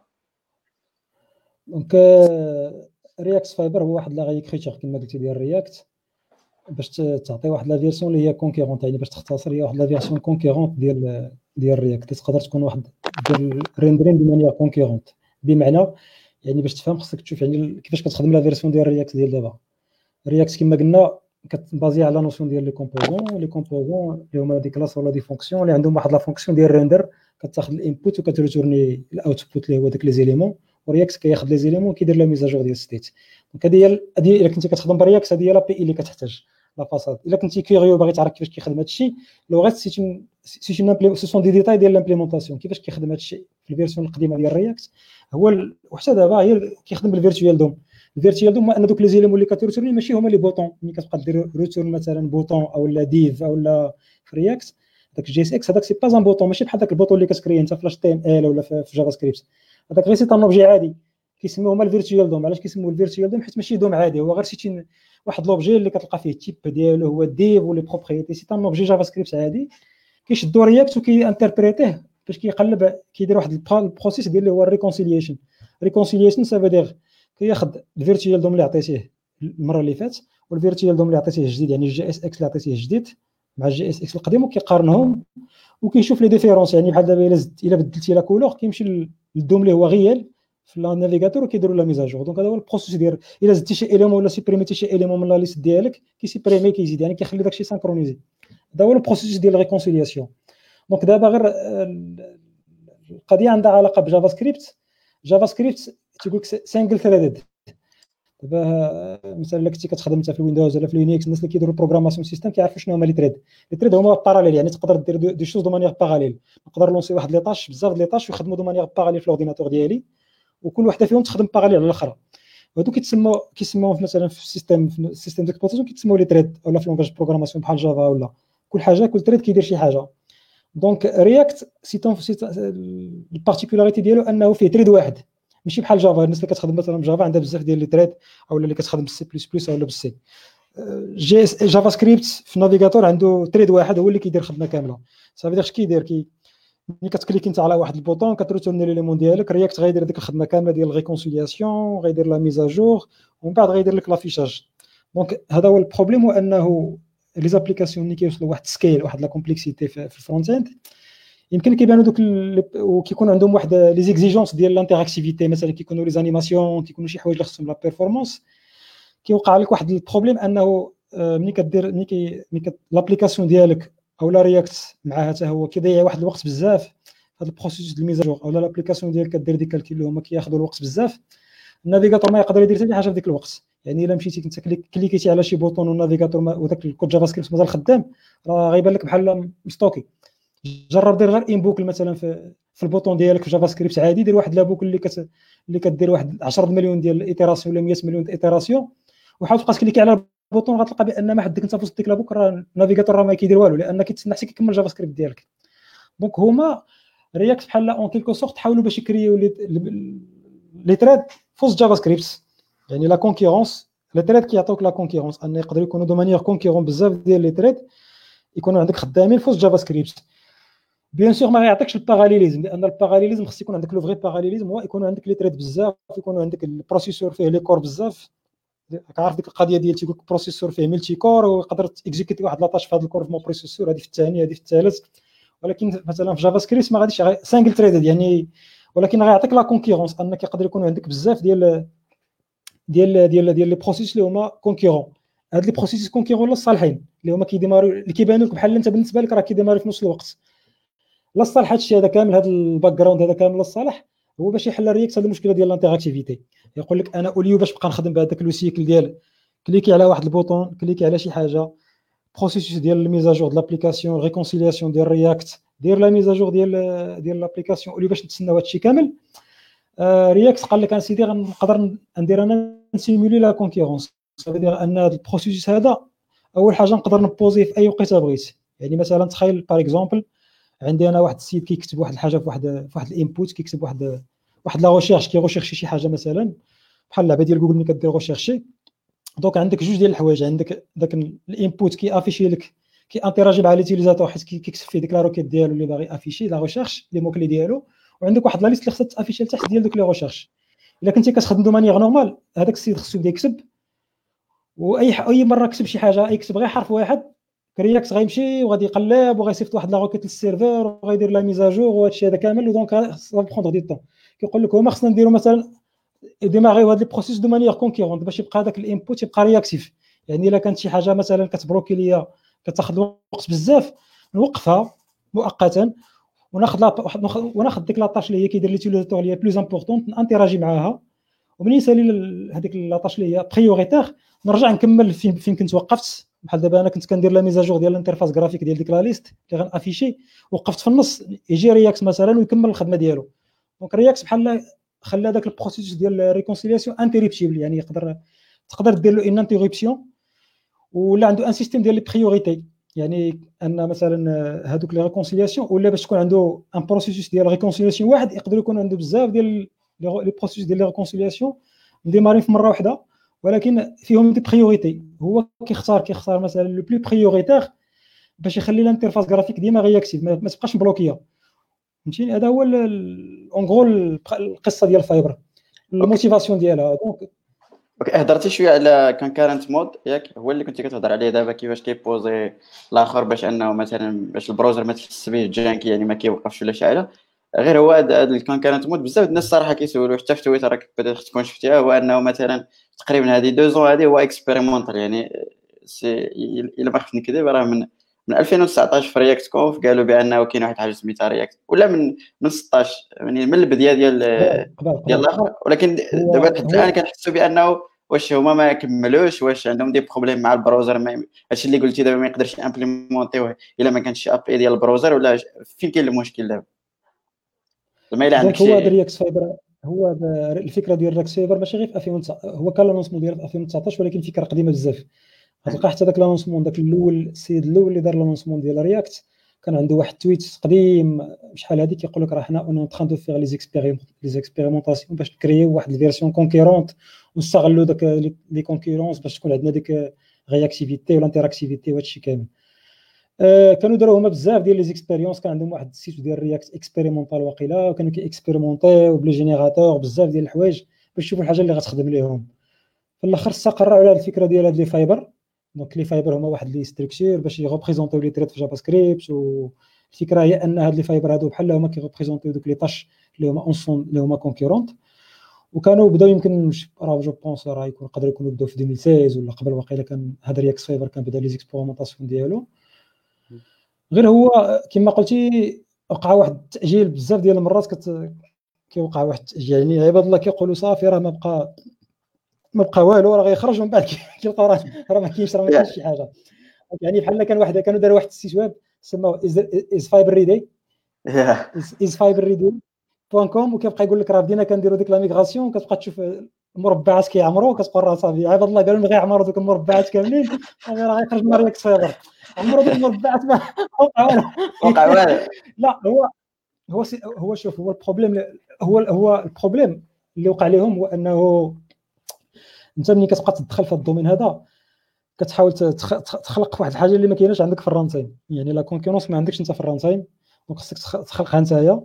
دونك رياكت فايبر هو واحد لا غيكريتور كما قلتي ديال رياكت باش تعطي واحد لا فيرسيون اللي هي كونكيرونت، يعني باش تختصر هي واحد لا فيرسيون كونكيرونت ديال رياكت. تقدر تكون واحد ديال ريندرين دو مانيير كونكيرونت، بمعنى يعني باش تفهم خصك تشوف يعني كيفاش كتخدم لا فيرسيون ديال رياكت ديال دابا. رياكت كما قلنا كتبازي على نوسيون ديال لي كومبوزون اللي هما دي كلاس ولا دي فونكسيون اللي عندهم واحد لا فونكسيون ديال ريندر، كتاخذ الانبوت وكتريتورني الاوتبوت اللي هو داك لي زيليمون، ورياكت كياخذ لي زيليمون كيدير لا ميزاجور ديال ستيت. دونك هذه الا كنتي كتخدم برياكت هذه هي لا بي اللي كتحتاج لا فاساد. الا كنتي كيوريو باغي تعرف كيفاش كيخدم هذا الشيء، لو غير سي سون دي ديتاي ديال لامبليمونطاسيون كيفاش كيخدم هذا الشيء في الفيرسيون القديمه ديال رياكت. هو وحتى دابا هي كيخدم بالفيرتوال دوم. الفيرتوال دوم ان دوك لي زيليمون اللي كتريتورني ماشي هما لي بوطون، ملي كتبقى دير ريتورن مثلا بوطون او لا ديف او لا في رياكت داك جي اس اكس هذاك سي با ان بوطون، ماشي بحال داك البوطون اللي كتكري انت في تي ام ال ولا في جافا سكريبت. هذاك غير سي ان اوبجي عادي كيسموه هما الفيرتوال دوم. علاش كيسموه الفيرتوال دوم؟ حيت ماشي دوم عادي، هو غير شي واحد لوبجي اللي كتلقى فيه التيب ديالو هو ديف ولي بروبريتي. سي ان اوبجي جافا سكريبت عادي كيشدو رياكت وكيانتربريتيه باش كيقلب كيدير واحد البروسيس ديال اللي هو الريكونسيليشن. ريكونسيليشن سافو دير كياخذ الفيرتوال دوم اللي عطيتيه المره اللي فاتت والفيرتوال دوم اللي عطيتيه الجديد، يعني الجي اس اكس اللي عطيتيه الجديد مع الجي اس اكس القديم، وكيقارنهم وكيشوف لي ديفيرونس. يعني بحال دابا الا بدلتي لا كولور كيمشي للدوم اللي هو غيال في النافيغاتور وكيديروا لا ميزاجور. دونك هذا هو البروسيس ديال الا زدتي شي اليمون ولا سيبريميتي شي اليمون من لا ليست ديالك كيسيبريمي كيزيد، يعني كيخلي داكشي سانكرونيزي. هذا هو البروسيس ديال الريكونسيلياسيون. دونك دابا غير القضيه عندها علاقه بجافا سكريبت. جافا سكريبت تيقول لك سينجل ثريدد. دابا مثلا الا كنتي كتخدم انت في الويندوز ولا في لينكس، الناس اللي كيديروا بروغراماسيون سيستم كيعرفوا شنو هما لي تريد. لي تريد هما باراليل، يعني تقدر دير دي شوز دو مانيير باراليل. نقدر لونسي واحد لي طاش بزاف لي طاش ويخدموا دو مانيير باراليل في الاورديناتور ديالي، وكل وحده فيهم تخدم باراليل على الاخرى. وهادو كيتسموا مثلا في السيستم ديكسبلوطاسيون كيتسموا لي تريد، ولا في لونغاج بروغراماسيون بحال جافا ولا كل حاجه كل تريد كيدير شي حاجه. دونك رياكت البارتيكولاريتي ديالو انه فيه تريد واحد، ماشي بحال جافا. الناس اللي كتخدم مثلا بجافا عندها بزاف ديال لي تريد، او اللي كتخدم بالسي بلس بلس ولا بالسي. جافا سكريبت في النافيغاتور عنده تريد واحد هو اللي كيدير خدمه كامله. صافي داكشي كيدير ملي كتكليك انت على واحد البوطون كتريتورني ليليمون ديالك، رياكت غيدير ديك الخدمه كامله ديال الريكونسيلياسيون، غيدير لا ميزاجور، ومن بعد غيدير لك لافيشاج. دونك هذا هو البروبليم، هو انه لي زابليكاسيون اللي كيوصلوا واحد سكيل واحد لا كومبلكسيتي في الفرونت اند يمكن كيبانوا دوك وكيكون عندهم واحد لي زيكزيجونس ديال الانتراكتيفيتي. مثلا كيكونوا لي زانيماسيون، كيكونوا شي حوايج اللي خصهم لا بيرفورمانس. كيوقع لك واحد البروبليم انه ملي كدير لابليكاسيون ديالك او لا رياكت معها حتى هو كيضيع واحد الوقت بزاف هذا البروسيس ديال الميزاجور، او لابليكاسيون ديالك كدير ديك الكالكول اللي هما كياخذوا الوقت بزاف. النافيغاتور ما يقدر يدير حتى حاجه في ديك الوقت. يعني الا مشيتي كنت كليكيتي على شي بوطون والنافيغاتور وداك الكود جافا سكريبت مازال خدام، راه غيبان لك بحال مستوكي. جرب دير غير انبوكل مثلا في البوطون ديالك في جافا سكريبت عادي، دير واحد لابوكل اللي كدير واحد 10 مليون ديال الايتيراسيون ولا 100 مليون ديال الايتيراسيون، وحاول تبقى تكليكي على البوطون غتلقى بان ما حدك انت في وسط ديك لابوك راه النافيغاتور راه ما كيدير والو، لان كيتسنى حتى كيكمل جافا سكريبت ديالك. دونك هما رياكت بحال اون كيلكو سورت حاولوا باش يكريو لي تريد فوز جافا سكريبت، يعني لا كونكورونس. لي تريد كيعطيوك لا كونكورونس ان يقدروا يكونوا دو مانيير كونكورون بزاف ديال لي تريد يكونوا عندك خدامين فوز جافا سكريبت. بيان سور ما غيعطيكش الباراليليزم، لان الباراليليزم خص يكون عندك لو فري باراليليزم، هو يكون عندك لي تريد بزاف، يكون عندك البروسيسور فيه لي كور بزاف. كعرف ديك القضيه ديال تيقول لك البروسيسور فيه ملتي كور ويقدر تيكزيكوتي واحد لاطاش في هذا الكور في مو بروسيسور، هذه في الثاني هذه في الثالث. ولكن مثلا في جافا سكريبت ما غاديش سانجل تريد يعني، ولكن غيعطيك لا كونكورونس انك يقدر يكون عندك بزاف ديال لي بروسيس اللي هما كونكورون. هاد لي بروسيس كونكورون لا صالحين اللي هما كيديماريو اللي كيبانوا لك بحال انت بالنسبه لك راه كيديماريو في نفس الوقت. لا صالح هادشي هذا كامل، هذا الباك جراوند هذا كامل الصالح هو باش يحل رياكت هذه المشكله ديال الانتراكتيفيتي. يقول لك انا اوليو باش نبقى نخدم بهذاك لو سيكل ديال كليكي على واحد البوطون، كليكي على شي حاجه، بروسيس ديال الميزاجور د لابليكاسيون، ريكونسيلياسيون ديال رياكت، دير لا ميزاجور ديال لابليكاسيون، اوليو باش نتسناو هادشي كامل. رياكت قال لك سيدي غنقدر ندير انا نسيمولي لا كونكورونس. صافي دير ان هذا البروسيس هذا اول حاجه نقدر نبوزي في اي وقيته بغيت. يعني مثلا تخيل باغ اكزومبل عندي انا واحد السيت كيكتب واحد الحاجه في واحد الانبوت، كيكتب واحد لا ريشيرش كيغوشيرشي شي حاجه مثلا بحال اللعبه ديال جوجل ملي كدير ريشيرشي. دونك عندك جوج ديال الحوايج، عندك داك الانبوت كيافيشي لك كي انتراجي مع ليتيليزاتور حيت كيكتب فيه ديك لا روكيت ديالو اللي باغي افيشي لا ريشيرش لي موكلي ديالو، وعندك واحد لا ليست اللي خصها تافيشي لتحت ديال دوك لي ريشيرش. الا كنتي كتخدم دو مانيير نورمال هذاك السيد خصو يبدا يكتب، واي مره كتب شي حاجه يكتب غير حرف واحد كرياكت غيمشي وغادي يقلب وغيصيفط واحد لا روكيت للسيرفر وغيدير لا ميزاجور وهادشي هذا كامل. ودونك سا بروندر دي طون. كيقول لك هما خصنا نديرو مثلا ديماغيو هاد لي بروسيس دو مانيير كونكيرونت باش يبقى هذاك الانبوت يبقى رياكتيف. يعني الا كانت شي حاجه مثلا كتبروكي ليا كتاخذ وقت بزاف نوقفها مؤقتا وناخذ ديك لاطاش اللي هي كيدير ليتيليزاتور اللي هي بلوز امبورطونت نانتيراجي معاها، ومنين يسالي هذيك لاطاش اللي هي بريوريتير نرجع نكمل فين كنت وقفت. بحال دابا انا كنت كندير لا ميزاجور ديال الانترفاس غرافيك ديال ديك لا ليست اللي غنافيشي، وقفت في النص يجي رياكس مثلا ويكمل الخدمه ديالو. دونك رياكس بحال خلى داك البروسيس ديال الريكونسيلياسيون انتريبتيبل، يعني تقدر دير له ان انتربسيون، ولا عنده ان سيستيم ديال لي بريوريتي. يعني ان مثلا هذوك لي ريكونسيلياسيون ولا باش تكون عنده ان بروسيس ديال ريكونسيلياسيون واحد يقدر يكون عنده بزاف ديال لي بروسيس ديال لي ريكونسيلياسيون مديمارين في مره واحده، ولكن فيهم دي بريوريتي. هو كيختار مثلا لو بلو بريوريتير باش يخلي الانترفاس غرافيك ديما رياكتيف ما تبقاش مبلوكيه. فهمتيني؟ هذا هو اون غرو القصه ديال الفايبر، الموتيفاسيون ديالها. دونك اوكي، هضرتي شويه على كونكارنت مود ياك، هو اللي كنتي كتهضر عليه دابا كيفاش كيبوزي الاخر باش انه مثلا باش البروزر ما تحس به جانكي يعني ما كيوقفش ولا شي حاجه. غير هو هذا الكونكارنت مود بزاف الناس صراحه كيسولوا حتى في تويتر راك بدات تكون شفتيها، هو انه مثلا تقريبا هذه 2 زون هذه هو اكسبيريمونتال. يعني الا ما خفت نكذب راه من 2019 في رياكت كونف قالوا بانه كاين واحد حاجه سميتها رياكت، ولا من 16 يعني من البدايه ديال الاخر. ولكن دابا حتى الان كنحسوا بانه واش هما ما كملوش، واش عندهم دي بروبليم مع البراوزر، هادشي اللي قلتي دابا ما يقدرش امبليمونطيوه الا ما كانش اب اي ديال البراوزر، ولا فين كاين المشكل دابا زعما الا عندك شي. هو رياكس فايبر، هو الفكره ديال رياكس فايبر ماشي غير في 2019، هو كان لانونسمون ديال 2019 ولكن فكره قديمه بزاف. غتلقى حتى داك لانونسمون داك الاول السيد الاول اللي دار لانونسمون ديال رياكت كان عنده واحد تويت قديم شحال هذه كيقول لك راه حنا اون تران دو فيغ لي اكسبيريمونطاسيون باش نكريو واحد الفيرسيون كونكيرونت ونستغلوا داك لي كونكورونس باش تكون عندنا ديك رياكتيفيتي ولا انتراكتيفيتي وهادشي كامل. كانوا داروا هما بزاف ديال لي زيكسبيريونس، كان عندهم واحد السيت ديال رياكت اكسبيريمونطال واقيلا، وكانوا كيكسبيريمونطيو بلي جينيراتور بزاف ديال الحوايج باش يشوفوا الحاجه اللي غتخدم ليهم. في الاخر استقروا على الفكره ديال هاد لي فايبر. دونك لي فايبر هما واحد لي ستركتور باش يغوبريزونطيو لي تريت في جافا سكريبت، والفكره هي ان هاد لي فايبر هادو بحال هما كيغوبريزونطيو دوك لي طاش اللي هما اونسون اللي هما كونكورونت. وكانوا بداو يمكن راه جو بونس راه يقدروا يكونوا بداو في 2016 ولا قبل، واقيلا كان هذا رياكس فايبر كان بدا لي زيكسبيريمونطاسيون ديالو. غير هو كما قلتي وقع واحد التاجيل بزاف ديال المرات كيوقع واحد التاجيل. يعني عباد الله كيقولوا صافي راه ما بقى والو راه غيخرج، من بعد كيلقاو راه ما كاينش شي حاجه. يعني بحال كانوا داروا واحد السيت ويب سموه از فايبر ريدي از فايبر ريدي .com، وكيبقى يقول لك راه بدينا كنديروا ديك لا ميغراسيون، كتبقى تشوف المربعات كيعمروا، كتقول راه صافي عباد الله قالوا لنا غيعمروا دوك المربعات كاملين، راه غيخرج من رياكس فايبر عمروا دوك المربعات ما وقع والو. لا هو شوف، هو البروبليم هو البروبليم اللي وقع لهم هو انه انت ملي كتبقى تدخل في الدومين هذا كتحاول تخلق واحد الحاجه اللي ما كايناش عندك في الرانتايم. يعني لا كونكورونس ما عندكش انت في الرانتايم، دونك خصك تخلقها نتايا.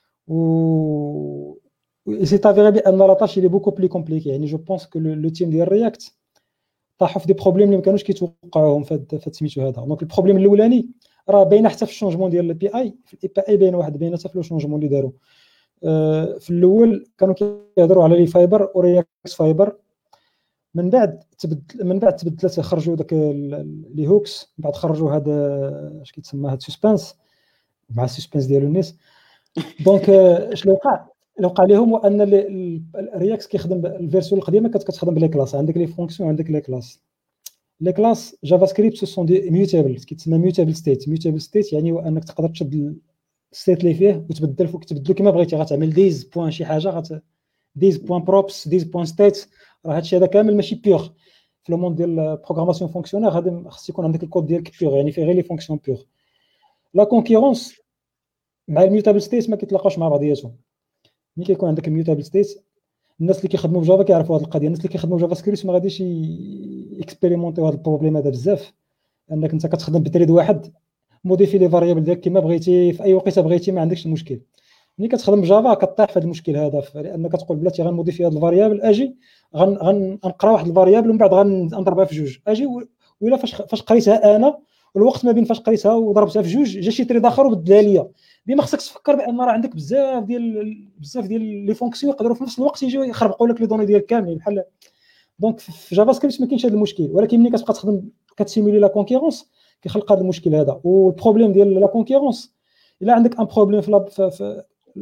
و سي تافيري بان لا طاش اللي بوكو بلي كومبليكي. يعني جو بونس كو لو تيم ديال رياكت طاحوا في دي بروبليم اللي ما كانوش كيتوقعوهم في سميتو هذا. دونك البروبليم الاولاني راه باينه حتى في الشونجمون ديال البي اي، في الاي بي اي باينه حتى في لو شونجمون اللي داروا. في الاول كانوا كيهضروا على لي فايبر ورياكس فايبر، من بعد تبدلت خرجوا داك لي هوكس، من بعد خرجوا هذا اش كيتسمى هذا سسبانس مع السسبانس ديالو الناس. دونك اش اللي وقع لهم هو ان الرياكس كيخدم الفيرسيون القديمه كتخدم بلي كلاس، عندك لي فونكسيون عندك لي كلاس جافا سكريبت سو دي ميوتابل، كيتسمى ميوتابل ستيت يعني هو انك تقدر تشد الستيت اللي فيه وتبدل فوق تبدلو كما بغيتي. غتعمل ديز بوين شي حاجه ديز بوين بروبس ديز بوين ستيت، راه هادشي هذا كامل ماشي بيور. في لو مون ديال البروغراماسيون فونكسيونير هذا خص يكون عندك الكود ديالك بيور، يعني فيه غير لي فونكسيون بيور. لا كونكورونس مع الميوتابل ستيت ما كيتلاقاوش مع بعضياتهم. ملي كيكون عندك الميوتابل ستيت الناس اللي كيخدموا في جافا كيعرفوا هذه القضيه، الناس اللي كيخدموا في جافا سكريبت ما غاديش اكسبيريمونطيو هذا البروبليم هذا بزاف، انك انت كتخدم بتريد واحد موديفي لي فاريابل ديالك كما بغيتي في اي وقيته بغيتي، ما عندكش المشكل. ملي كتخدم بجافا كطيح في هذا المشكل هذا، لانك كتقول بلاتي غنموديفي هذا الفاريابل، اجي غنقرا واحد الفاريابل ومن بعد غنضربها في جوج، اجي ولا فاش قريتها انا الوقت ما بين فاش قريتها وضربتها في جوج جا شي تريد اخر وبدلها ليا. ديما خصك تفكر بان راه عندك بزاف ديال لي فونكسيون يقدروا في نفس الوقت يجيو يخربقوا لك لي دوني ديالك كاملين بحال. دونك في جافا سكريبت ما كاينش هذا المشكل، ولكن ملي كتبقى تخدم كتسيمولي لا كونكيرونس كيخلق هذا المشكل هذا. والبروبليم ديال لا كونكيرونس الا عندك ان بروبليم في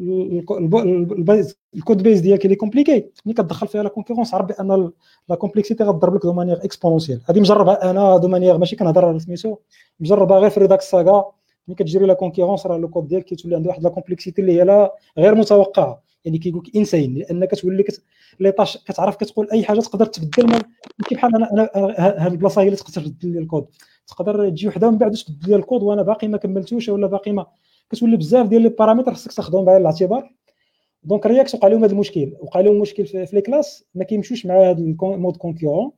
الكود بيز ديالك اللي كومبليكي، ملي كتدخل فيها لا كونكيرونس عرف بان لا كومبلكسيتي غتضرب لك دو مانيير اكسبونونسيال. هذه مجربها انا دو مانيير، ماشي كنهضر على سميتو، مجربها غير في ريداكس ساغا. ملي كتجري لا كونكيرونس راه لو كود ديالك كيتولي عنده واحد لا كومبلكسيتي اللي هي لا غير متوقعه، يعني كيقول لك انسين، لان كتولي لي طاش كتعرف كتقول اي حاجه تقدر تبدل. ماشي بحال انا هاد البلاصه هي اللي تقدر تبدل لي الكود، تقدر تجي وحده ومن بعد تبدل لي الكود وانا باقي ما كملتوش ولا باقي ما كتولي بزاف ديال لي بارامتر خصك تاخذهم بعين الاعتبار. دونك رياكت وقع لهم هذا المشكل، وقع لهم مشكل في لي كلاس ما كيمشوش مع هذا المود كونكورون.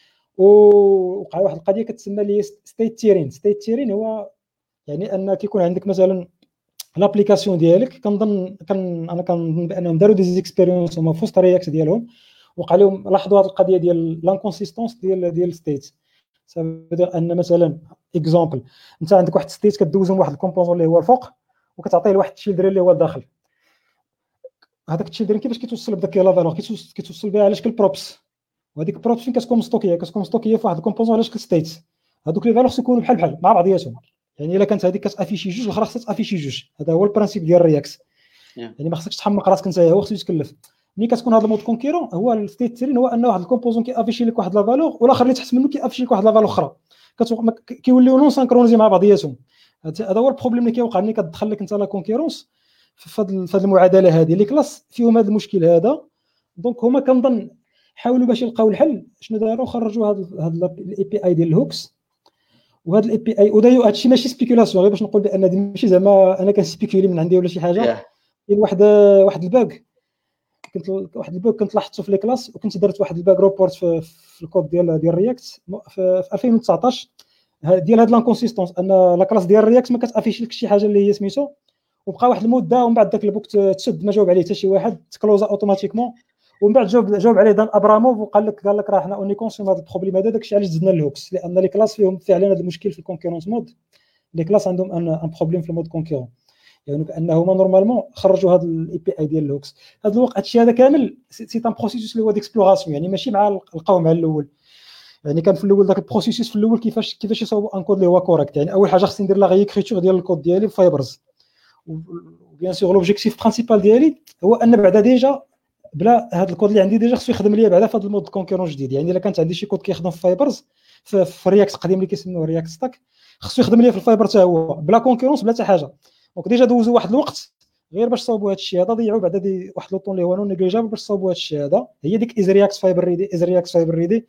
ووقع واحد القضيه كتسمى لي ستيت تيرين. ستيت تيرين هو يعني ان كيكون عندك مثلا لابليكاسيون ديالك، انا كنظن بانهم داروا دي زيكسبيريونس هما في وسط رياكت ديالهم، وقع لهم لاحظوا هذه القضيه ديال لانكونسيستونس ديال ستيت. سبب ان مثلا اكزامبل انت عندك واحد ستيت كدوزهم واحد الكومبوزون اللي هو الفوق وكتعطيه لواحد التشيلدرين اللي هو الداخل. هذاك التشيلدرين كيفاش كيتوصل بداك لا فالور؟ كيتوصل بها على شكل بروبس، وهذيك البروبس فين كتكون مستوكيه في واحد الكومبوزون على شكل ستيت. هذوك لي فالور يكونوا بحال مع بعضياتهم، يعني الا كانت هذيك كتافيشي جوج الاخرى خصها تافيشي جوج. هذا هو البرانسيب ديال الرياكس. يعني ما خصكش تحمق راسك انت، هو خصو يتكلف. ملي كتكون هذا المود كونكيرون هو الستيت تيرين هو ان واحد الكومبوزون كيافيشي لك واحد لا فالور والاخر اللي تحت منه كيافيشي لك واحد لا فالور اخرى، كيوليو نون سانكرونيزي مع بعضياتهم. هذا هو البروبليم اللي كيوقع ملي كتدخل لك انت لا كونكيرونس في هذه المعادله هذه. لي كلاس فيهم هذا المشكل هذا. دونك هما كنظن حاولوا باش يلقاو الحل. شنو داروا؟ خرجوا هذا الاي بي اي ديال الهوكس، وهذا الاي بي اي ودايو هادشي ماشي سبيكولاسيون غير باش نقول بان هذه ماشي زعما انا كنسبيكولي من عندي ولا شي حاجه. كاين واحد الباغ كنت لاحظته في لي كلاس، وكنت درت واحد الباغ روبورت في الكود ديال رياكت في 2019 ديال هاد لانكونسيستونس، ان لا كلاس ديال رياكت ما كتافيش لك شي حاجه اللي هي سميتو، وبقى واحد المده ومن بعد داك البوك تسد ما جاوب عليه حتى شي واحد، تكلوزا اوتوماتيكمون. ومن بعد جاوب عليه دان ابراموف وقال لك راه حنا اوني كونسيوم هذا البروبليم هذا. داكشي علاش زدنا الهوكس، لان لي كلاس فيهم فعلا هذا المشكل في الكونكورونس مود. لي كلاس عندهم ان بروبليم في المود كونكورون، يعني بانه هما نورمالمون خرجوا هذا الاي بي اي ديال الهوكس. هذا الوقت هادشي هذا كامل سي ان بروسيسوس اللي هو ديكسبلوراسيون، يعني ماشي مع لقاو مع الاول. يعني كان في الاول داك البروسيسوس في الاول كيفاش يصاوبوا ان كود اللي هو كوريكت. يعني اول حاجه خصني ندير لا ريكريتور ديال الكود ديالي في فايبرز، وبيان سور لوبجيكتيف برينسيبال ديالي هو ان بعدا ديجا بلا هذا الكود اللي عندي ديجا خصو يخدم ليا بعدا في هذا المود كونكورون جديد. يعني الا كانت عندي شي كود كيخدم في فايبرز في رياكت قديم اللي كيسموه رياكت ستاك، خصو يخدم ليا في الفايبر حتى هو بلا كونكورونس بلا حتى حاجه. دونك ديجا دوزوا واحد الوقت غير باش صاوبوا هذا الشيء هذا، ضيعوا بعدا واحد لو طون اللي هو نون نيجليجابل باش صاوبوا هذا الشيء هذا. هي ديك از رياكت فايبر ريدي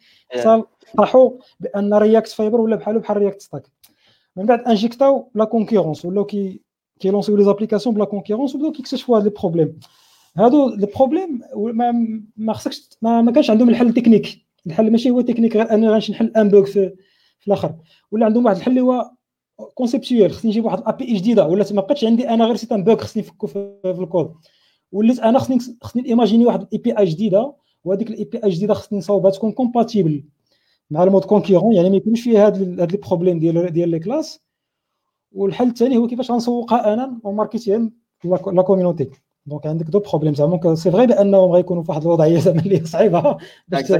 طاحوا بان رياكت فايبر ولا بحال رياكت ستاك. من بعد انجيكتاو لا كونكورونس ولاو كيلونسيو لي زابليكاسيون بلا كونكورونس وبداو كيكتشفوا هاد لي بروبليم. هادو لي بروبليم ما خصكش ما كانش عندهم الحل تكنيك. الحل ماشي هو تكنيك غير انا غنمشي نحل ان بوغ في الاخر، ولا عندهم واحد الحل اللي هو كونسيبتويال. خصني نجيب واحد الابي اي جديده، ولا ما بقاتش عندي انا غير سيت ان بوغ خصني نفكو في الكود، وليت انا خصني ايماجيني واحد الاي بي اي جديده، وهذيك الاي بي اي جديده خصني نصاوبها تكون كومباتيبل مع المود كونكورون، يعني ما يكونش فيها هاد لي بروبليم ديال لي كلاس. والحل الثاني هو كيفاش غنسوقها انا وماركتيها لا كوميونيتي. دونك عندك دو بروبليم زعما سي فغي بانهم غيكونوا في واحد الوضعيه زعما اللي صعيبه باش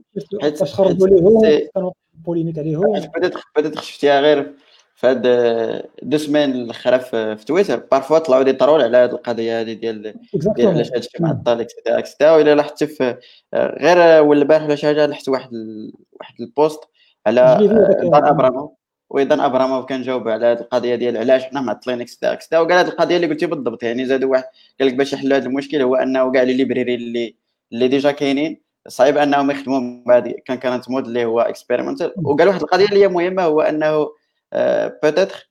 خرجوا ليه كانوا بوليميك عليهم. بدات شفتيها غير في هاد 2 سيمين الاخرى في تويتر بارفوا طلعوا دي طرول على هاد القضيه هذه ديال علاش هادشي معطل اكسيتيرا. ولا لاحظت في غير ولا البارح ولا شي حاجه لاحظت واحد البوست على دان ابراموف، وايضا ابراموف كان جاوب على هذه القضيه ديال علاش حنا معطلين اكسيتيرا. وقال هذه القضيه اللي قلتي بالضبط. يعني زادوا واحد قال لك باش يحلوا هذا المشكل هو انه كاع لي ليبريري اللي ديجا كاينين صعيب انهم يخدموا بعد كانت مود اللي هو اكسبيريمنتال. وقال واحد القضيه اللي هي مهمه هو انه بوتيتر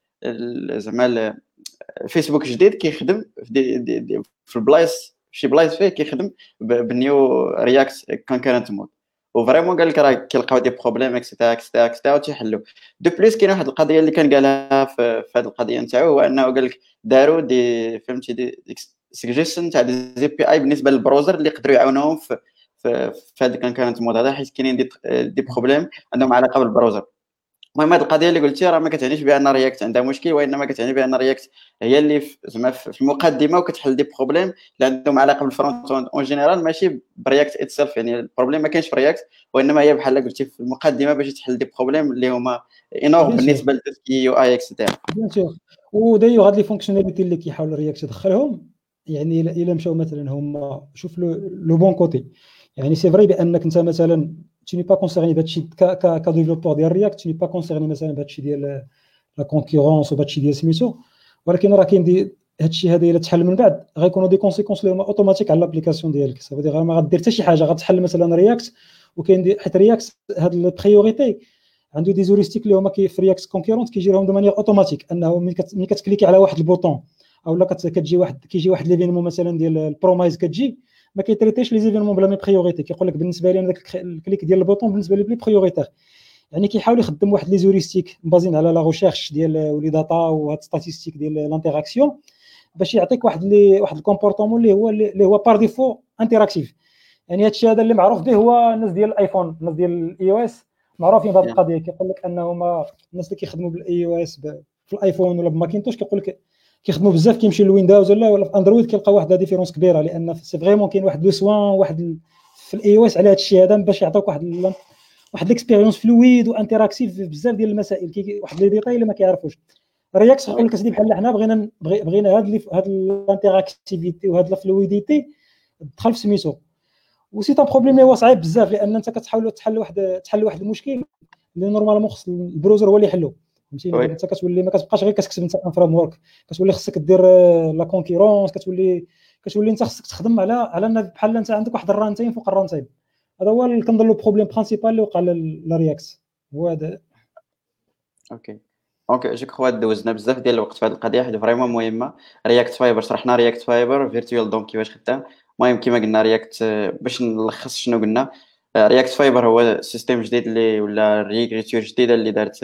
زعما الفيسبوك جديد كيخدم في البلايص شي بلايص فيه كيخدم بالنيو رياكت كونكورنت مود. وفريمون قال لك راه كيلقاو دي بروبليم اكسيتيرا اكسيتيرا اكسيتيرا وتيحلوا. دو بليس كاين واحد القضيه اللي كان قالها في هذه القضيه نتاعو، هو انه قال لك داروا دي فهمتي دي سجيشن تاع دي زي بي اي بالنسبه للبروزر اللي يقدروا يعاونوهم في هذيك كانت الموضوع هذا، حيت كاينين دي بروبليم عندهم علاقه بالبروزر. المهم هذه القضيه اللي قلتي راه ما كتعنيش بان رياكت عندها مشكل، وانما كتعني بان رياكت هي اللي زعما في المقدمه وكتحل دي بروبليم اللي عندهم علاقه بالفرونت اون جينيرال، ماشي برياكت اتسيلف. يعني البروبليم ما كاينش في رياكت، وانما هي بحال قلتي في المقدمه باش تحل دي بروبليم اللي هما انورم بالنسبه للتسكي يو اي اكسيتيرا. بيان سور. ودايوغ هاد لي فونكسيوناليتي اللي كيحاول رياكت يدخلهم، يعني الا مشاو مثلا هما شوف لو بون كوتي، يعني سي فري بانك انت مثلا tu n'es pas concerné بهادشي ك ديفلوبور ديال رياكت، tu n'es pas concerné مثلا بهادشي ديال لا كونكورونس وبهادشي ديال سميتو، ولكن راه كاين هادشي هذا الا تحل من بعد غيكونوا دي كونسيكونس اللي هما اوتوماتيك على لابليكاسيون ديالك. صافي دير ما غدير حتى شي حاجه، غتحل مثلا رياكت وكاين حيت رياكت هاد البريوريتي عنده دي زوريستيك اللي هما في رياكت كونكورونت كيجي لهم دو مانيير اوتوماتيك، انه ملي كتكليكي على واحد البوطون او لا كيجي واحد ليفينمون مثلا ديال البرومايز كتجي ما كيتريتيش لي زيفينمون بلا مي بريوريتي، كيقول لك بالنسبه لي انا داك الكليك ديال البوطون بالنسبه لي بلي بريوريتير. يعني كيحاول يخدم واحد لي زوريستيك بازين على لا ريشيرش ديال ولي داتا وهاد ستاتيستيك ديال لانتيراكسيون باش يعطيك واحد الكومبورطمون اللي هو بار ديفو انتراكتيف. يعني هادشي هذا اللي معروف به هو الناس ديال الايفون، الناس ديال الاي او اس معروفين بهذه القضيه. كيقول لك انهما الناس اللي كيخدموا بالاي او اس في الايفون ولا بماكينتوش كيقول لك كيخدموا بزاف كيمشي للويندوز ولا في اندرويد كيلقى واحد ديفيرونس كبيره، لان سي فريمون كاين واحد لو سوان واحد في الاي او اس على هذا الشيء هذا باش يعطيوك واحد الاكسبيريونس فلويد وانتراكتيف بزاف ديال المسائل، واحد لي ديتاي اللي ما كيعرفوش. رياكت يقول لك اسيدي بحال حنا بغينا هاد الانتراكتيفيتي وهاد الفلويديتي تدخل في سميتو، وسي تا بروبليم هو صعيب بزاف، لان انت كتحاول تحل واحد المشكل اللي نورمالمون خص البروزر هو اللي يحلو. فهمتيني؟ انت كتولي ما كتبقاش غير كتكتب انت ان فريم ورك، كتولي خصك دير لا كونكورونس، كتولي انت خصك تخدم على ان بحال انت عندك واحد الرانتين فوق الرانتين. هذا هو اللي كنظن لو بروبليم برينسيبال اللي وقع للرياكت هو هذا. اوكي جو كخوا دوزنا بزاف ديال الوقت في هذه القضيه، حيت فريمون مهمه. رياكت فايبر شرحنا رياكت فايبر فيرتوال دوم كيفاش خدام. المهم كما قلنا رياكت باش نلخص شنو قلنا، رياكت فايبر هو سيستم جديد اللي ولا ريغريتور جديده اللي دارت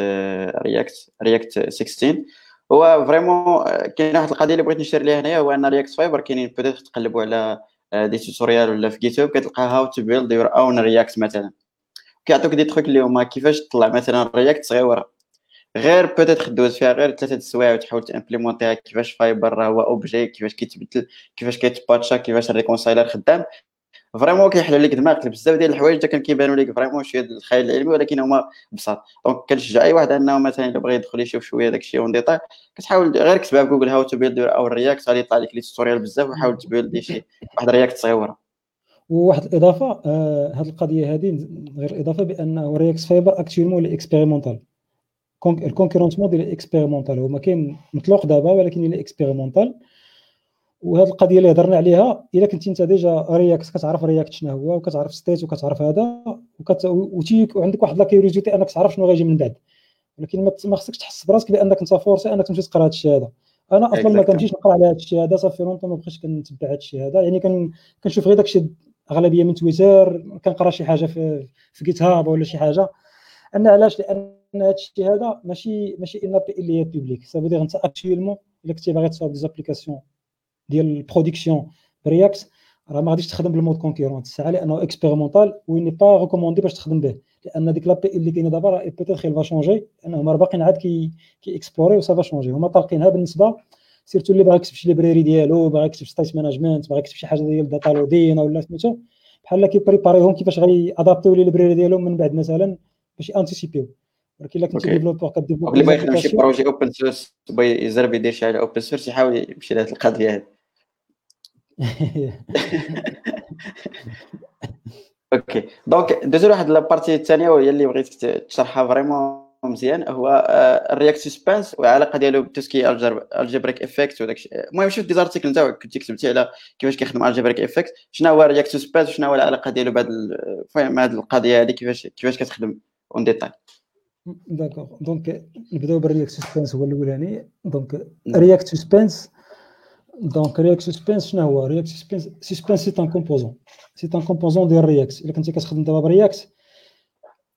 رياكت 16. هو فريمون كاين واحد القضيه اللي بغيت نشير ليها هنايا، هو ان رياكت فايبر كاينين بوتيت تقلبوا على دي توتوريال ولا في جيت هاب كتلقى هاو تو بيلد يور اون رياكت مثلا، كيعطوك دي تروك اللي هما كيفاش تطلع مثلا رياكت صغيره غير بوتيت دوز فيها غير 3 السوايع وتحاول تامبليمونتيها. كيفاش فايبر هو اوبجي، كيفاش كيتبدل، كيفاش كيتباتشا، كيفاش الريكونسايلر خدام. فريمون كيحل لك دماغك بزاف ديال الحوايج حتى كان كيبانوا لك فريمون شويه ديال الخيال العلمي، ولكن هما بساط. دونك كنشجع اي واحد انه مثلا الا بغى يدخل يشوف شويه داكشي اون ديتاي، كتحاول غير كتبها في جوجل هاو تو بيلد او رياكت، غادي يطلع لك لي توتوريال بزاف، وحاول تبيلد شي واحد رياكت صغيره. وواحد الاضافه هذه القضيه هذه غير الاضافه بانه رياكت فايبر اكتويلمون لي اكسبيريمونتال، الكونكورونس مود اللي اكسبيريمونتال هو ما كاين مطلوق دابا ولكن اللي اكسبيريمونتال. وهذه القضيه اللي هضرنا عليها الا كنتي انت ديجا رياكت كتعرف رياكت شنو هو وكتعرف ستيت وكتعرف هذا وعندك واحد لا كيوريوزيتي انك تعرف شنو غيجي من بعد، ولكن ما خصكش تحس براسك بانك انت فورسي انك تمشي تقرا هذا الشيء هذا. انا اصلا ما كنمشيش نقرا على هذا الشيء هذا، صافي لونطون ما بقيتش كنتبع هذا الشيء هذا. يعني كنشوف غير داكشي اغلبيه من تويتر، كنقرا شي حاجه في جيت هاب ولا شي حاجه. انا علاش؟ لان هذا الشيء هذا ماشي ان ابي اللي هي بوبليك. سا فودير انت اكطويلمون الا كنتي باغي تصاوب دي زابليكاسيون ديال البرودكسيون برياكت راه ما غاديش تخدم بالمود كونكورونت الساعه، لانه اكسبيريمونتال وي ني با ريكوموندي باش تخدم به، لان ديك لابي اللي كاينه دابا راه بيتيت خير فا شونجي، لانهم راه باقيين عاد كي اكسبلوري وسا فا شونجي. هما طالقينها بالنسبه سيرتو اللي باغي يكتب شي ليبراري ديالو، باغي يكتب ستيت مانجمنت، باغي يكتب شي حاجه ديال داتا لودين ولا سميتو بحال كيبريباريهم كيفاش غادي ادابتيو لي ليبراري ديالهم من بعد مثلا باش انتيسيبيو. ولكن الا كنتي ديفلوبور كديفلوب اللي باغي يخدم شي بروجي اوبن سورس باغي يجرب يدير شي حاجه اوبن سورس يحاول يمشي لهاد القضيه هذه. اوكي دونك دوزو واحد لابارتي الثانيه وهي اللي بغيتك تشرحها فريمون مزيان، هو الرياكت سسبانس والعلاقه ديالو بالتسكي الجبريك افكت وداكشي. المهم شفت دي زارتيكل نتاعك كنتي كتبتي على كيفاش كيخدم الجبريك افكت، شنو هو الرياكت سسبانس وشنو هو العلاقه ديالو بهذا المهم هذه القضيه هذه كيفاش كتخدم اون ديتاي. داكوغ دونك نبداو بالرياكت سسبانس هو الاولاني. دونك رياكت سسبانس شنو هو؟ رياكت سسبانس سي ان كومبوزون ديال رياكت. الا كنتي كتخدم دابا برياكت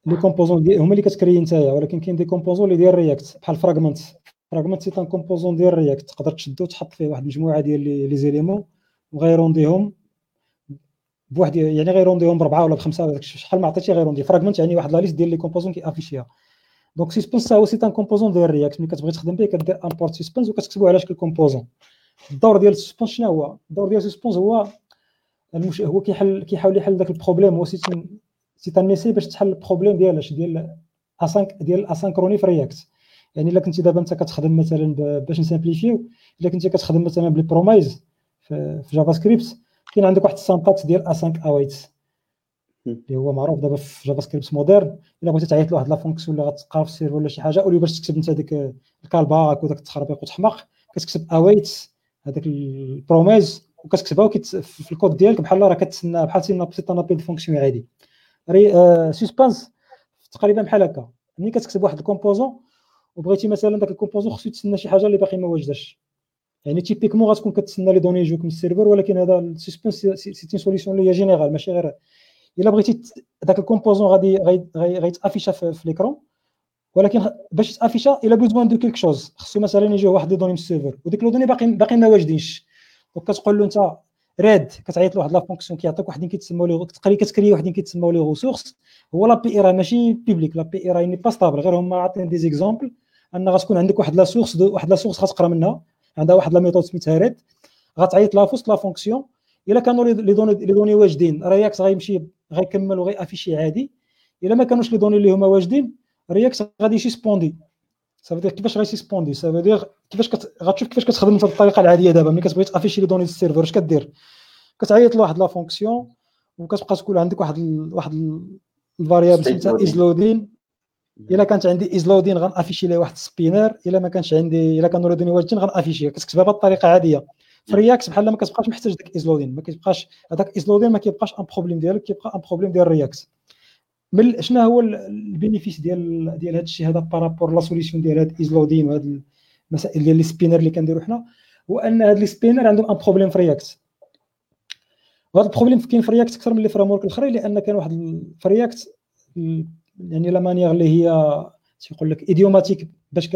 لي كومبوزون ديال هما اللي كتكري نتايا، ولكن كاين دي كومبوزون اللي ديال رياكت بحال فراغمنت سي ان كومبوزون ديال رياكت، تقدر تشدو وتحط فيه واحد المجموعه ديال لي زيليمون وغيرونديهم بواحد، يعني غيرونديهم بربعه ولا بخمسه ولا شحال ما عطيتي غيروندي. فراغمنت يعني واحد لا ليست ديال لي كومبوزون كيافيشيها. دونك سسبنس هو سي ان كومبوزون ديال رياكت. ملي كتبغي تخدم به كدير امبورت سسبنس وكتكتبوا على شكل كومبوزون. الدور ديال السسبنس شنو هو؟ الدور ديال السسبنس هو هو كيحاول يحل داك البروبليم. هو سي ان ميسي باش تحل البروبليم ديال اسانكروني في رياكت. يعني الا كنتي دابا انت كتخدم مثلا باش نسامبليفيو، الا كنتي كتخدم مثلا بلي برومايز في جافا سكريبت، كاين عندك واحد السانتاكس ديال اسانك اويت اللي هو معروف دابا في جافا سكريبت مودرن. الا بغيتي تعيط لواحد لا فونكسيون اللي غتلقاها في السيرفر ولا شي حاجه، اولي باش تكتب انت ديك الكالباك وداك التخربيق وتحمق، كتكتب اويت هذاك البروميز وكتكتبها في الكود ديالك بحال راه كتسنى بحال سي نابيل فونكسيون عادي. سسبانس تقريبا بحال هكا. ملي كتكتب واحد الكومبوزون وبغيتي مثلا داك الكومبوزون خصو يتسنى شي حاجه اللي باقي ما واجداش، يعني تيبيكمون غتكون كتسنى لي دوني يجوك من السيرفر، ولكن هذا السسبانس سي تي سوليسيون اللي هي جينيرال ماشي غير الا بغيتي داك الكومبوزون غادي غيتافيشا في ليكرون، ولكن باش يتافيشا الا بوزوان دو كيلك شوز خصو مثلا يجيو واحد لي دوني من السيرفر وديك لو دوني باقي ما واجدينش. دونك كتقول له انت راد، كتعيط لواحد لا فونكسيون كيعطيك وحدين كيتسموا لي كتكري وحدين كيتسموا لي ريسورس. هو لا بي اي راه ماشي بيبليك، لا بي اي راه ني با ستابل، غير هما عاطين دي زيكزامبل ان غتكون عندك واحد لا سورس غتقرا منها، عندها واحد لا ميثود سميتها راد، غتعيط لها في وسط لا فونكسيون. الا كانوا لي دوني واجدين رياكت غيمشي غيكمل وغيافيشي عادي. الا ما كانوش لي دوني اللي هما واجدين رياكت غادي يسبوندي. صافي كيفاش غيسبوندي؟ صافي كيفاش غتشوف كيفاش كتخدم انت بالطريقه العاديه. دابا ملي كتبغي تافيشي لي دوني للسيرفر اش كدير؟ كتعيط لواحد لا فونكسيون وكتبقى تقول عندك واحد الفاريابل سميتها ازلودين. الا كانت عندي ازلودين غنافيشي ليه واحد سبينر، الا ما كانش عندي، الا كانوا لي دوني واجدين غنافيشي. كتكتبها بالطريقه عاديه في رياكت بحال ما كتبقاش محتاج داك ازلودين، ما كيبقاش هذاك ازلودين ما كيبقاش ان بروبليم ديالك، كيبقى ان بروبليم ديال رياكت. شنو هو البينيفيس ديال هذا الشيء هذا بارابور لا سوليسيون ديال هاد ازلودين وهاد المسائل ديال لي سبينر اللي كنديروا حنا؟ هو ان هاد لي سبينر عندهم ان بروبليم في رياكت. وهذا البروبليم كاين في رياكت اكثر من لي فريم ورك الاخرين، لان كان واحد في رياكت يعني لا مانيير اللي هي تيقول لك ايديوماتيك باش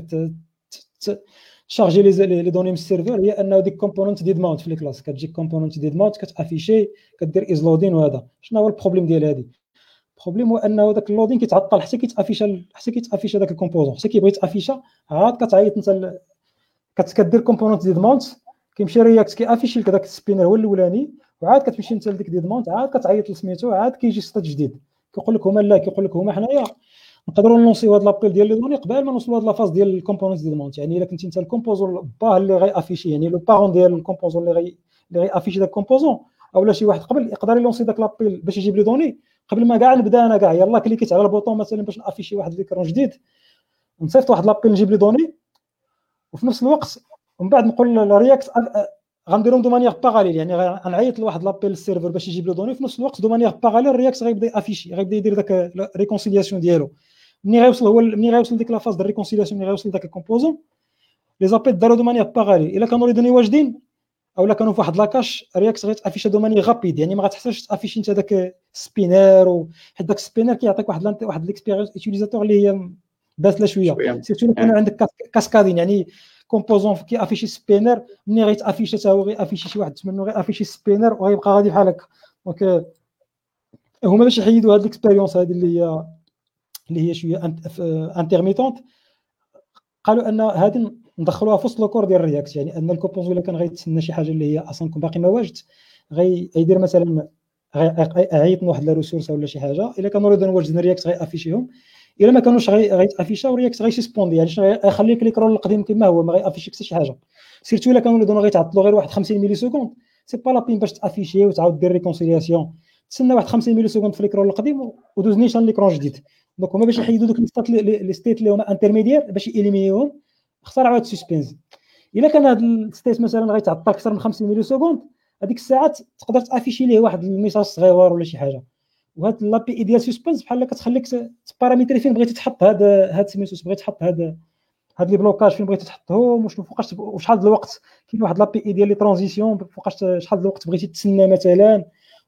تشارجي لي دوني من السيرفر، هي انه ديك كومبوننت ديد ماونت في لي كلاس كتجي كومبوننت ديد ماونت كتافيشي كدير ازلودين. وهذا شنو هو البروبليم ديال هذه؟ البروبليم هو انه داك اللودين كيتعطل حتى كيتافيشا داك الكومبوزون، حتى كيبغي يتافيشا عاد كتعيط انت كدير كومبوننت ديد ماونت، كيمشي رياكت كيافيشي لك داك السبينر هو الاولاني، وعاد كتمشي انت لديك ديد ماونت عاد كتعيط لسميتو، عاد كيجي ستات جديد كيقول لك هما لا، كيقول لك هما حنايا نقدروا نلونسيو هاد لابيل ديال لي دوني قبل ما نوصلوا هاد لافاز ديال الكومبوننت ديال ماونت. يعني الا كنتي انت الكومبوزون با اللي غيافيشي، يعني لو بارون ديال الكومبوزون اللي غيافيشي داك الكومبوزون، اولا شي واحد قبل يقدر يلونسي داك لابيل باش يجيب لي دوني قبل ما كاع نبدا انا كاع يلاه كليكيت على البوطون مثلا باش نافيشي واحد ليكرون جديد نصيفط واحد لابيل نجيب لي دوني، وفي نفس الوقت ومن بعد نقول للرياكت غنديرهم دو مانيير باراليل. يعني غنعيط لواحد لابيل للسيرفر باش يجيب له دوني، في نفس الوقت دو مانيير باراليل الرياكت غيبدا يافيشي، غيبدا يدير داك ريكونسيلياسيون ديالو. ملي غيوصل ديك لافاز ديال ريكونسيلياسيون، ملي غيوصل داك الكومبوزون لي زابيل داروا دو مانيير باراليل. الا كانوا لي دوني واجدين اولا كانوا فواحد لاكاش رياكت غيتافيشي دو مانيير غابيد، يعني ما غتحتاجش تافيشي انت داك سبينر، حيت داك سبينر كيعطيك واحد ليكسبيريونس يوتيليزاتور اللي هي باسله شويه. سيرتو الا كانوا عندك كاسكادين، يعني كومبوزون كيافيشي سبينر ملي غيتافيشي حتى هو غيافيشي شي واحد منه غيافيشي سبينر وغيبقى غادي بحال هكا. دونك هما باش يحيدوا هاد ليكسبيريونس هذه اللي هي شويه انترميتونت، قالوا ان هذه ندخلوها في وسط الكور ديال الرياكت. يعني ان الكومبوزون الا كان غيتسنى شي حاجه اللي هي اصلا باقي ما واجد غيدير مثلا غيعيط من واحد لا ريسورس ولا شي حاجه، الا كانوا ريدون واجدين رياكت غيافيشيهم، الا ما كانوش غيتافيشاو رياكت غيسبوندي. يعني شنو غيخليك ليكرون القديم كما هو ما غيافيشي حتى شي حاجه. سيرتو الا كانوا ريدون غيتعطلوا غير واحد 50 ملي سكوند، سي با لابين باش تافيشي وتعاود دير ريكونسيلياسيون، تسنى واحد 50 ملي سكوند في ليكرون القديم ودوز نيشان ليكرون جديد. دونك هما باش يحيدوا دوك لي ستيت اللي هما انترميديير باش ياليمينيوهم اخترعوا هاد السسبنس. الا كان هاد الستيت مثلا غيتعطل اكثر من 50 ملي سكوند، هذيك الساعات تقدر تافيشي ليه واحد الميساج صغير ولا شي حاجه. وهاد لابي اي ديال سسبنس بحال كتخليك تباراميتري فين بغيتي تحط هاد سميتو، بغيتي تحط هاد لي بلوكاج فين بغيتي تحطهم، وشنو فوقاش وشحال د الوقت. كاين واحد لابي اي ديال لي ترانزيسيون فوقاش شحال د الوقت بغيتي تسنى مثلا،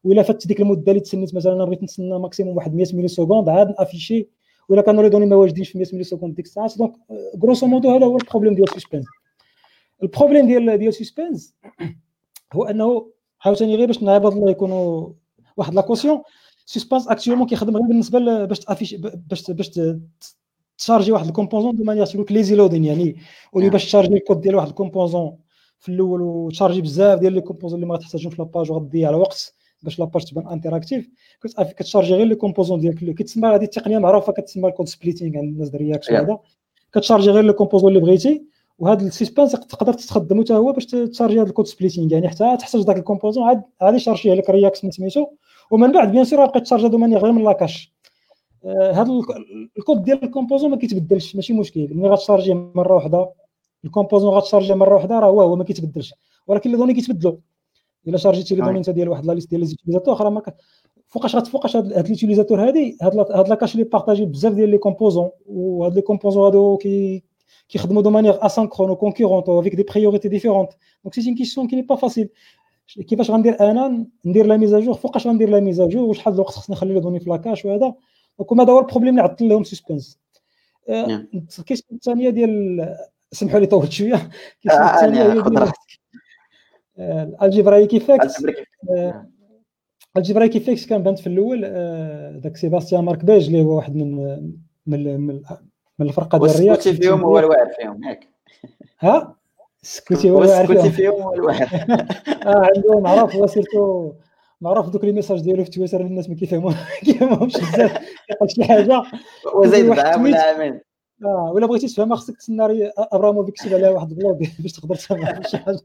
ولا فات ديك المده اللي تسنيت مثلا انا بغيت نتسنى ماكسيموم واحد 100 ملي سكوند عاد نافيشي، ولا كانوا لي دوني ما واجدينش في 100 ملي سكوند ديك الساعات. دونك غروسو مودو هذا هو البروبليم ديال سسبنس. البروبليم ديال سسبنس هو انه عاوتاني غير باش نعرض الله يكونوا واحد لا كوسيون، سسبنس اكطوالمون كيخدم غير بالنسبه باش تافيش باش تشارجي واحد الكومبوزون دو مانيير سلوك ليزي لودين، يعني ولي باش تشارجي الكود ديال واحد الكومبوزون في الاول وتشارجي بزاف ديال لي كومبوزون اللي ما غتحتاجهم في لاباج وغتضيع الوقت باش لاباج تبان انتراكتيف، كتشارجي غير لي كومبوزون ديالك اللي كتسمى هذه التقنيه معروفه كتسمى الكود سبليتينغ عند الناس ديال رياكت وهذا، كتشارجي غير لي كومبوزون اللي بغيتي، وهذا السسبنس تقدر تستخدمو حتى هو باش تشارجي هذا الكود سبليتينغ، يعني حتى تحتاج داك الكومبوزون عاد يشارجيه لك رياكت سميتو، ومن بعد بيان سور غتبقى تشارجي دو مانيير غير من لاكاش. هذا الكود ديال الكومبوزون ما كيتبدلش، ماشي مشكل ملي غتشارجي مره واحده الكومبوزون غتشارجي مره واحده راه هو ما كيتبدلش، ولكن لي دوني كيتبدلوا. الا شارجيتي لي دوني انت ديال واحد لا ليست ديال لي زوتيليزاتور اخرى ما فوقاش هاد ليوتيليزاتور هاد لاكاش اللي بارطاجي بزاف ديال لي كومبوزون، وهاد لي كومبوزون هادو كيخدموا دو مانيير اسانكرون و كونكورونت افيك دي بريوريتي ديفيرونت. دونك سي اون كيسيون كي ني با فاسيل. كيفاش غندير انا ندير لا ميزاجور، فوقاش غندير لا ميزاجور، وشحال د الوقت خصني نخلي لي دوني في لاكاش وهذا. دونك هذا هو البروبليم اللي عطل لهم سسبنس. الكيسيون الثانيه ديال سمحوا لي طولت شويه، الكيسيون الثانيه هي ديال الالجبرايك ايفيكت. الجبرايك ايفيكت كان بانت في الاول داك سيباستيان مارك بيج اللي هو واحد من الفرقه ديال الرياكت فيهم هو الواعر فيهم ياك. ها سكوتي هو الواعر فيهم هو الواعر. عنده معروف هو سيرتو معروف دوك لي ميساج ديالو في تويتر الناس ما كيفهموش بزاف، كيقول شي حاجه وزيد بعام ولا عامين. ولا بغيتي تفهمها خصك تسنى ابراموفيك يكتب عليها واحد البلوغ باش تقدر تفهم شي حاجه.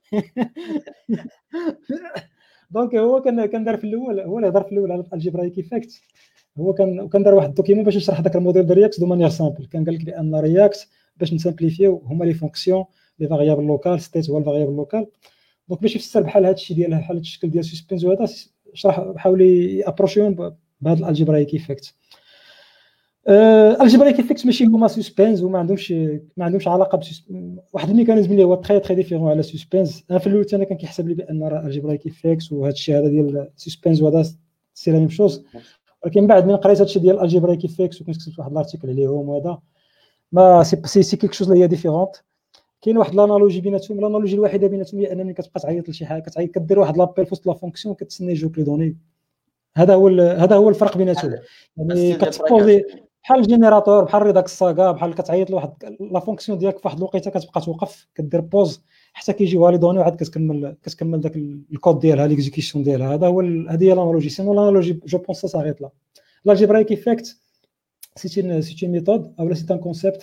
دونك هو كان دار في الاول، هو اللي هضر في الاول على الجبرايك ايفيكت. هو كان دار واحد الدوكيمون باش يشرح داك الموديل ديال رياكت دو مانيير سامبل. كان قال لك بان رياكت باش نسامبليفيو هما لي فونكسيون لي فاريابل لوكال، ستيت هو الفاريابل لوكال. دونك باش يفسر بحال هذا الشيء ديال بحال الشكل ديال سسبنس وهذا شرح حاول يابروشيهم بهذا الالجبرايك ايفيكت. الجبرايك ايفيكت ماشي هما سسبنس وما عندهمش علاقه واحد الميكانيزم اللي هو تري ديفيرون على سسبنس. انا في الاول انا كان كيحسب لي بان الجبرايك ايفيكت وهذا الشيء هذا ديال سسبنس وهذا سي لا ميم شوز، ولكن بعد من قريت هذا الشيء ديال الجبرايك ايفيكت وكنت كتبت واحد الارتيكل عليهم وهذا ما سي كيك شوز اللي هي ديفيرونت. كاين واحد لانالوجي بيناتهم، الانالوجي الوحيده بيناتهم هي انني كتبقى تعيط لشي حاجه، كدير واحد لابيل فوسط لا فونكسيون كتسنى يجوك لي دوني. هذا هو الفرق بيناتهم. يعني كتبوزي بحال الجينيراتور بحال ريداكس ساغا بحال كتعيط لواحد لا فونكسيون ديالك فواحد الوقيته كتبقى توقف كدير بوز حتى كيجيوها لي دوني وعاد كتكمل داك الكود ديالها ليكزيكيسيون ديالها. هذا هو هذه هي لانالوجي. سينو لانالوجي جو بونس سا ساريت لا. الجبرايك ايفيكت سي une méthode او سي ان كونسيبت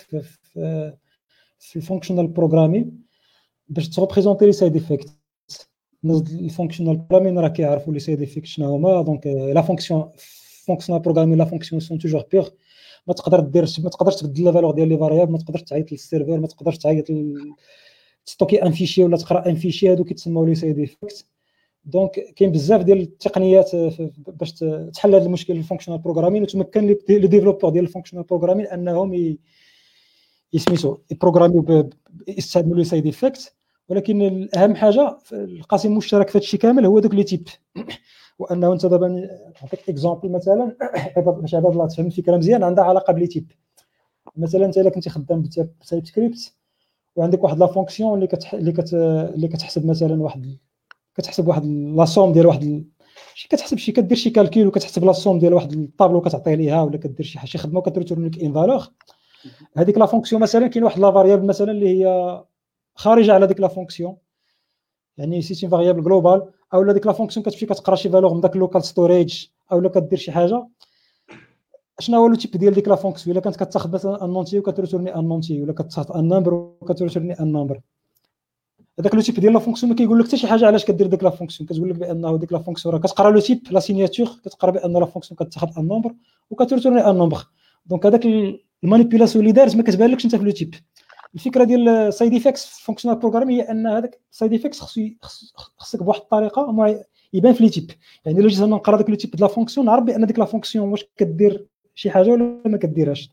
في الفونكشنال بروغرامين باش تريبريزونتي لي سايد افكت. الفونكشنال بروغرامين راه كيعرفوا لي سايد افكت شنو هما. دونك لا فونكشنال بروغرامين لا فونكسيون سون توجور بيغ. ما تقدرش تبدل لا فالور ديال لي فاريابل، ما تقدرش تعيط للسيرفر، ما تقدرش تعيط تستوكي ان فيشي ولا تقرا ان فيشي، هادو كيتسموا لي سايد افكت. دونك كاين بزاف ديال التقنيات باش تحل هذا المشكل الفونكشنال بروغرامين، وتمكن لي ديفلوبور ديال الفونكشنال بروغرامين انهم يسميتو يبروغراميو يستعملوا لي سايد افكت. ولكن الاهم حاجه القاسم المشترك في هذا الشيء كامل هو دوك لي تيب. وانه انت دابا نعطيك اكزامبل مثلا باش عباد الله تفهم الفكره مزيان، عندها علاقه بلي تيب. مثلا انت الا كنتي خدام بتايب سكريبت وعندك واحد لا فونكسيون اللي كتحسب مثلا كتحسب واحد لا سوم ديال واحد كتحسب كدير شي كالكول وكتحسب لا سوم ديال واحد الطابلو كتعطيه ليها، ولا كدير شي خدمه وكتريتورن لك ان فالور. هذيك لا فونكسيون مثلا كاين واحد لا فاريابل مثلا اللي هي خارجه على ديك لا فونكسيون، يعني سي فاريابل جلوبال، او لا ديك لا فونكسيون كتمشي كتقرا شي فالور من داك اللوكال ستوريج، او لا كدير شي حاجه. شنو هو لو تيب ديال ديك لا فونكسيون؟ الا كانت كتاخذ مثلا ان نونتي وكتريتورني ان نونتي، ولا كتاخذ ان نمبر وكتريتورني ان نمبر، هذاك لو تيب ديال لا فونكسيون ما كيقول لك حتى شي حاجه علاش كدير ديك لا فونكسيون. كتقول لك بانه ديك لا فونكسيون راه كتقرا لو تيب لا سيناتور، كتقرا بان لا فونكسيون كتاخذ ان نمبر وكتريتورني ان نمبر. دونك هذاك المانيبيولاسيون اللي دارت ما كتبانلكش انت في لو تيب. الفكره ديال سايد افكتس في فونكشنال بروغرام هي ان هذاك سايد افكتس خصك بواحد الطريقه يبان في لي تيب. يعني الا جيت انا نقرا داك لو تيب د لا فونكسيون نعرف بان ديك لا فونكسيون واش كدير شي حاجه ولا ما كديرهاش.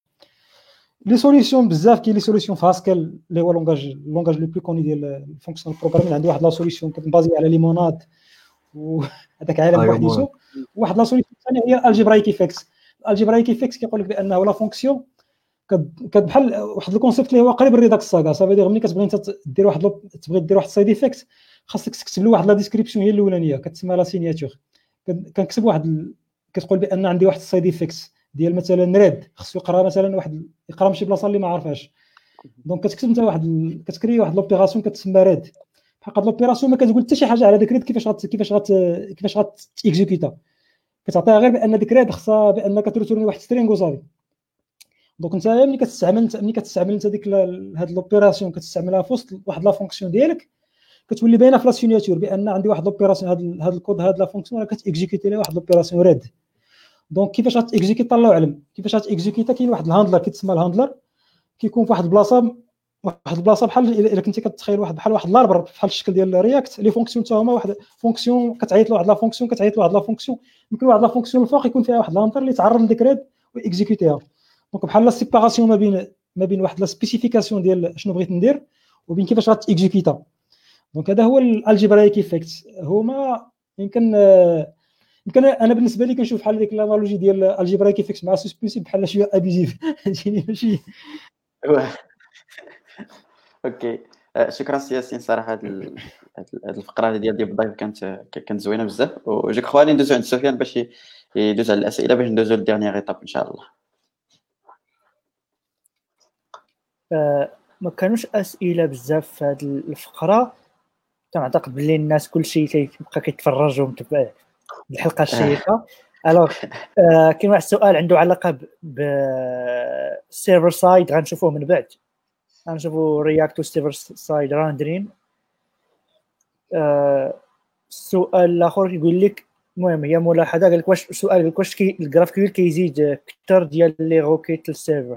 لي سوليسيون بزاف كاين لي سوليسيون في هاسكل اللي هو لونغاج لو بلو كوني ديال الفونكشنال بروغرامين. عندي واحد لا سوليسيون كتبازي على ليموناد وهذاك عالم أيوة بوحديتو. واحد لا سوليسيون ثانيه هي الالجبرايك افكت. الالجبرايك افكت كيقول لك بانه لا فونكسيون بحال واحد الكونسيبت اللي هو قريب للريداكس ساغا. صافي ملي كتبغي انت تبغي دير واحد سايد افكت، خاصك تكتب له واحد لا ديسكريبسيون هي الاولانيه كتسمى لا سيناتور. كنكتب واحد كتقول بان عندي واحد السايد افكت ديال مثلا ريد، خصو يقرا مثلا واحد يقرا من شي بلاصه اللي ما عارفاش. دونك كتكتب انت كتكري واحد لوبيراسيون كتسمى ريد. بحال هاد لوبيراسيون ما كتقول حتى شي حاجه على داك ريد كيفاش غاتيكزيكوتا. كتعطيها غير بان ديك ريد خصها بانك تريتورني واحد سترينغ وصافي. دونك انت ملي كتستعمل انت ديك هاد لوبيراسيون كتستعملها في وسط واحد لا فونكسيون ديالك، كتولي باينه في لا سيناتور بان عندي واحد لوبيراسيون هاد الكود هاد لا فونكسيون راه كتيكزيكوتي لها واحد لوبيراسيون ريد. دونك كيفاش غاتيكزيكوتا الله اعلم كيفاش غاتيكزيكوتا. كاين واحد الهاندلر كيتسمى الهاندلر، كيكون في واحد البلاصه بحال الا كنتي كتخيل واحد الاربر بحال الشكل ديال رياكت. لي فونكسيون حتى هما واحد فونكسيون كتعيط له واحد لا فونكسيون يمكن واحد لا فونكسيون الفوق يكون فيها واحد الهاندلر اللي تعرض لديك ريد واكزيكوتيها. دونك بحال لا سيباراسيون ما بين واحد لا سبيسيفيكاسيون ديال شنو بغيت ندير وبين كيفاش غاتيكزيكوتا. دونك هذا هو الالجبرايك افكت. هما يمكن انا بالنسبه لي كنشوف بحال ديك الانالوجي ديال الجبرايك افكت مع سسبنسي بحال شويه ابيزيف فهمتيني ماشي. اوكي شكرا سي ياسين صراحه هاد الفقره هذه ديال الضيف كانت زوينه بزاف. وجيك خوالي ندوزو عند سفيان باش يدوز على الاسئله باش ندوزو للديرنيير ايطاب ان شاء الله. ما كانوش اسئله بزاف في هذه الفقره. كنعتقد بلي الناس كلشي كيبقى كيتفرج ومتبع الحلقه الشيقه. الوغ كاين واحد السؤال عنده علاقه بالسيرفر سايد غنشوفوه من بعد. غنشوفوا رياكت والسيرفر سايد راندرين. السؤال الاخر كيقول لك المهم هي ملاحظه قال لك واش السؤال قال لك واش الجرافكيول كيزيد اكثر ديال لي روكيت للسيرفر.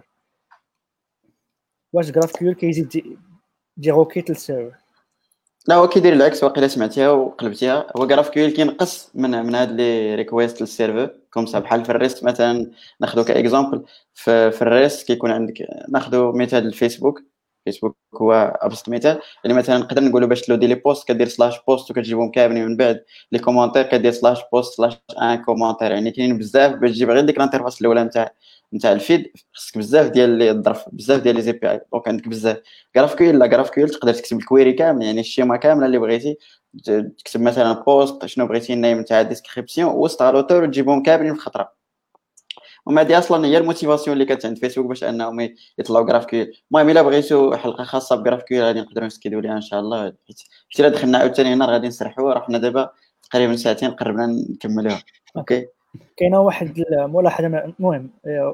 واش جرافكيول كيزيد دي روكيت للسيرفر؟ لا هو كيدير العكس. واقيلا سمعتيها وقلبتيها. هو جرافكيول كينقص من هاد لي ريكويست للسيرفر كوم سا. بحال في الريست مثلا ناخذو كاكزامبل. في الريست كيكون عندك ناخذو مثال الفيسبوك. فيسبوك هو ابسط مثال. يعني مثلا نقدر نقولوا باش تلودي لي بوست كدير سلاش بوست وكتجيبهم كاملين من بعد لي كومونتير كدير سلاش بوست سلاش ان كومونتير. يعني كاينين بزاف باش تجيب غير ديك الانترفاس الاولى نتاع الفيد. خصك بزاف ديال الظرف بزاف ديال لي زي بي اي. دونك عندك بزاف جرافكيول تقدر تكتب الكويري كامل يعني الشيما كامله اللي بغيتي. تكتب مثلا بوست شنو بغيتي النيم نتاع الديسكريبسيون وسط لوتور وتجيبهم كاملين في خطره. وما هذه اصلا هي الموتيفاسيون اللي كانت عند فيسبوك باش انهم يطلعوا جرافكيول. المهم الا بغيتوا حلقه خاصه بجرافكيول غادي نقدروا نسكيدوا ليها ان شاء الله. حيت الا دخلنا عاوتاني هنا غادي نسرحوا. رحنا دابا تقريبا ساعتين قربنا نكملوها. اوكي كاينه واحد الملاحظه المهم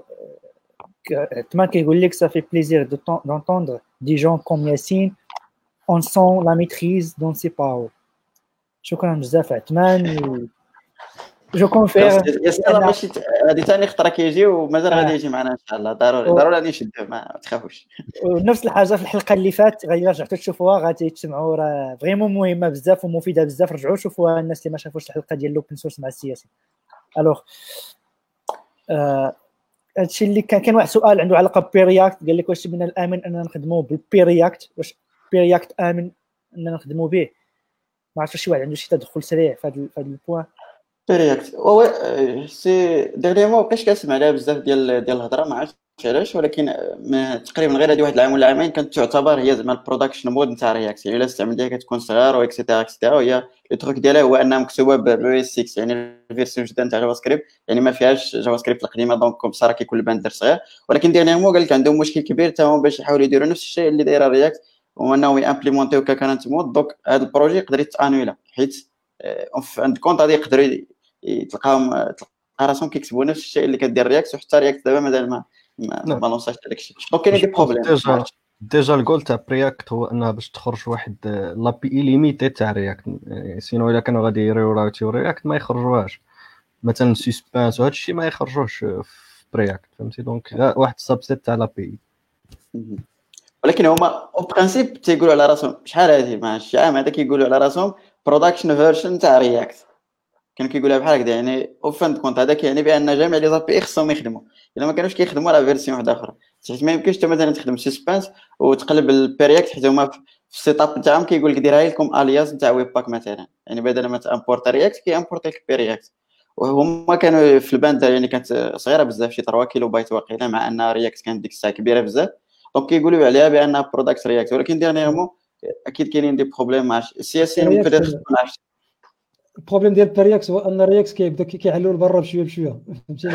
تما كيقول لك صافي بليزير d'entendre des gens comme Yassine on sent la maîtrise dans ses paroles. شكرا بزاف عثمان. جو كونفير ماشي هذه ثاني خطره كيجي ومازال غادي يجي معنا ان شاء الله. ضروري غادي نشدوه ما تخافوش. ونفس الحاجه في الحلقه اللي فات غادي رجعتوا تشوفوها غادي تسمعوا راه فريمون مهمه بزاف ومفيده بزاف. رجعوا شوفوها الناس اللي ما شافوش الحلقه ديال لوبن سورس مع السياسي. الوغ هادشي اللي كان واحد سؤال عنده علاقه ببيرياكت. قال لك واش من الامن اننا نخدموا بالبيرياكت؟ واش بيرياكت امن اننا نخدموا به؟ ما عرفتش شي واحد عنده شي تدخل سريع في هذا البوان. رياكت سي ديريمون بقيتش كنسمع عليها بزاف ديال الهضره. ما عرفتش علاش ولكن تقريبا غير هذه واحد العام ولا عامين كانت تعتبر هي زعما البرودكشن مود نتاع رياكت. يعني الا استعملتيها كتكون صغيره واكسيتيرا وهي التروك ديالها هو انها مكتوبه بلو اس 6 يعني الفيرسيون جديده نتاع جافا سكريبت. يعني ما فيهاش جافا سكريبت القديمه دونك كوم صار كيكون الباندر صغير. ولكن ديريمون قال لك عندهم مشكل كبير حتى هما باش يحاولوا يديروا نفس الشيء اللي دايره رياكت هو انه يامبليمونتيو ككرنت مود. دونك هذا البروجي يقدر يتانويلا حيت عند كونط غادي يقدروا تلقى راسهم كيكتبوا نفس الشيء اللي كدير رياكت. وحتى رياكت دابا مازال ما لونساش داك الشيء. دونك كاين دي بروبليم. ديجا الجول تاع برياكت هو انها باش تخرج واحد لابي اي ليميتي تاع رياكت. سينو الا كانوا غادي يراوتيو رياكت ما يخرجوهاش. مثلا سسبانس وهذا الشيء ما يخرجوش في برياكت فهمتي. دونك واحد السبسيت تاع لابي. ولكن هما او برينسيپ تيقولوا على راسهم شحال هذه مع شي عام هذا كيقولوا على راسهم برودكشن فيرجن تاع رياكت. كان كيقولها بحال هكذا. يعني او فان كونت هذاك يعني بان جميع لي زابي خصهم يخدموا. الا ما كانوش كيخدموا على فيرسيون واحده اخرى حيت ما يمكنش انت مثلا تخدم سسبانس وتقلب البرياكت حيت هما في السيت اب تاعهم كيقول لك ديرها لكم الياس تاع ويب باك مثلا، يعني بدل ما تامبورت رياكت كيامبورت لك برياكت. وهما كانوا في الباند يعني كانت صغيره بزاف، شي 3 كيلو بايت واقيلا، مع ان رياكت كانت ديك الساعه كبيره بزاف، دونك كيقولوا عليها بانها برودكت رياكت. ولكن ديرنييرمون اكيد كاينين دي بروبليم مع السياسيين، ممكن يخصنا. البروبليم ديال الرياكس هو ان الرياكس كيبدا كيعلوا لبرا بشويه بشويه، فهمتيني؟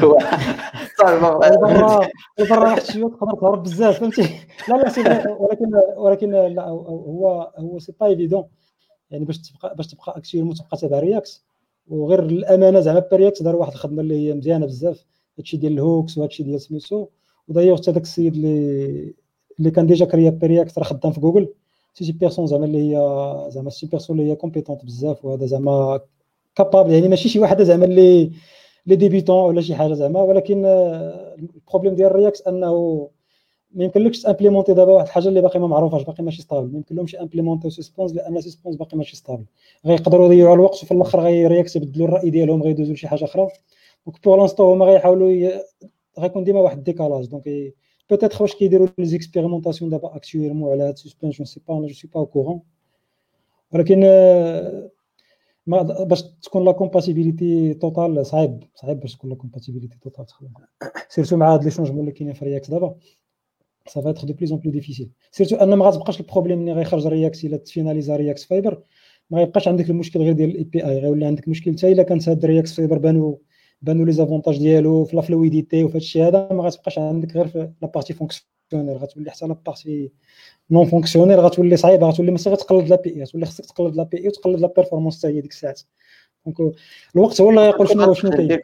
البرا واحد شويه تقدر تهرب بزاف، فهمتي؟ لا سي فري، ولكن لا هو سي با ايفيدون، يعني باش تبقى اكسيوم وتبقى تابع رياكس. وغير الامانه زعما برياكس دار واحد الخدمه اللي هي مزيانه بزاف، هادشي ديال الهوكس وهادشي ديال سميتو. ودايوغ حتى داك السيد اللي كان ديجا كريا برياكس راه خدام في جوجل، سي بيرسون زعما اللي هي زعما سي بيرسون اللي هي كومبيتونت بزاف، وهذا زعما كابابل، يعني ماشي شي واحد زعما اللي ديبيتون ولا شي حاجه زعما. ولكن البروبليم ديال الرياكس انه ما يمكنلكش تامبليمونتي دابا واحد الحاجه اللي باقي ما معروفاش، باقي ماشي ستابل، ما يمكنلهمش امبليمونتي سسبونس لان سسبونس باقي ماشي ستابل. غيقدروا يضيعوا الوقت وفي الاخر رياكس يبدلوا الراي ديالهم، غيدوزوا لشي حاجه اخرى. دونك بور لانستون هما غيحاولوا غيكون ديما واحد الديكالاج. دونك بوتيتر واش كيديروا لي زيكسبيريمونطاسيون دابا اكطويلمون على هاد سسبنس، جو سي با، جو سي با او كورون. ولكن ما باش تكون لا كومباتيبيليتي توتال صعيب باش تكون لا كومباتيبيليتي توتال تخدم، سيرتو مع هاد لي شونجمون اللي كاينين في رياكس دابا. ça va être de plus en plus difficile. سيرتو ان ما غتبقاش البروبليم ملي غيخرج رياكس الا تفيناليزا رياكس فايبر، ما غيبقاش عندك المشكل غير ديال الاي بي اي، غيولي عندك مشكل حتى الا كانت هاد رياكس فايبر بانوا لي زافونتاج ديالو في لا فلويديتي وفي هادشي هذا، ما غتبقاش عندك غير في لا بارتي فونكسيونيل، غتولي حتى لا بارتي نون فونكسيونيل غتولي صعيبه، غتولي ماشي غتقلد لا بي اي، غتولي خصك تقلد لا بي اي وتقلد لا بيرفورمانس حتى هي ديك الساعات. دونك الوقت هو اللي غيقول شنو كاين.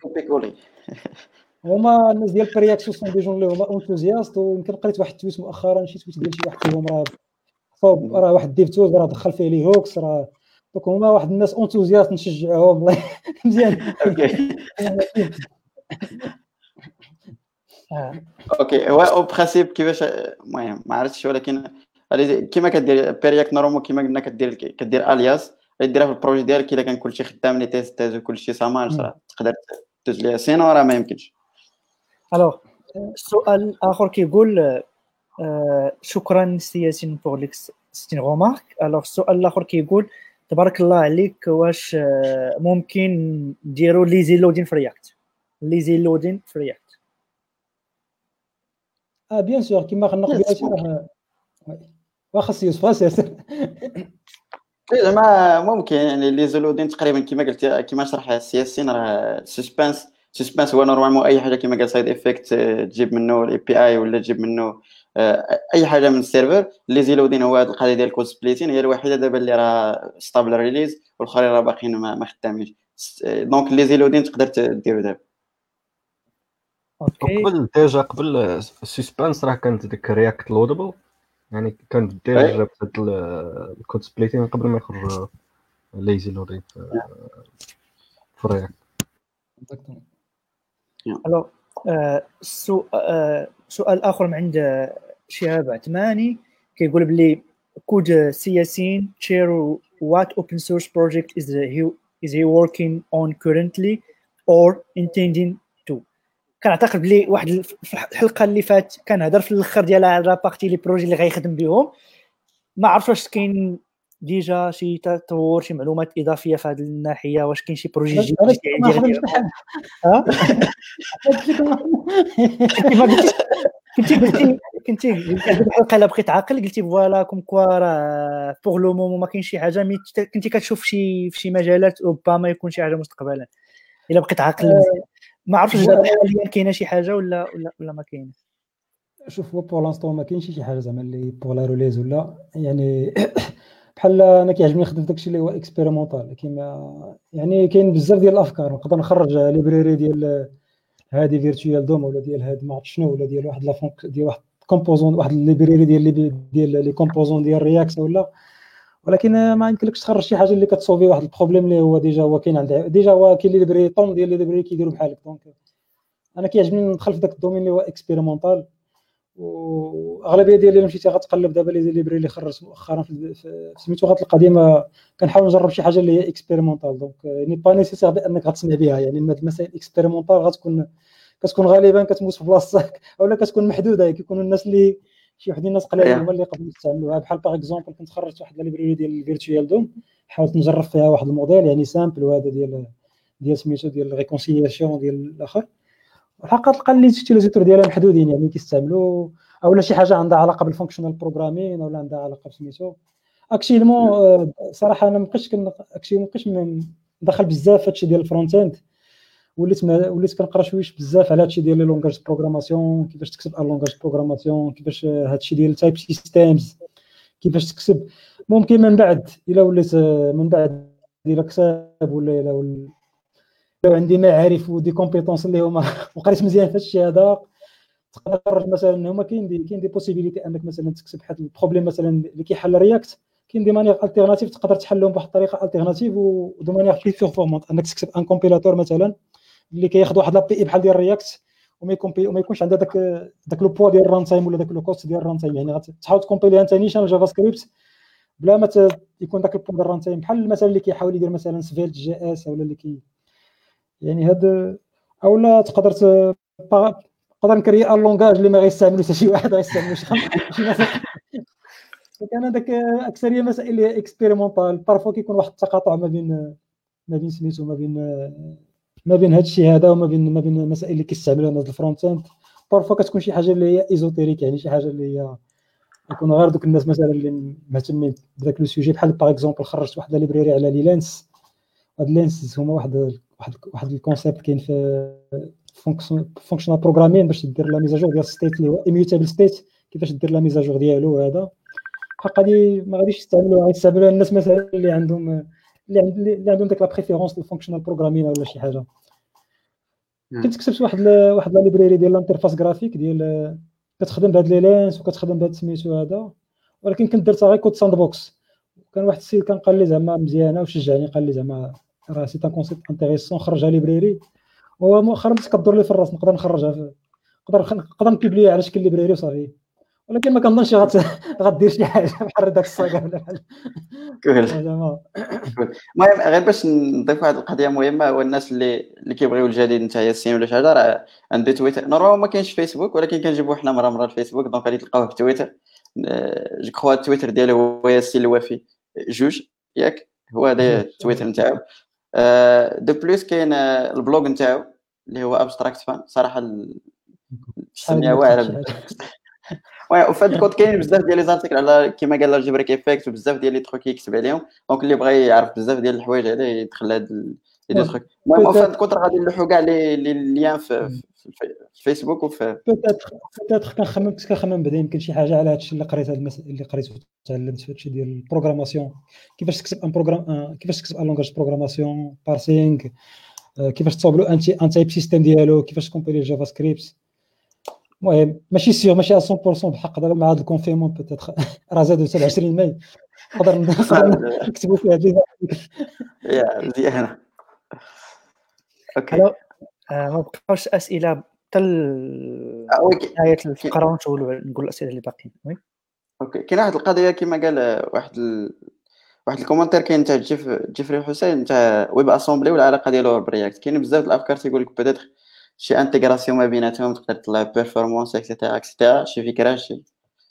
هما الناس ديال برياكس سون دي جون اللي هما اونتوزياست، ويمكن قريت واحد التويت مؤخرا، شي تويت ديال شي واحد فيهم راه واحد ديف توز راه دخل فيه لي هوكس، راه دونك هما واحد الناس اونتوزياست نشجعوهم والله مزيان. اوكي هو او برينسيپ كيفاش، المهم ما عرفتش، ولكن كيما كدير بيرياك نورمال كيما قلنا كدير الياس ديرها في البروجي ديالك. الا كان كلشي خدام لي تيست وكلشي سامارش راه تقدر تدوز ليها، سينو راه ما يمكنش. الوغ السؤال الاخر كيقول شكرا سياسين بور ليك ستين غومارك. الوغ السؤال الاخر كيقول تبارك الله عليك، واش ممكن نديروا ليزي لودين في رياكت؟ ليزي لودين في رياكت بيان سور كيما قلنا قبيله، واخا يوسف سير زعما ممكن يعني لي زولودين تقريبا كيما قلت، كيما شرح السياسيين، راه سسبانس هو نورمالمون اي حاجه كيما قال سايد افكت تجيب منه الاي بي اي ولا تجيب منه اي حاجه من السيرفر. لي زيلودين هو هذه القضيه ديال الكود سبليتين هي الوحيده دابا اللي راه ستابل ريليز، والاخرين راه باقيين ما خدامينش. دونك لي زيلودين تقدر ديرو دابا. اوكي قبل ديجا قبل السسبانس راه كانت ديك رياكت لودبل، يعني كانت ديجا جابت هاد الكود سبليتين قبل ما يخرج ليزي لودين في رياكت. الو سؤال اخر من عند شهاب عثماني كيقول بلي كود سياسين شير what open source project is he working on currently or intending to. كنعتقد بلي واحد في الحلقه اللي فات كان هضر في الاخر ديال لا بارتي لي بروجي اللي غيخدم بهم. ما عرفتش واش كاين ديجا شي تطور، شي معلومات اضافيه في هذه الناحيه، واش كاين شي بروجي جديد ديال كنتي الحلقه الا بقيت عاقل قلتي فوالا كوم كوا راه بوغ لو مومون ما كاين شي حاجه، مي كنتي كتشوف في شي مجالات ربما يكون شي حاجه مستقبلا الا بقيت عاقل. ما عرفتش دابا حاليا كاينه شي حاجه ولا ما كاينش. شوف هو بور لانستون ما كاينش شي حاجه زعما اللي بور لا روليز ولا يعني بحال انا كيعجبني نخدم داكشي اللي هو اكسبيريمونطال. كيما يعني كاين بزاف ديال الافكار، نقدر نخرج ليبراري ديال هادي فيرتوال دوم ولا ديال هاد ما عرفت شنو، ولا ديال واحد لافونك ديال واحد كومبوزون، واحد ليبراري ديال لي كومبوزون ديال رياكت ولا. ولكن ما يمكنلكش تخرج شي حاجه اللي كتصوفي واحد البروبليم اللي هو ديجا هو كاين عند ديجا هو كاين لي ليبراري طون ديال لي ليبراري كيديروا بحالك. دونك انا كيعجبني ندخل في داك الدومين اللي هو اكسبيريمونطال. واغلبيه ديال اللي مشيتي غتقلب دابا لي ليبري اللي خرجت مؤخرا في سميتو غتلقى ديما كنحاول نجرب شي حاجه اللي هي اكسبيريمونطال. دونك يعني با نيسيسير بانك غتسمع بها، يعني المسائل اكسبيريمونطال كتكون غالبا كتموت في بلاصتك اولا كتكون محدوده. كيكونوا الناس اللي شي واحد الناس قليلين Yeah. هما اللي يقدروا يستعملوها. بحال باغ اكزومبل كنت خرجت واحد الليبراري ديال الفيرتوال دوم، حاولت نجرب فيها واحد الموديل يعني سامبل، وهذا ديال سميتو ديال الريكونسيلياسيون ديال الاخر. الحقيقه تلقى لي تيليزاتور ديالها محدودين يعني كيستعملوا اولا شي حاجه عندها علاقه بالفونكشنال بروغرامين ولا عندها علاقه بسميتو اكشيلمون. صراحه انا مابقيتش ندخل بزاف هادشي ديال الفرونت اند، وليت كنقرا شويش بزاف على هادشي ديال لي لونغاج بروغراماسيون، كيفاش تكتب ان لونغاج بروغراماسيون، كيفاش هادشي ديال تايب سيستمز كيفاش تكتب. ممكن من بعد الا وليت من بعد الا كتاب ولا لو عندي معارف ودي كومبيتونس اللي هما وقريت مزيان في هادشي هذا، تقدر مثلا هما كاين دي بوسيبيليتي انك مثلا تكتب واحد البروبليم مثلا اللي كيحل رياكت، كاين دي مانيير التيرناتيف تقدر تحلهم بواحد الطريقه التيرناتيف ودو مانيير بلي بيرفورمانت، انك تكتب ان كومبيلاتور مثلا اللي كياخذ واحد لابي اي بحال ديال رياكت وما يكونش عندها داك لو بوا ديال الران تايم ولا داك لو كوست ديال الران تايم، يعني غتحاول تكومبيليها انت نيشان جافا سكريبت بلا ما يكون داك البوا ديال الران تايم، بحال مثلا اللي كيحاول يدير مثلا سفيلت جي اس ولا اللي يعني هاد. اولا تقدر نكري ان لونغاج اللي ما غيستعملوش حتى شي واحد، غيستعملوا شي ناس. كان هذاك اكثريه مسائل اللي هي اكسبيريمونطال، بارفو كيكون واحد التقاطع ما بين سميتو ما بين هذا الشيء هذا وما بين المسائل اللي كيستعملوها الناس الفرونت اند. بارفو كتكون شي حاجه اللي هي ايزوتيريك، يعني شي حاجه اللي هي يكونوا غير دوك الناس مثلا اللي مهتمين بداك لو سوجي. بحال باغ اكزومبل خرجت واحد ليبراري على لينس، هاد لينس هما واحد الكونسيبت كاين في فونكشنال بروغرامين باش دير لا ميزاجور ديال ستيت اللي هو ايميوتابل ستيت، كيفاش دير لا ميزاجور ديالو. هذا الحق هادي ما غاديش يستعملوها الناس مثلا اللي عندهم داك لا بريفيرونس للفونكشنال بروغرامين ولا شي حاجه. كنت كتبت واحد لا ليبراري ديال الانترفاس جرافيك ديال كتخدم بهاد لي لينس وكتخدم بهاد سميتو هذا، ولكن كنت درتها غير كود ساند بوكس. كان واحد السيد كان قال لي زعما مزيانه وشجعني، قال لي زعما راه سي ان كونسيبت انتريسون، خرجها ليبراري. هو مؤخرا كدور لي في الراس نقدر نخرجها نقدر نبوبليها على شكل ليبراري وصافي، ولكن ما كنظنش غدير شي حاجه بحال داك الصاغه ولا بحال المهم غير باش نضيف واحد القضيه مهمه، هو الناس اللي كيبغيو الجديد نتايا السين ولا شي حاجه، راه عنده تويتر. نورمالمون ما كاينش فيسبوك، ولكن كنجيبو حنا مره الفيسبوك، دونك غادي تلقاوه في تويتر. جو كخوا التويتر ديالو هو ياسين الوافي جوج، ياك هو هذا التويتر نتاعو. دو بليس كاين البلوغ نتاعو اللي هو ابستراكت فان، صراحه السميه واعره. وفي هذا الكود كاين بزاف ديال لي زارتيكل على كيما قال الجبريك افكت، وبزاف ديال لي تروك يكتب عليهم، دونك اللي بغى يعرف بزاف ديال الحوايج عليه يدخل هاد لي تروك. المهم في هذا الكود غادي نلوحوا كاع لي ليان في الفيسبوك وفي بوتيتر. كنخمم بعدا يمكن شي حاجه على هادشي اللي قريت، هاد المسائل اللي قريت وتعلمت في هادشي ديال البروغراماسيون، كيفاش تكتب ان بروغرام، كيفاش تكتب ان لونغاج بروغراماسيون بارسينغ، كيفاش تصاوبلو ان تايب سيستم ديالو، كيفاش تكومبيلي جافا سكريبت. المهم ماشي سيغ ماشي 100% بحق دابا مع هذا الكونفينمون بوتيتر راه زادوا حتى 20 ماي نقدر نكتبوا فيها يا مزيان. اوكي ما بقاوش اسئله حتى نهايه الفقره ونقولوا نقول الاسئله اللي باقيين. وي اوكي كاين واحد القضيه كما قال واحد الكومنتير كاين تاع جيفري حسين تاع ويب اسامبلي والعلاقه ديالو برياكت. كاين بزاف الافكار تيقول لك بيتيتر شي انتغراسيون ما بيناتهم تقدر تطلع بيرفورمانس اكسيتيرا شي فكره شي.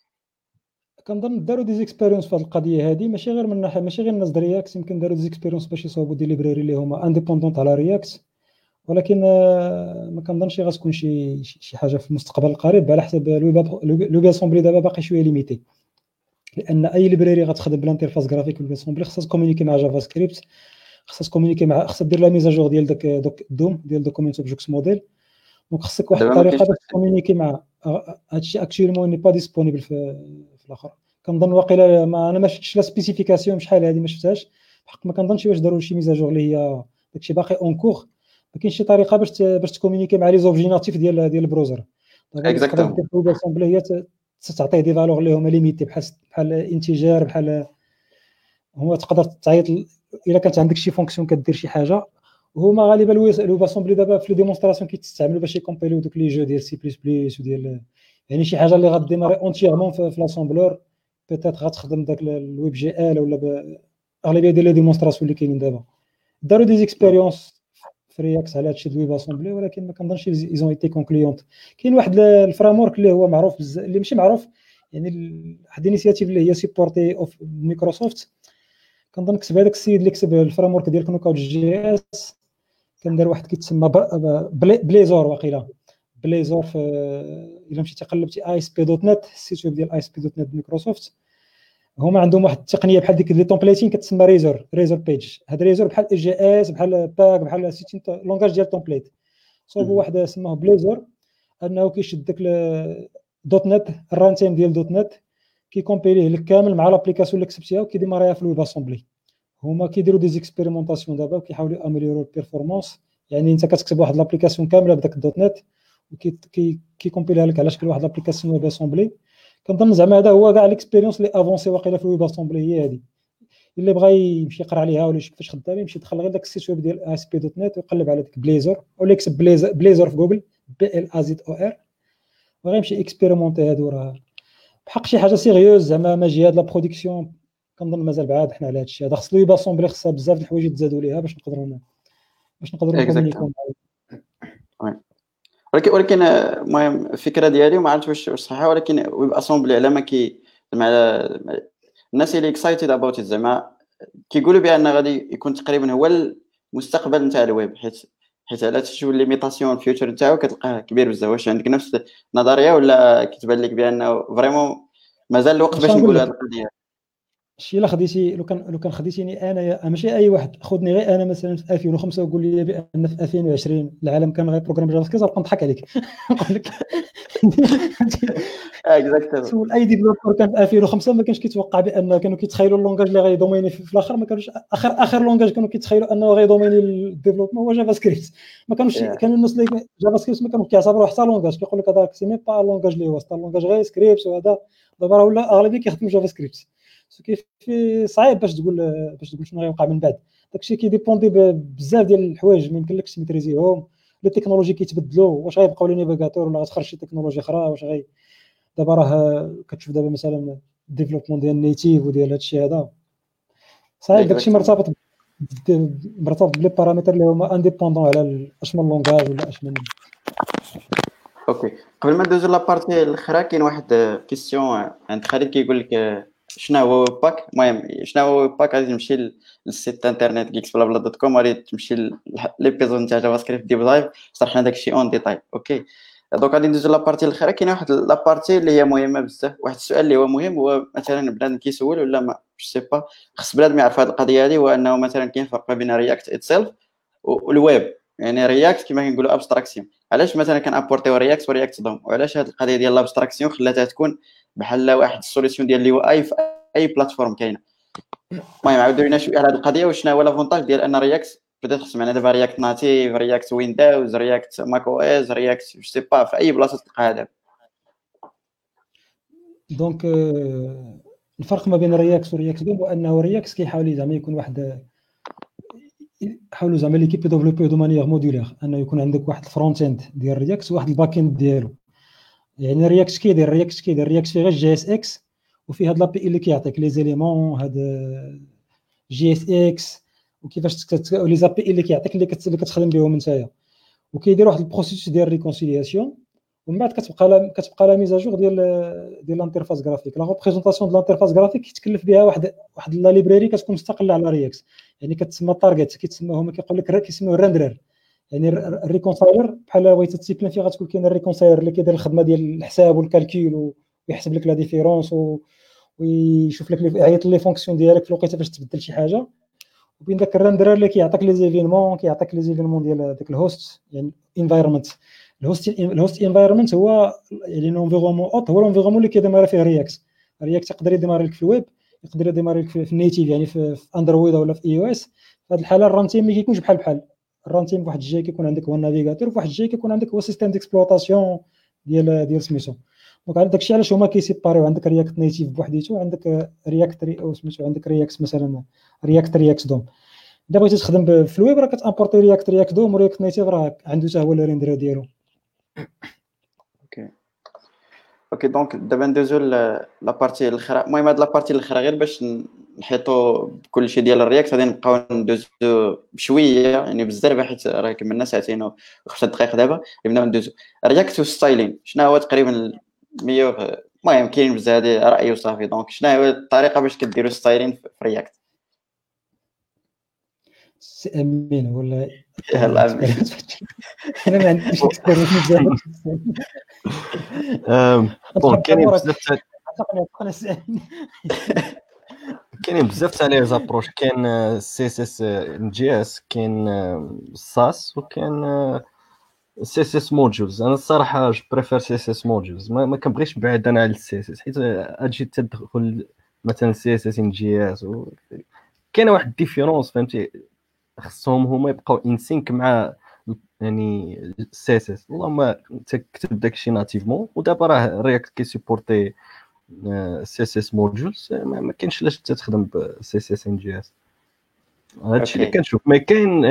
كنظن داروا دي زيكسبيريونس في هذه القضيه هذه، ماشي غير من ناحيه ماشي غير الناس ديال رياكت، يمكن داروا دي زيكسبيريونس باش يصاوبوا دي ليبراري اللي هما انديبوندونت على رياكت، ولكن ما كنظنش غتكون شي حاجه في المستقبل القريب على حسب الويب اسامبلي. دابا باقي شويه ليميتي، لان اي ليبراري غتخدم بالانترفاس جرافيك والويب اسامبلي خصها تكومونيكي مع جافا سكريبت، خصها تكومونيكي مع خصها دير لا ميزاجور ديال داك دوم ديال دوكومنت اوبجكت موديل، دونك خصك واحد الطريقه باش تكومونيكي مع هادشي. اكشوالمون ني با ديسپونيبل في الاخر. كنظن واقيلا انا ما شفتش لا سبيسيفيكاسيون شحال هذه ما شفتهاش بحق، ما كنظنش واش داروا شي ميزاجور اللي هي داكشي باقي اون كور. ما كاينش شي طريقه باش تكومونيكي مع لي زوبجي ناتيف ديال البروزر. تقدر دير ويب اسامبلي هي تعطيه دي فالور اللي هما ليميتي بحال انتيجر، بحال هو تقدر تعيط الا كانت عندك شي فونكسيون كدير شي حاجه. وهما غالبا الويب اسامبلي دابا في لي ديمونستراسيون كيتستعملوا باش يكومبيليو دوك لي جو ديال سي بلس بلس وديال يعني شي حاجه اللي غديماري اونتييرمون في لاسامبلور بيتيت غتخدم داك الويب جي ال ولا اغلبيه ديال لي ديمونستراسيون اللي كاينين دابا داروا دي زيكسبيريونس في رياكت على هادشي الويب اسامبلي، ولكن ما كنظنش ايزون ايتي كونكليونت. كاين واحد الفريم ورك اللي هو معروف اللي ماشي معروف، يعني واحد الانيشيتيف اللي هي سيبورتي اوف مايكروسوفت، كنظن كتب هذاك السيد اللي كتب الفريم ورك ديال كنوكاوت جي اس، كان دار واحد كيتسمى بليزور، واقيلا بليزور. في الا مشيتي قلبتي اي اس بي دوت نت، السيت ويب ديال اي اس بي دوت نت مايكروسوفت، هما عندهم واحد التقنيه بحال ديك لي تومبليتين كتسمى ريزور بيج. هاد ريزور بحال اي جي اس، بحال باك، بحال سيتين لونغاج ديال تومبليت. صوبوا واحد سماه بليزور، انه كيشد داك دوت نت، الران تايم ديال دوت نت، كيكومبيليه لك كامل مع لابليكاسيون اللي كتبتيها وكيديماريها في الويب اسامبلي. هما كيديروا دي زيكسبيريمونطاسيون دابا وكيحاولوا اميليورو البيرفورمانس. يعني انت كتكتب واحد لابليكاسيون كامله بداك الدوت نت وكيكومبيليها لك على شكل واحد لابليكاسيون ويب اسامبلي. كنظن زعما هذا هو كاع ليكسبيريونس اللي افونسي واقيلا في الويب اسامبلي هي هذه. اللي بغى يمشي يقرا عليها ولا يشوف فاش خدامه، يمشي يدخل غير داك السيت ويب ديال اس بي دوت نت ويقلب على ديك بليزور، ولا يكتب بليزور في جوجل بي ال ا زد او ار، وغيمشي اكسبيريمونتي. هادو راه بحق شي حاجه سيريوز زعما ماجي هاد لا برودكسيون. كنظن مازال بعاد حنا على هاد الشيء هذا، خص الويب اسامبلي خصها بزاف د الحوايج يتزادوا ليها باش نقدروا نكومونيكيو. ولكن المهم الفكره ديالي ما عرفتش واش صحيحه، ولكن ويب اسامبلي على ما كي زعما الناس اللي اكسايتد اباوت زعما كيقولوا بان غادي يكون تقريبا هو المستقبل نتاع الويب، حيت على تشوف الليميتاسيون الفيوتشر نتاعو كتلقاه كبير بزاف. واش عندك نفس النظريه ولا كتبان لك بانه فريمون مازال الوقت باش نقولوا هذه القضيه؟ شي الا خديتي لو كان خديتيني انا ماشي اي واحد، خذني غير انا مثلا في 2005 وقول لي بان في 2020 العالم كان غير بروغرام جافا سكريبت، غنضحك نضحك عليك. نقول لك اكزاكتلي. سول اي ديفلوبر كان في 2005 ما كانش كيتوقع بان كانوا كيتخيلوا اللونغاج اللي غيدوميني في الاخر. ما كانوش اخر لونغاج كانوا كيتخيلوا انه غيدوميني الديفلوبمون هو جافا سكريبت. ما كانوش كانوا الناس اللي جافا سكريبت ما كانوا كيعتبروا حتى لونغاج، كيقول لك هذاك سي مي با لونغاج اللي هو حتى لونغاج غير سكريبت. وهذا دابا ولا اغلبيه كيخدموا جافا سكريبت. كيف صعيب باش تقول شنو غيوقع من بعد. داكشي كيديبوندي بزاف ديال الحوايج ما يمكنلكش تميتريزيهم. لي تكنولوجي كيتبدلوا، واش غيبقاو لي نافيغاتور ولا غتخرج شي تكنولوجيا اخرى؟ واش دابا راه كتشوف دابا مثلا الديفلوبمون ديال النيتيف وديال هادشي هذا صعيب. داكشي مرتبط بلي بارامتر اللي هما انديبوندون على اشمن لونغاج ولا اشمن. اوكي، قبل ما ندوزو لابارتي الاخرى كاين واحد كيسيون عند خالد كيقول لك شنو هو ويب باك. المهم شنو هو ويب باك؟ غادي تمشي للسيت انترنت geeksblabla.com، غادي تمشي ليبيزود نتاع جافا سكريبت ديب دايف، شرحنا داكشي اون ديتاي. اوكي دونك غادي ندوزو لابارتي الاخرى. كاين واحد لابارتي اللي هي مهمه بزاف، واحد السؤال اللي هو مهم، هو مثلا بنادم كيسول ولا ما سي با، خص بنادم يعرف هذه القضيه هذه، هو انه مثلا كاين فرق ما بين رياكت اتسيلف والويب. يعني رياكت كما كنقولوا ابستراكسيون، علاش مثلا كنابورتيو رياكت ورياكت دوم، وعلاش هذه القضيه ديال الابستراكسيون خلاتها تكون بحال واحد السوليسيون ديال اللي هو اي بلاتفورم كاينه. المهم عاودوا لينا شويه على هذه القضيه، وشنو هو لافونتاج ديال ان رياكت بدات سمعنا دابا رياكت ناتيف، رياكت ويندوز، رياكت ماك او اس، رياكت سي با في اي بلاصه تلقاها دابا. دونك الفرق ما بين رياكت ورياكت دوم هو انه رياكت كيحاول زعما يكون واحد، يحاولوا زعما ليكيب ديفلوبي دو مانيير مودولير، انه يكون عندك واحد الفرونت اند ديال رياكت وواحد الباك اند ديالو. يعني رياكت كيدير رياكت فيه غير جي اس اكس، وفيه هاد لابي اللي كيعطيك لي زيليمون هاد جي اس اكس، وكيفاش لي زابي اللي كيعطيك اللي كتخدم بهم نتايا، وكيدير واحد البروسيس ديال ريكونسيلياسيون. ومن بعد كتبقى لا ميزاجور ديال الانترفاس غرافيك. لا ريبريزونطاسيون ديال الانترفاس غرافيك كيتكلف بها واحد لا ليبراري كتكون مستقله على رياكت. يعني كتسمى تارجت، كيتسموهم كيقول لك كيسموه الرندرر. يعني الريكونسايلر بحال بغيتي تسيبلين فيه غتكون كاين الريكونسايلر اللي كيدير الخدمه ديال الحساب والكالكول ويحسب لك لا ديفيرونس ويشوف لك يعيط لي فونكسيون ديالك في الوقيته فاش تبدل شي حاجه. وبين داك الرندرر اللي كيعطيك لي زيفينمون ديال داك الهوست، يعني انفايرمنت. الهوست انفايرمنت هو يعني الانفيرونمون هو الانفيرونمون اللي كيديماري فيه رياكت يقدر يديماري لك في الويب، يقدر يديماري لك في النيتيف، يعني في اندرويد ولا في اي او اس. في هذه الحاله الران تيم ما كيكونش بحال الران تيم. بواحد الجهه كيكون عندك هو النافيغاتور، وفي واحد الجهه كيكون عندك هو سيستيم ديكسبلوطاسيون ديال سميتو. دونك عندك داكشي علاش هما كيسيباريو. عندك رياكت نيتيف بوحديتو، عندك رياكت او سميتو عندك رياكت مثلا رياكت دوم. اذا بغيتي تخدم في الويب راه كتامبورتي رياكت دوم، ورياكت نيتيف راه عنده حتى هو الريندر ديالو. اوكي دونك دابا ندوزو لابارتي الاخرى. المهم هاد لابارتي الاخرى غير باش نحيطوا بكلشي ديال الرياكت غادي نبقاو ندوزو بشويه، يعني بزاف، حيت راه كملنا ساعتين و5 دقائق. دابا نبداو ندوزو رياكت وستايلين. شنو هو تقريبا المهم كاين بزاف هذه راي وصافي. دونك شنو هي الطريقه باش كديروا ستايلين في رياكت؟ سي امين ولا يلاه أمين. انا ما عنديش اكسبيرينس بزاف. بون كاينين بزاف كاينين بزاف تاع لي زابروش. كاين سي اس اس ان جي اس، كاين ساس، وكاين سي اس اس موديولز. انا الصراحه جو بريفير سي اس اس موديولز، ما كنبغيش نبعد انا على السي اس اس، حيت اجي تدخل مثلا سي اس اس ان جي اس كاينه واحد الديفيرونس، فهمتي؟ خصهم هما يبقاو ان سينك مع يعني السي اس اس. اللهم تكتب داكشي ناتيفمون، ودابا راه رياكت كي سيبورتي سي اس اس موديولز، ما كاينش علاش تخدم ب سي اس اس ان جي اس. هادشي اللي كنشوف. ما كاين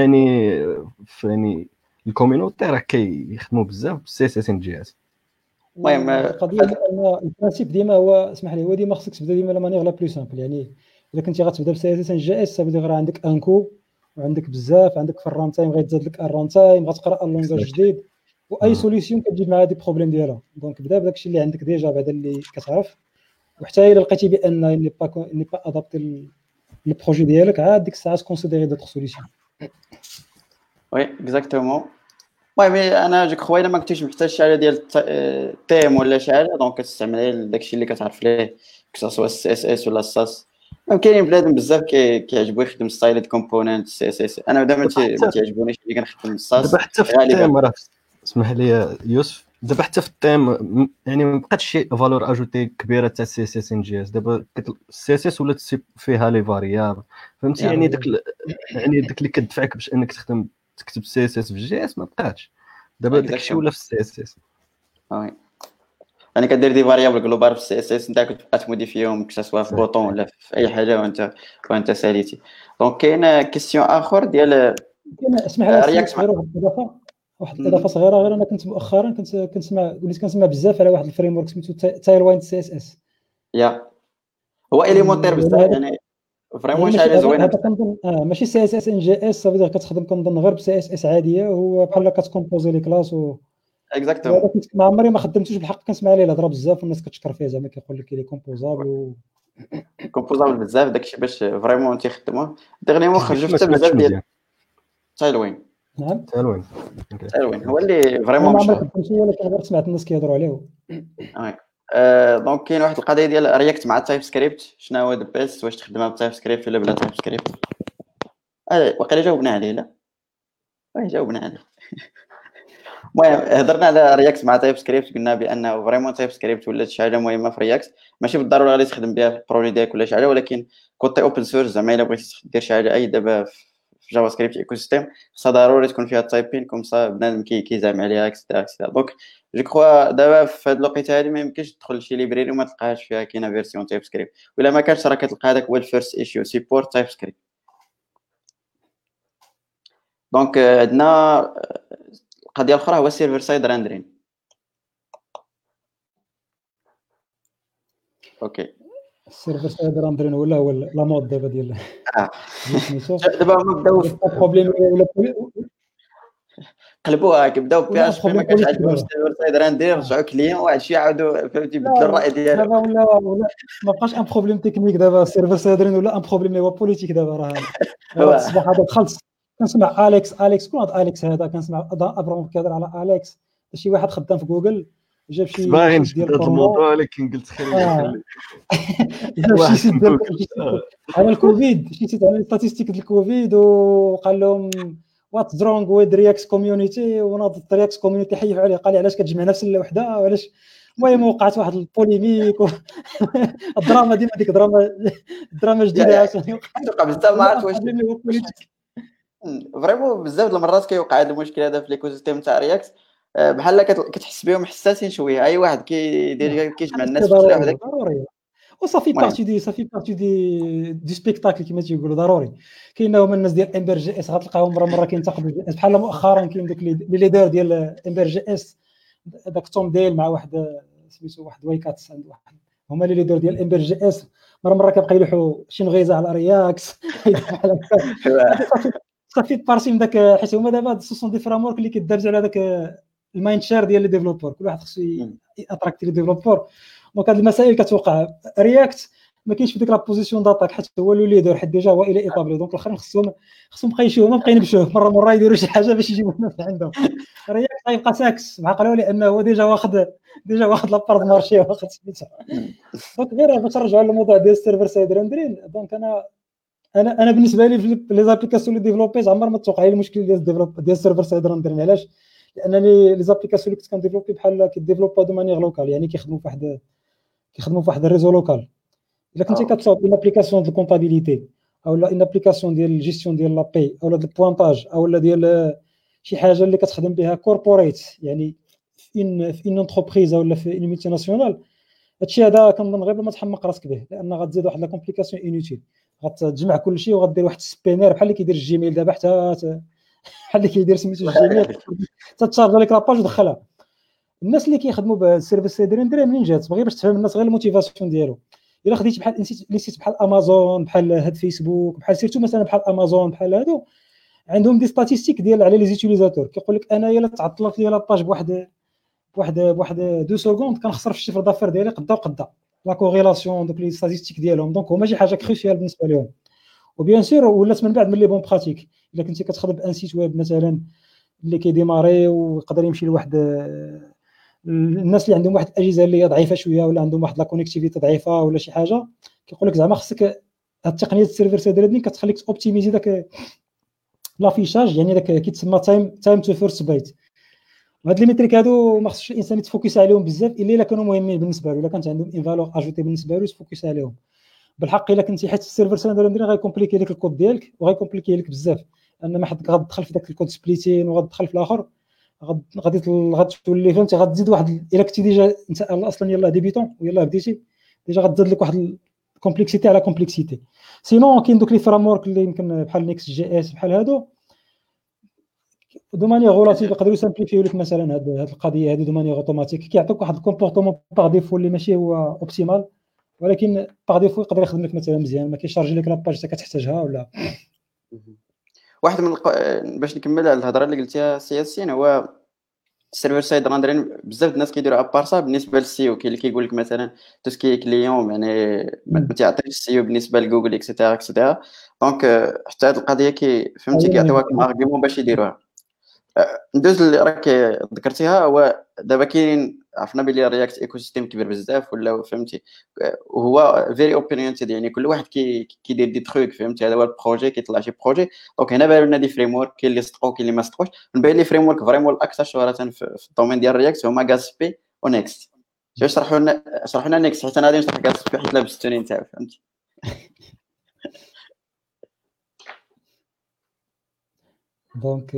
يعني الكوميونيتي راه كيخدموا بزاف بالسي اس اس ان جي اس. المهم القضيه ان البرانسيب ديما هو، اسمح لي، هو ديما خصك تبدا ديما لا مانيير لا بلو سامبل. يعني الا كنتي غتبدا بسي اس اس ان جي اس، سابي غير عندك ان كو وعندك بزاف، عندك في الران تايم غيتزاد لك الران تايم، غتقرا اللونغاج جديد، واي سوليسيون كتجيب مع هذه بروبليم ديالها. دونك بدا بداك الشيء اللي عندك ديجا بعدا اللي كتعرف، وحتى الا لقيتي بان ني با ادابتي البروجي ديالك، عاد ديك الساعه كونسيديري دوطخ سوليسيون. وي اكزاكتومون. المهم انا جو كخوا الا ما كنتيش محتاج شي حاجه ديال تيم ولا شي حاجه، دونك كتستعمل داكشي اللي كتعرف ليه، كسوا السي اس اس ولا الساس. كاينين بنادم بزاف كيعجبو يخدم ستايل كومبوننت سي اس اس. انا دابا ما تعجبونيش اللي كنخدم الساس دابا حتى في التيم راه، اسمح لي يوسف، دابا حتى في التيم يعني ما بقاتش شي فالور اجوتي كبيره تاع سي اس اس ان جي اس. دابا السي اس اس ولات فيها لي فاريابل، فهمتي؟ يعني داك اللي كدفعك باش انك تكتب سي اس اس في جي اس ما بقاتش. دابا داكشي ولا في السي اس اس. وي يعني كدير دي فاريابل جلوبال في السي اس اس، انت كتبقى تموديفيهم كسوا في بوطون ولا في اي حاجه وانت ساليتي. دونك كاين كيسيون اخر ديال اسمح لي غير واحد الاضافه صغيره. غير انا كنت مؤخرا وليت كنسمع بزاف على واحد الفريم ورك سميتو تايلواين سي اس اس. هو اليمونتير بزاف، يعني فريمون شي حاجه زوينه. هذا كنظن ماشي سي اس اس ان جي اس، صافي كتخدم كنظن غير بسي اس اس عاديه، هو بحال كتكومبوزي لي كلاس اكزاكتومون. ما عمري ما خدمتوش بالحق، كنسمع عليه الهضره بزاف والناس كتشكر فيه، زعما كيقول لك لي كومبوزابل كومبوزابل بزاف داكشي باش فريمون تيخدموه. ديغنيمون خرجوا حتى بزاف ديال تايلوين. نعم تايلوين هو اللي فريمون مشهور. ما خدمتش ولكن غير سمعت الناس كيهضروا عليه. دونك كاين واحد القضيه ديال رياكت مع تايب سكريبت. شنو هو ذا بيست؟ واش تخدمها بتايب سكريبت ولا بلا تايب سكريبت؟ وقيلا جاوبنا عليه. لا جاوبنا عليه. المهم هضرنا على رياكت مع تايب سكريبت، قلنا بانه فريمون تايب سكريبت ولات شي حاجه مهمه في رياكت، ماشي بالضروره غادي تخدم بها في البروجي ديالك ولا شي حاجه، ولكن كوتي اوبن سورس زعما الا بغيتي دير شي حاجه اي دابا في جافا سكريبت ايكو سيستيم خصها ضروري تكون فيها التايبين كوم صا بنادم كيزعم عليها اكسترا. دونك جو كخوا دابا في هاد الوقيته هادي ما يمكنش تدخل لشي ليبراري وما تلقاهاش فيها كاينه فيرسيون تايب سكريبت، ولا ما كانش راه كتلقى هذاك هو الفيرست ايشيو سيبورت تايب سكريبت. دونك عندنا القضيه الاخرى هو سيرفر سايد راندرين. اوكي السيرفر سايد راندرين ولا هو لا مود دابا ديال سميتو دابا هما بداو بروبليم ولا قلبوها كيبداو بي اش بي ما كانش عندهم السيرفر سايد راندرين، رجعوا كليون واحد الشيء عاودوا فهمتي بدلوا الراي ديالهم. دابا ولا ما بقاش ان بروبليم تكنيك دابا السيرفر سايد راندرين ولا ان بروبليم هو بوليتيك. دابا راه الصباح هذا دخلت كنسمع اليكس كون اليكس هذا، كنسمع ابرام كيهضر على اليكس، شي واحد خدام في جوجل جاب شي ديال الموضوع، ولكن قلت خلينا جاب شي ديال على الكوفيد، شي سيت على ستاتيستيك ديال الكوفيد، وقال لهم وات درونغ ويز رياكت كوميونيتي، وناض رياكت كوميونيتي حيفوا عليه، قال لي علاش كتجمع نفس الوحده وعلاش. المهم وقعت واحد البوليميك الدراما ديما ديك دراما جديده عاوتاني وقع بزاف. ما عرفتش واش فريمون بزاف المرات كيوقع هذا المشكل هذا في ليكوسيستيم تاع رياكت، بحال كتحس بهم حساسين شويه. اي واحد كيدير كيجمع الناس في وحده ضروري، وصافي بارتي دي سبيكتاكل كما تيقولوا. ضروري كاين هما الناس ديال امبر جي اس غتلقاهم مره كينتقدوا بحال مؤخرا كاين داك لي ليدر ديال امبر جي اس، داك توم ديل مع واحد سميتو واحد وايكاتس، عند واحد هما لي ليدر ديال امبر جي اس، مره كيبقى يلوحوا شي نغيزه على رياكت صافي بارتي من داك، حيت هما دابا سوسون دي فرامورك اللي كيدرجوا على داك المايند شير ديال لي ديفلوبور، كل واحد خصو اتراكتي لي ديفلوبور. دونك هاد المسائل كتوقع رياكت ما كاينش في ديك لا بوزيسيون داتاك حيت هو لو ليدر حيت ديجا هو الى ايطابلي دونك الاخرين خصهم بقى يمشيو ما بقى ينبشوه مره يديروا شي حاجه باش يجيبوا الناس عندهم. رياكت غيبقى ساكس معقله لانه هو ديجا واخد لابارت مارشي واخد سميتها. دونك غير باش نرجعوا للموضوع ديال السيرفر سايد رندرين. دونك انا بالنسبه لي في لي زابليكاسيون اللي ديفلوبيز عمر ما توقع لي المشكل ديال السيرفر سايد رندرين. علاش؟ لان لي زابليكاسيون اللي كنت كنديفلوبي بحال كيديفلوبا دو مانيير لوكال يعني كيخدموا في واحد الريزو لوكال. الا كنتي كتصاوب اون ابليكاسيون ديال الكونطابيليتي او لا اون ابليكاسيون ديال الجيستيون ديال لابي او لا ديال البوانطاج او لا ديال شي حاجه اللي كتخدم بها كوربوريت يعني في ان انتربريز ولا في ان ملتي ناسيونال، هادشي هذا كنظن غير ما تحمق راسك به لان غتزيد واحد لا كومبليكاسيون انوتيل. غتجمع كلشي وغدير واحد السبينر بحال اللي كيدير الجيميل دابا حتى بحال اللي كيدير سميتو الجيميل تتشارج لك لاباج ودخلها. الناس اللي كيخدموا بالسيرفيس سايد ريندر منين جات؟ بغي باش تفهم الناس غير الموتيفاسيون ديالو. الا خديتي بحال لي سيت بحال امازون بحال هاد فيسبوك بحال سيرتو مثلا بحال امازون بحال هادو عندهم دي ستاتيستيك ديال على لي زيتيليزاتور كيقول لك انايا الا تعطلت لي لاباج بواحد 2 سكوند كنخسر في الشفر دافير ديالي قدا لا كوريلاسيون دوك لي ستاتيستيك ديالهم. دونك هما شي حاجه كروسيال بالنسبه لهم. وبيان سور ولات من بعد من لي بون براتيك الا كنتي كتخدم بان سيت ويب مثلا اللي كيديماري ويقدر يمشي لواحد الناس اللي عندهم واحد الاجهزه اللي هي ضعيفه شويه ولا عندهم واحد لا كونيكتيفيتي ضعيفه ولا شي حاجه كيقول لك زعما خصك هاد التقنيه السيرفر سايد ريندرين كتخليك اوبتيميزي داك لافيشاج يعني داك كيتسمى تايم تو فيرست بايت. وهاد لي ميتريك هادو ما خصش الانسان يتفوكس عليهم بزاف الا كانوا مهمين بالنسبه له، الا كانت عندهم ان فالور اجوتي بالنسبه له تفوكس عليهم بالحق. الا كنتي حيت السيرفر سايد ريندرين غيكومبليكي لك الكود ديالك وغيكومبليكي لك بزاف ان ما حد غتدخل في داك الكود سبليتين وغتدخل في الاخر غتولي فهمتي غتزيد واحد الا كنتي ديجا انت اصلا يلاه ديبيتون ويلاه بديتي ديجا غتزيد لك واحد الكومبلكسيتي على كومبلكسيتي. سينون كاين دوك لي فريمورك اللي يمكن بحال نيكست جي اس بحال هادو دو مانيير غولاتيف يقدروا يسامبليفيو لك مثلا هاد القضيه هذه دو مانيير اوتوماتيك كيعطيوك واحد الكومبورتمون باغ ديفو اللي ماشي هو اوبتيمال ولكن باغ ديفو يقدر يخدم لك مثلا مزيان ما كيشارجي لك لاباج حتى كتحتاجها ولا. واحد من باش نكمل على الهضره اللي قلتيها سي ياسين هو السيرفر سايد راندرين بزاف الناس كيديروا ابارسا بالنسبه للسيو. كاين اللي كيقول لك مثلا تو سكي كليون يعني ما تعطيش السيو بالنسبه لجوجل اكسيتيرا. دونك حتى هذه القضيه فهمتي كيعطيوها كم ارغيومون باش يديروها. ندوز اللي راك ذكرتيها هو دابا كاين عرفنا بلي رياكت ايكو سيستيم كبير بزاف ولا فهمتي وهو فيري اوبينيونتد يعني كل واحد كيدير دي تروك فهمتي. هذا هو البروجي كيطلع شي بروجي. دونك هنا بان لنا دي فريم ورك كاين اللي صدقوا كاين اللي ما صدقوش. من بين لي فريم ورك فريمون الاكثر شهره في الدومين ديال رياكت هما غاسبي ونيكست. شرحوا لنا نيكست حيت انا غادي نشرح غاسبي حيت لابستوني نتاعو فهمتي. دونك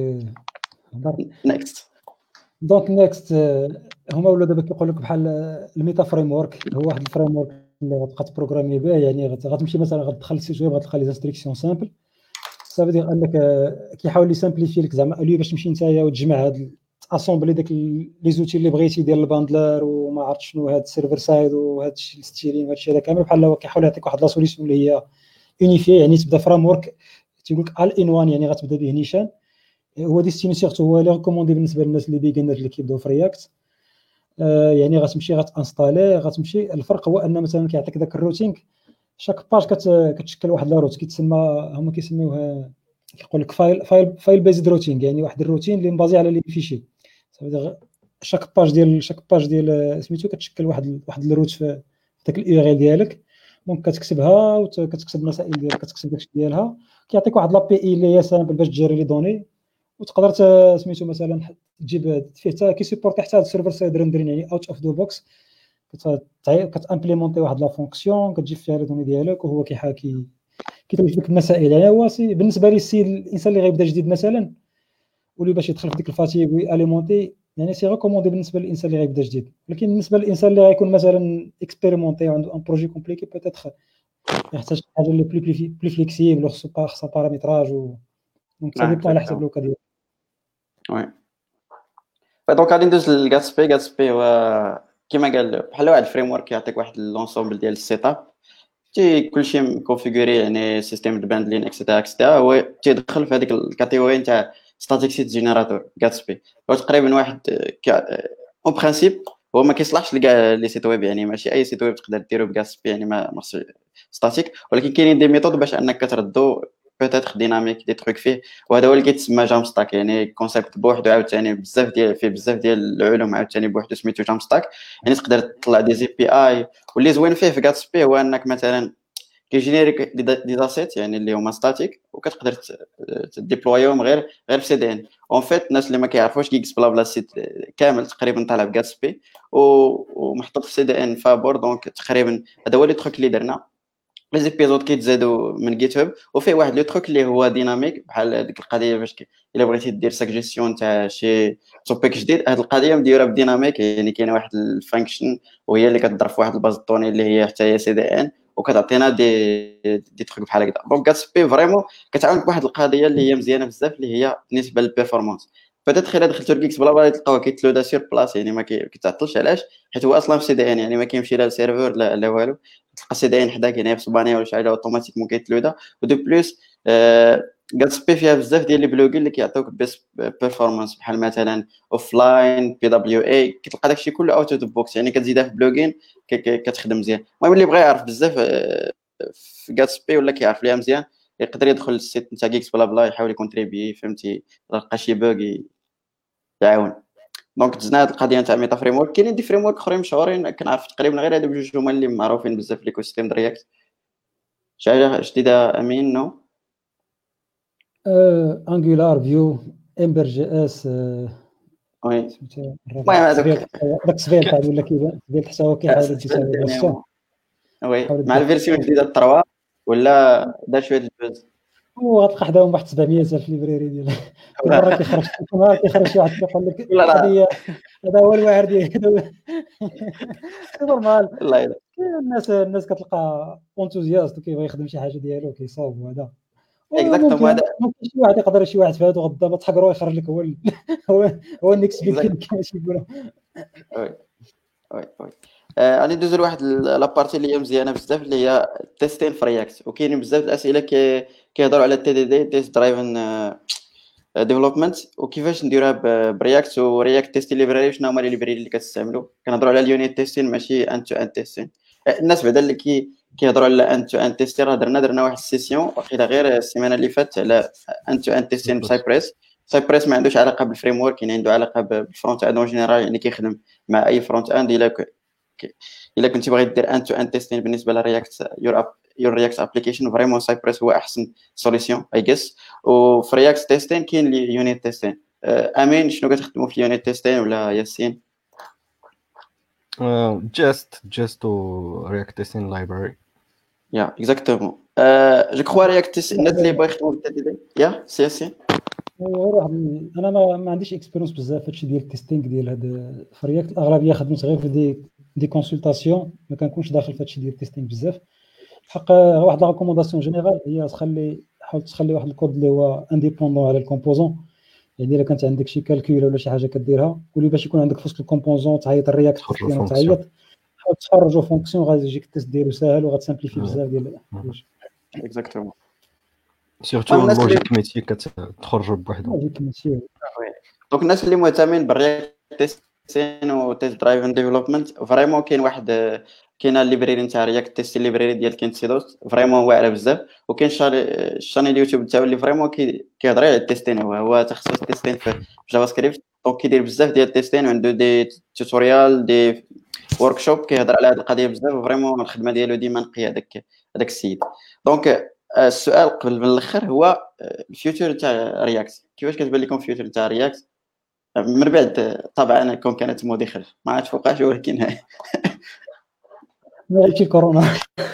نيكست هما ولا دابا كيقول لك بحال الميتا فريم ورك هو واحد الفريم ورك اللي غتبقى تبروغرامي به يعني غتمشي مثلا غتدخل السيت ويب غتلقى لي انستركسيون سامبل صافي دير انك كيحاول يسامبليفي لك زعما اليو باش تمشي نتايا وتجمع هاد اسومبلي داك لي زوتي اللي بغيتي ديال الباندلر وما عرفت شنو هاد السيرفر سايد وهاد الستيرين وهاد الشيء هذا كامل بحال هو كيحاول يعطيك واحد لا سوليسيون اللي هي يونيفي يعني تبدا فريم ورك تيقول لك ال ان وان يعني غتبدا به نيشان هو ديستيني سيرتو هو لي ريكوموندي بالنسبه للناس اللي بيجنر اللي كيبداو في رياكت. يعني غتمشي غتانستالي غتمشي. الفرق هو ان مثلا كيعطيك داك الروتينغ شاك باج كتشكل واحد لا روت كيتسمى هما كيسميوها كيقول لك فايل بيزد روتينغ يعني واحد الروتين اللي مبازي على لي فيشي. شاك باج ديال سميتو كتشكل واحد الروت في داك الاي ار ال ديالك. دونك كتكتبها وكتكتب المسائل ديالك كتكتب داكشي ديالها كيعطيك واحد لابي اي اللي هي سامبل باش تجري لي دوني وتقدر سميتو مثلا تجيب فيه حتى كيسيبورتي حتى السيرفر سايد ريندرين يعني اوت اوف دو بوكس كتامبليمونتي واحد لا فونكسيون كتجيب فيها لي دوني ديالك وهو كيحاكي كيتوجد لك المسائل. يعني هو بالنسبه لي الانسان اللي غيبدا جديد مثلا واللي باش يدخل في ديك الفاتيغ وياليمونتي يعني سي ريكوموندي بالنسبه للانسان اللي غيبدا جديد. ولكن بالنسبه للانسان اللي غيكون مثلا اكسبيريمونتي وعنده ان بروجي كومبليكي بوتيتر يحتاج شي حاجه اللي بلي فليكسيبل خصها بارامتراج دونك ça dépend على حسب الوقت ديالك. وي دونك غادي ندوز للغاتسبي هو كيما قال بحال واحد الفريم ورك كيعطيك واحد لونسومبل ديال السيت اب كلشي مكونفيغوري يعني سيستيم دو باندلين اكسيتيرا هو تيدخل في هذيك الكاتيجوري نتاع ستاتيك سيت جينيراتور غاتسبي. هو تقريبا واحد اون برينسيپ هو ما كيصلحش لكاع لي سيت ويب، يعني ماشي اي سيت ويب تقدر ديرو بكاسبي، يعني ما خصو ستاتيك، ولكن كاينين دي ميثود باش انك كتردو بوتيتر ديناميك دي تروك فيه، وهذا هو اللي كيتسمى جام ستاك، يعني كونسيبت بوحدو عاوتاني بزاف ديال فيه بزاف ديال العلوم عاوتاني بوحدو سميتو جام ستاك. يعني تقدر تطلع دي زي بي اي، واللي زوين فيه في كاتسبي هو انك مثلا كيجينيريك دي داسيت يعني اللي هما ستاتيك، وكتقدر تديبلويهم غير في سي دي ان. اون فيت الناس اللي ما كيعرفوش جيكس بلا بلا سيت كامل تقريبا طالع بكاتسبي ومحطوط في سي دي ان فابور. دونك تقريبا هذا هو لي تروك اللي درنا. لي زيبيزود كيتزادوا من جيت هاب، وفيه واحد لو تروك اللي هو ديناميك بحال ديك القضيه باش الا بغيتي دير ساجيستيون تاع شي توبيك جديد، هاد القضيه مديوره بديناميك، يعني كاينه واحد الفانكشن وهي اللي كتضرب في واحد الباز دوني اللي هي حتى هي سي دي ان، وكتعطينا دي تروك بحال هكذا. دونك كاتسبي فريمون كتعاونك بواحد القضيه اللي هي مزيانه بزاف، اللي هي بالنسبه للبيرفورمانس. بدات الا دخلتو لكيكس بلا بلا تلقاوه كيتلودا سير بلاص، يعني ما كيتعطلش. علاش؟ حيت هو اصلا في سي دي ان، يعني ما كيمشي لا للسيرفر لا والو، تلقى سي دي ان حداك يعني في اسبانيا ولا شي حاجه اوتوماتيك ممكن يتلودا. ودو بليس كاتسبي فيها بزاف ديال لي بلوغين اللي كيعطيوك بيست بيرفورمانس، بحال مثلا اوف لاين بي دبليو اي، كتلقى داكشي كله اوت اوف بوكس، يعني كتزيدها في بلوغين كتخدم مزيان. المهم اللي بغى يعرف بزاف في كاتسبي ولا كيعرف ليها مزيان يقدر يدخل للسيت نتاع جيكس بلا بلا، يحاول يكونتريبي، فهمتي، لقى شي بوغ يعاون. دونك دزنا هاد القضيه نتاع ميتا فريم ورك. كاينين دي فريم ورك اخرين مشهورين، كنعرف تقريبا غير هادو بجوج هما اللي معروفين بزاف في ليكو سيستيم رياكت. شي حاجه جديده امين؟ نو انجولار، فيو، امبر جي اس، وي سميتو المهم هذوك داك السبيل تاع ولا كيبان حتى هو كيحاول يدي سوا فيرسيون. وي مع الفيرسيون الجديده 3 ولا دار شويه الجوز. وغتلقى حداهم واحد 700 الف ليبراري ديال كل مره كيخرج شي واحد كيقول لك لا لا هذه هذا هو الواعر ديال سي نورمال. الله يلا كاين الناس كتلقى اونتوزياست وكيبغي يخدم شي حاجه ديالو كيصاوب وهذا، اكزاكتومون وممكن هذا شي واحد يقدر شي واحد في هادو غدا تحقرو يخرج لك هو النكست بيك ثينك كما تيقولوا. وي وي غادي ندوزو لواحد لابارتي اللي هي مزيانه بزاف، اللي هي تيستين في رياكت. وكاينين بزاف الاسئله كيهضروا على تي دي دي تيست درايفن ديفلوبمنت، وكيفاش نديروها برياكت ورياكت تيست ليبراري. شنو هما لي ليبراري اللي كتستعملوا؟ كنهضروا على اليونيت تيستين ماشي ان تو ان تيستين. الناس بعدا اللي كيهضروا على ان تو ان تيستين راه درنا واحد السيسيون واخيرا غير السيمانه اللي فاتت على ان تو ان تيستين بسايبريس. سايبريس ما عندوش علاقه بالفريم ورك، يعني عنده علاقه بالفرونت اند اون جينيرال، يعني كيخدم مع اي فرونت اند. الا كنتي باغي دير ان تو ان تيستين بالنسبه لرياكت يور رياكت ابليكيشن، فريمون سايبريس هو احسن سوليسيون اي جيس. وفي رياكت تيستين كاين لي يونيت تيستين. امين شنو كتخدموا في يونيت تيستين ولا ياسين؟ جست و رياكت تيستين لايبراري. يا اكزاكتومون. جو كخوا رياكت تيستين الناس اللي باغي يخدموا بالتي دي يا سي ياسين. انا ما عنديش اكسبيريونس بزاف هادشي ديال التيستينغ ديال هاد في رياكت. الاغلبيه خدمت غير في دي كونسلطاسيون، ما كنكونش داخل في هادشي ديال التيستينغ بزاف. الحق واحد لا ريكومونداسيون جينيرال هي حاول تخلي واحد الكود اللي هو انديبوندون على الكومبوزون. يعني الا كانت عندك شي كالكول ولا شي حاجه كديرها، قولي باش يكون عندك في وسط الكومبوزون تعيط الرياكت تيستين وتعيط حاول تخرجوا فونكسيون غادي يجيك التيست ديالو ساهل وغتسامبليفي بزاف ديال الحوايج. اكزاكتومون سيرتو اللوجيك ميتي كتخرجوا بوحدهم. دونك الناس اللي مهتمين بالرياكت تيستين و تيست درايفن ديفلوبمنت فريمون كاينه الليبراري نتاع رياكت تيست الليبراري ديال كينسيدوس فريمون واعره بزاف. وكاين الشانيل اليوتيوب تاعو اللي فريمون كيهضر على التيستين، هو تخصص تيستين في جافا سكريبت. دونك كيدير بزاف ديال التيستين وعنده دي توتوريال دي وركشوب كيهضر على هذه القضيه بزاف، وفريمون الخدمه ديالو ديما نقيه هذاك السيد. دونك السؤال قبل من الاخر هو الفيوتشر تاع رياكت. كيفاش كتبان لكم الفيوتشر تاع رياكت من بعد طبعا كون كانت مودي خلف ما عرفتش فوقاش، ولكن ماشي كورونا.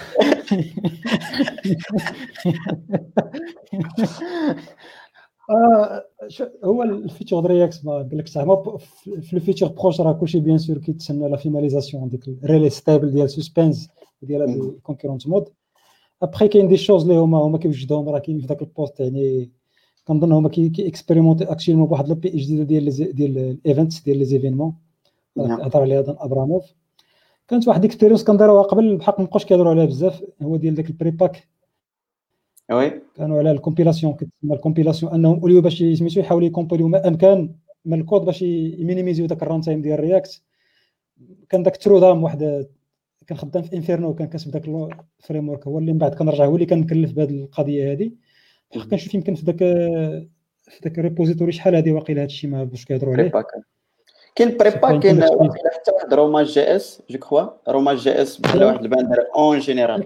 هو الفيتشر رياكت ما قال لك زعما في الفيتشر بروش راه كلشي بيان سور كيتسنى لا فيناليزاسيون ديك الريلي ستابل ديال سسبنس ديال هاد الكونكورونت مود. ابخي كاين دي شوز اللي هما كيوجدوهم راه كاين في داك البوست. يعني كنظن هما كي اكسبيريمونتي اكشيلمون بواحد لابي جديده ديال الايفنتس ديال لي زيفينمون هضر عليها دان ابراموف. كانت واحد الاكسبيريونس كنديروها قبل بحق مابقاوش كيهضروا عليها بزاف، هو ديال داك البريباك. وي كانوا على الكومبيلاسيون كتسمى الكومبيلاسيون انهم اوليو باش سميتو يحاولوا يكومبيليو ما امكن من الكود باش يمينيميزيو داك الران تايم ديال رياكت. كان داك ترودام واحد كان خدام في انفيرنو وكان كاتب داك الفريم ورك، هو اللي من بعد كنرجع هو اللي كان مكلف بهذه القضيه هذه. بحال كنشوف يمكن في داك الريبوزيتوري شحال هذه واقيلا هادشي ما باش كيهضروا عليه. كاين بريبا، كاين واقيلا حتى واحد روما جي اس جو كخوا، روما جي اس بحال واحد الباندر اون جينيرال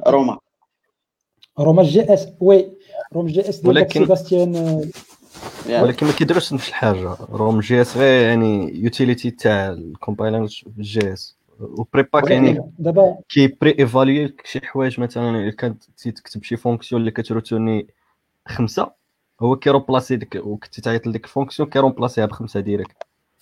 روما جي اس. وي روما جي اس ديال ولكن سيباستيان، ولكن ما كيديروش نفس الحاجه. روم جي اس غير يعني يوتيليتي تاع الكومبايلر جي اس، وبريباك يعني دابا كي بري ايفاليو شي حوايج. مثلا الا كنت تكتب شي فونكسيون اللي كتروتورني 5، هو كيروبلاسي ديك، وكنتي تعيط لديك الفونكسيون كيروبلاسيها ب5 ديريكت.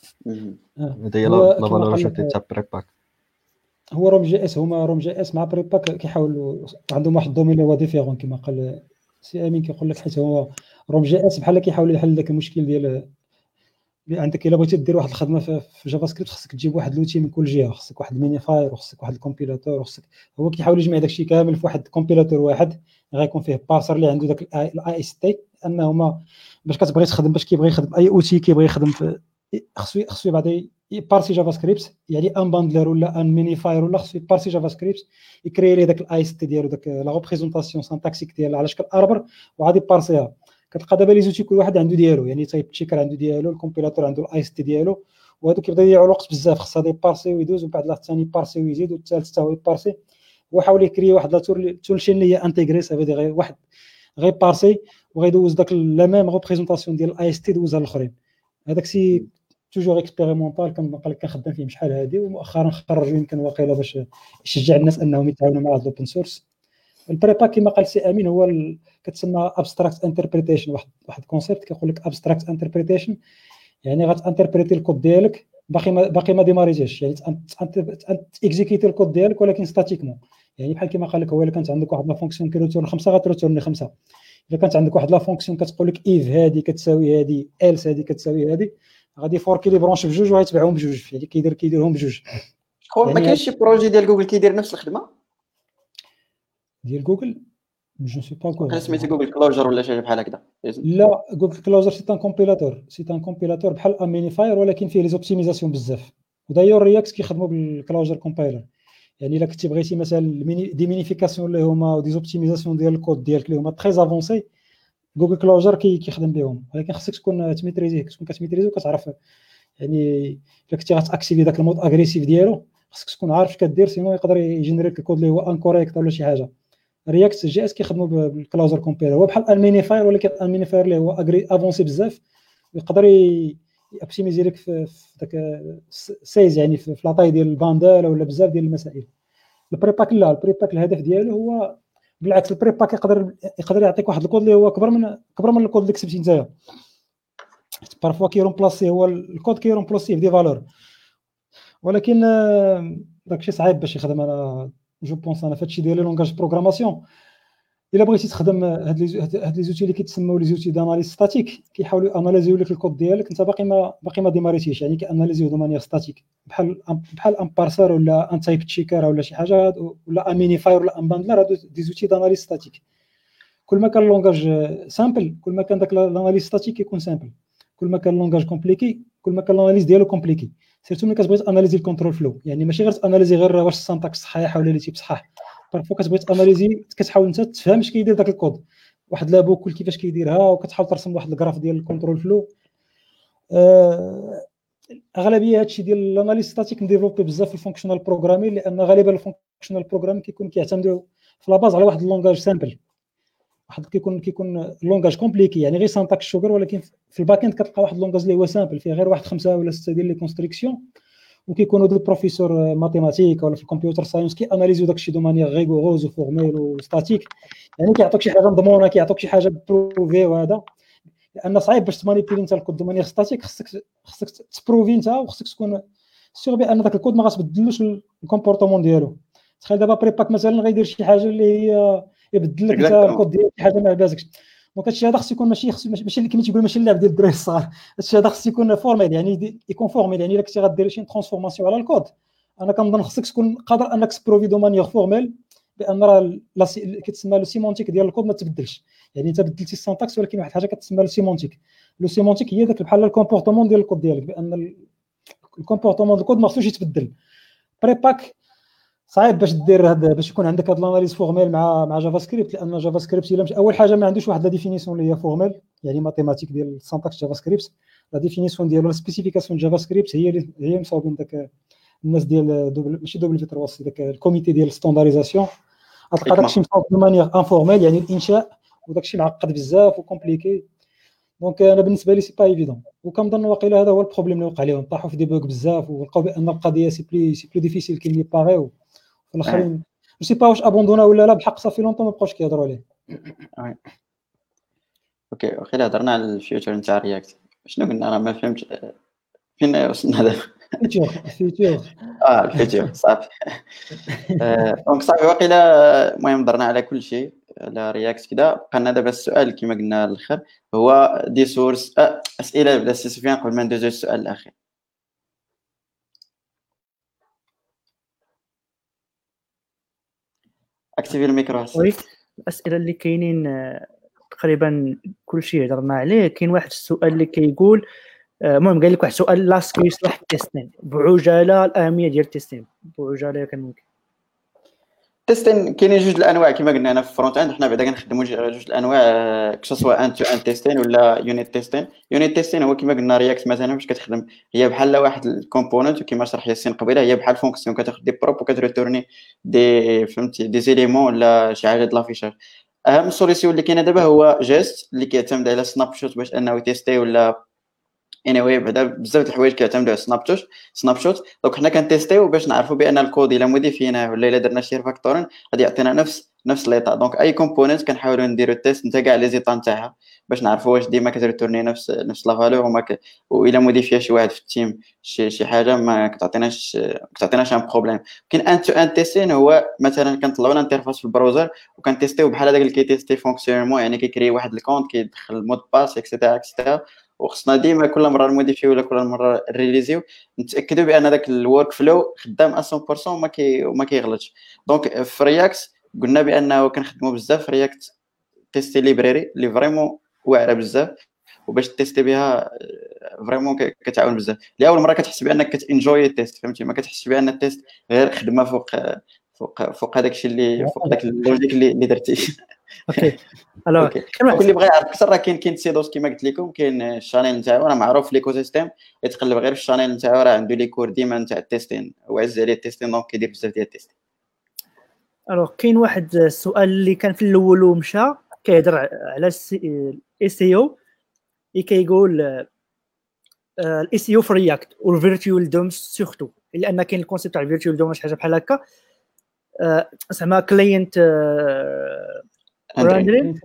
هذا هي لا فالوريتي تاع بريباك. هو روم جي اس، هما روم جي اس مع بريباك كيحاولوا عندهم واحد الدومين اللي هو ديفيرون كما قال سي امين. كيقول لك حيت هو روم جي اس بحال كيحاول يحل داك المشكل ديال اللي عندك. الا بغيتي دير واحد الخدمه في جافا سكريبت خصك تجيب واحد لوتي من كل جهه، خصك واحد المينيفاير وخصك واحد الكومبيلاتور وخصك. هو كيحاول يجمع داكشي كامل في واحد الكومبيلاتور واحد، غيكون فيه بارسر اللي عنده داك الاي اس تي. انهما باش كتبغي تخدم، باش كيبغي يخدم اي اوتي كيبغي يخدم في خصو بعدا يبارسي جافا سكريبت، يعني ان باندلر ولا ان مينيفاير ولا خصو يبارسي جافا سكريبت يكري لي داك الاي اس تي ديالو، داك لا ريبريزونطاسيون سانتاكسيك ديال على شكل اربر، وغادي يبارسيها. كتلقى دابا لي زوتي كل واحد عنده ديالو، يعني تايب تشيكر عنده ديالو، الكومبيلاتور عنده الاي اس تي ديالو، وهادو كيبدا يضيعوا الوقت بزاف. خص هذا يبارسي ويدوز، ومن بعد لا الثاني يبارسي ويزيد، والثالث حتى هو يبارسي. هو حاول يكري واحد لا تولشين اللي هي انتيغري، سافي دي غير واحد غير بارسي وغيدوز داك لا ميم ريبريزونطاسيون ديال الاي اس تي دوزها للاخرين. هذاك سي توجور اكسبيريمونطال، كنبقى كنخدم فيه شحال هادي، ومؤخرا خرجوا يمكن واقيلا باش يشجع الناس انهم يتعاونوا مع هذا الاوبن سورس. البريبا كما قال سي امين هو كتسمى ابستراكت انتربريتيشن، واحد كونسيبت كيقول لك ابستراكت انتربريتيشن، يعني غتانتربريتي الكود ديالك باقي ما ديماريتيش، يعني اكزيكيتي الكود ديالك ولكن ستاتيكمون. يعني بحال كما قال لك، هو الا كانت عندك واحد لا فونكسيون كيروتورن 5 غتروتورني 5. الا كانت عندك واحد لا فونكسيون كتقول لك ايف هذه كتساوي هذه، ايلس هذه كتساوي هذه، غادي فوركي لي برونش بجوج وغيتبعهم بجوج، يعني كيديرهم بجوج. يعني ما كاينش شي بروجي ديال جوجل كيدير نفس الخدمه ديال جوجل؟ جو سي با كو سميتو جوجل كلوجر ولا شي بحال هكذا؟ لا، جوجل كلوجر سي ان كومبيلاتور بحال امينيفاير، ولكن فيه لي زوبتيميزاسيون بزاف. ودايور رياكت كيخدموا بالكلوجر كومبايلر. يعني الا كنتي بغيتي مثلا دي مينيفيكاسيون اللي هما دي زوبتيميزاسيون ديال الكود ديالك اللي هما تري افونسي، جوجل كلوجر كيخدم بهم. ولكن خصك تكون تميتريزي، وكتعرف. يعني الا كنتي غتاكتيفي داك المود اغريسيف ديالو، خصك تكون عارف اش كدير، سينو يقدر يجينيريك الكود اللي هو انكوريكت ولا شي حاجه. رياكت جي اس كيخدموا بالكلوجر كومبيلر، هو بحال المينيفاير، ولكن المينيفاير اللي هو افونسي بزاف، ويقدر يوبتيميزي لك في داك سايز، يعني في لاطاي ديال الباندال ولا بزاف ديال المسائل. البريباك لا، البريباك الهدف ديالو هو بالعكس، البريباك يقدر يعطيك واحد الكود اللي هو كبر من الكود اللي كتبتي نتايا. بارفوا كيرومبلاسي هو الكود كيرومبلاسي في دي فالور، ولكن داكشي صعيب باش يخدم. انا جو بونس انا فهادشي ديال لي لونغاج بروغراماسيون، الا بغيتي تخدم هاد لي زوتي اللي كيتسموا لي زوتي داناليز ستاتيك، كيحاولوا اناليزيو لك الكود ديالك انت باقي ما ديماريتيش، يعني كاناليزيو دو مانيير ستاتيك، بحال ان بارسر ولا ان تايب تشيكر ولا شي حاجه، ولا ان مينيفاير ولا ان باندلر. هادو دي زوتي داناليز ستاتيك. كل ما كان اللونغاج سامبل، كل ما كان داك الاناليز ستاتيك يكون سامبل. كل ما كان اللونغاج كومبليكي، كل ما كان الاناليز ديالو كومبليكي. سيرتو ملي كتبغي تاناليزي الكونترول فلو، يعني ماشي غير تاناليزي غير واش السانتاكس صحيح ولا لي تيب صحاح. بارفو كتبغي تاناليزي، كتحاول انت تفهم اش كيدير داك الكود، واحد لابوكل كيفاش كيديرها، وكتحاول ترسم واحد الجراف ديال الكونترول فلو. اغلبيه هادشي ديال الاناليز ستاتيك مديفلوبي بزاف في الفونكشنال بروغرامين، لان غالبا الفونكشنال بروغرامين كيعتمدوا في لاباز على واحد اللونغاج سامبل، واحد كيكون اللونغاج كومبليكي، يعني غير سانتاكس شوغر، ولكن في الباك اند كتلقى واحد اللونغاج اللي هو سامبل فيه غير واحد 5 ولا 6 ديال لي كونستريكسيون، وكيكونوا دو بروفيسور ماتيماتيك ولا في الكمبيوتر ساينس كياناليزيو داكشي دو مانيير ريغوروز وفورميل وستاتيك، يعني كيعطوك شي حاجه مضمونه، كيعطوك شي حاجه بروفي. وهذا لان صعيب باش تمانيبيلي انت الكود دو مانيير ستاتيك، خصك تبروفي انت، وخصك تكون سيغ بان داك الكود ما غتبدلوش الكومبورتمون ديالو. تخيل دابا بريباك مثلا غيدير شي حاجه اللي هي يبدل لك انت الكود ديال شي حاجه ما عجباتكش. دونك هادشي هذا خصو يكون ماشي اللي كما تيقول ماشي اللعب ديال الدراري الصغار. هادشي هذا خصو يكون فورميل، يعني يكون فورميل. يعني الا كنتي غدير شي ترانسفورماسيون على الكود، انا كنظن خصك تكون قادر انك تبروفي دو مانيير فورميل بان راه كتسمى لو سيمونتيك ديال الكود ما تبدلش. يعني انت بدلتي السانتاكس، ولكن واحد الحاجه كتسمى لو سيمونتيك. لو سيمونتيك هي داك بحال الكومبورتمون ديال الكود ديالك، بان الكومبورتمون ديال الكود ما خصوش يتبدل. بريباك صعيب باش دير هذا، باش يكون عندك هاد الاناليز فورميل مع جافا سكريبت، لان جافا سكريبت الا اول حاجه ما عندوش واحد لا ديفينيسيون اللي هي فورميل، يعني ماتيماتيك ديال السانتاكس جافا سكريبت. لا ديفينيسيون ديالو لا سبيسيفيكاسيون جافا سكريبت هي مصاوبين داك الناس ديال ماشي دبل في 3 داك الكوميتي ديال الستاندارديزاسيون، غتلقى داكشي مصاوب دو مانيير انفورميل، يعني الانشاء، وداكشي معقد بزاف وكومبليكي. دونك انا بالنسبه لي سي با ايفيدون، وكنظن واقيلا هذا هو البروبليم اللي وقع لهم، طاحوا في دي بوغ بزاف ولقاو بان القضيه سي بلي ديفيسيل كي لي باغيو الاخرين. جو سي با واش ابوندونا ولا لا، بحق صافي لونطون ما بقاوش كيهضروا عليه. اوكي واخا هضرنا على الفيوتشر نتاع رياكت، شنو قلنا؟ انا ما فهمتش فين وصلنا دابا. الفيوتشر الفيوتشر صافي. دونك صافي واقيلا المهم هضرنا على كل شيء على رياكت كذا. بقى دابا السؤال كما قلنا الاخر هو دي سورس اسئله بلا سيسفيان قبل ما ندوزو السؤال الاخير. اكتيفي الميكرو. وي الاسئله اللي كاينين تقريبا كل شيء هضرنا عليه. كاين واحد السؤال اللي كيقول المهم قال لك واحد السؤال لاست كيشرح التيستين بعجاله، الاهميه ديال التيستين بعجاله كان ممكن. تيستين كاينين جوج الانواع كما قلنا هنا في الفرونت اند، حنا بعدا كنخدموا جوج الانواع كسوا ان تو ان تيستين ولا يونيت تيستين. يونيت تيستين هو كما قلنا رياكت مثلا باش كتخدم هي بحال واحد الكومبوننت، وكما شرح ياسين قبيله هي بحال فونكسيون كتاخذ دي بروب وكتريتورني دي فهمتي دي زيليمون ولا شي حاجه د لافيشاج. اهم سوليسيون اللي كاينه دابا هو جيست اللي كيعتمد على سناب شوت باش انه تيستي ولا anyway بعدا بزاف د الحوايج كيعتمدوا على سناب شوت. دونك حنا كنتيستيو باش نعرفوا بان الكود الا موديفيناه ولا الا درنا شي ريفاكتورين غادي يعطينا نفس ليطا. دونك اي كومبوننت كنحاولوا نديروا التيست نتا كاع لي زيطا نتاعها باش نعرفوا واش ديما كتريتورني نفس لا فالور، والا موديفيا شي واحد في التيم شي حاجه ما كتعطيناش ان بروبليم. كاين ان تو ان تيستين هو مثلا كنطلعوا لنا انترفاس في البراوزر وكنتيستيو بحال هذاك اللي كيتيستي فونكسيونمون، يعني كيكري واحد الكونت كيدخل المود باس اكسيتيرا وخصنا ديما كل مره نموديفيو ولا كل مره ريليزيو نتاكدوا بان هذاك الورك فلو خدام 100% وما كيغلطش. دونك في رياكت قلنا بانه كنخدموا بزاف في رياكت تيستي ليبراري اللي فريمون واعره بزاف، وباش تيستي بها فريمون كتعاون بزاف. لاول مره كتحس بانك كتنجوي التيست، فهمتي؟ ما كتحسش بان التيست غير خدمه فوق هذاك الشيء اللي فوق داك اللوجيك اللي درتي. اوكي الو كل اللي بغى يعرف اكثر راه كاين سيدوس كما قلت لكم، كاين الشانيل نتاعو راه معروف في ليكو سيستيم، يتقلب غير في الشانيل نتاعو راه عنده لي كور ديما نتاع التيستين وعز عليه التيستين، دونك كيدير بزاف ديال التيست. الو كاين واحد السؤال اللي كان في الاول ومشى كيهضر على الاي سي او، اللي كيقول الاي سي او في رياكت والفيرتوال دوم سورتو، لان كاين الكونسيبت تاع الفيرتوال دوم شي حاجه بحال هكا زعما كلاينت راندرين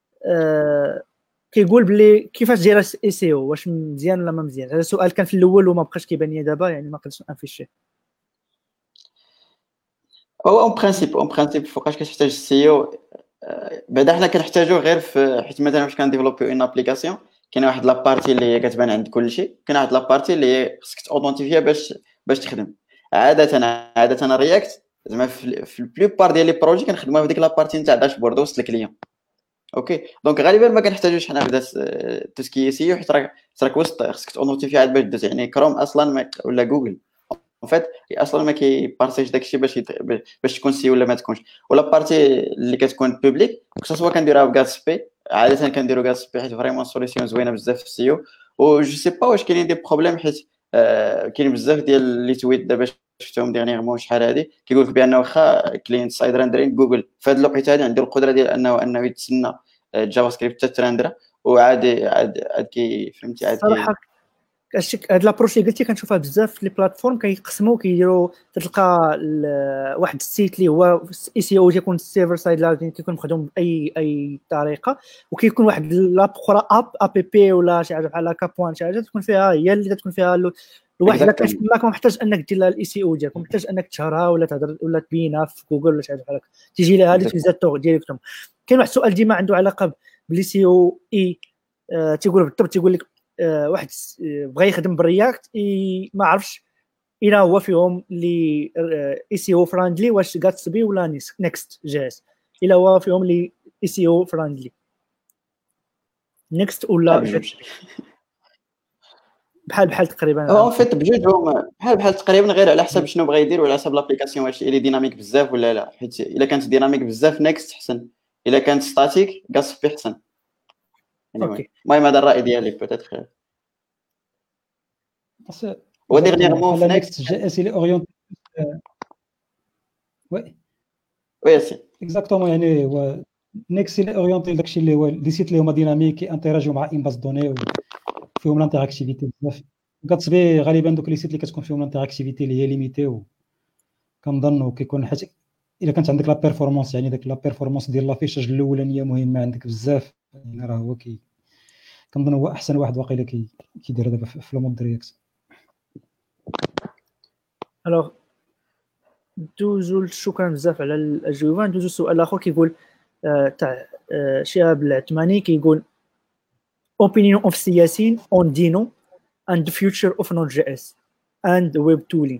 كيقول بلي كيفاش داير اي سي او، واش مزيان ولا ما مزيان؟ هذا السؤال كان في الاول وما بقاش كيبان لي دابا، يعني ما قدرتش نفيشيه. هو اون برينسيپ فوقاش كتحتاج السي او بعدا حنا كنحتاجو غير في حيت مثلا فاش كنديفلوبيو اون ابليكاسيون كاين واحد لابارتي اللي هي كتبان عند كلشي، كاين واحد لابارتي اللي هي خصك تاودونتيفيها باش تخدم. عاده رياكت زعما في البلوبار ديال لي بروجي كنخدموها في ديك لابارتي نتاع داشبورد وسط الكليون. اوكي دونك غالبا ما كنحتاجوش حنا بدا توسكي سي او، حيت راك وسط خصك تاودونتيفي عاد باش دوز، يعني كروم اصلا ولا جوجل en fait اصلا ما كيبارطاجيش داكشي باش تكون سي ولا ما تكونش. ولا بارتي اللي كتكون بوبليك سوا كنديروها بغاتسبي، عاده كنديرو غاتسبي حيت فريمون سوليسيون زوينه بزاف في السي او. و جو سي با واش كاينين دي بروبليم حيت كاين بزاف ديال لي تويت دابا شفتهم ديغنيغمون شحال هادي كيقول لك بان واخا كلينت سايد ريندرين جوجل في هاد الوقيته هادي عنده القدره ديال انه يتسنى جافا سكريبت تترندر وعادي عاد فهمتي عاد صراحه هاد لابروش اللي قلتي كنشوفها بزاف في لي بلاتفورم كيقسموا كيديروا تلقى واحد السيت اللي هو اي سي او تيكون السيرفر سايد لاين كيكون مخدوم باي طريقه، وكيكون واحد لاب اخرى اب بي ولا شي حاجه بحال هكا بوان شي حاجه تكون فيها هي اللي تكون فيها الواحد الا كان ما محتاج انك دير لها الاي سي او ديالك، محتاج انك تشهرها ولا تهضر ولا تبينها في جوجل ولا شي حاجه بحال هكا تيجي لها هذه تيزاتو ديريكتوم. كاين واحد السؤال ديما عنده علاقه بالاي سي او اي تيقول بالضبط تيقول لك واحد بغى يخدم بالرياكت ما عرفش الى هو فيهم اللي اي سي او فريندلي واش غاتسبي ولا نيكست جاس، الى هو فيهم اللي اي سي او فريندلي نيكست ولا بحال تقريبا هو فيت بجوج هما بحال تقريبا، غير على حسب شنو بغا يدير وعلى حسب لابليكاسيون واش اللي ديناميك بزاف ولا لا. حيت الا كانت ديناميك بزاف نيكست حسن، الا كانت ستاتيك غاصفي حسن. اوكي المهم هذا الراي ديالي بوتيتر خير. وديرنييرمون في نيكست جي اس اللي اورينتي وي سي اكزاكتومون. يعني هو نيكست اللي اورينتي داكشي اللي هو لي سيت اللي هما ديناميك انتراجيو مع ان باز دوني وفيهم الانتراكتيفيتي بزاف. كتصبي غالبا دوك لي سيت اللي كتكون فيهم الانتراكتيفيتي اللي هي ليميتي، وكنظن كيكون حيت الا كانت عندك لا بيرفورمانس، يعني داك لا بيرفورمانس ديال لافيشاج الاولانيه مهمه عندك بزاف، يعني راه هو كنظن هو احسن واحد واقيلا كيدير دابا في المود رياكت. الوغ دوزو شكرا بزاف على الاجوبه. ندوزو سؤال اخر كيقول تاع شهاب العثماني، كيقول opinion of سياسين on Dino and the future of Node.js and web tooling.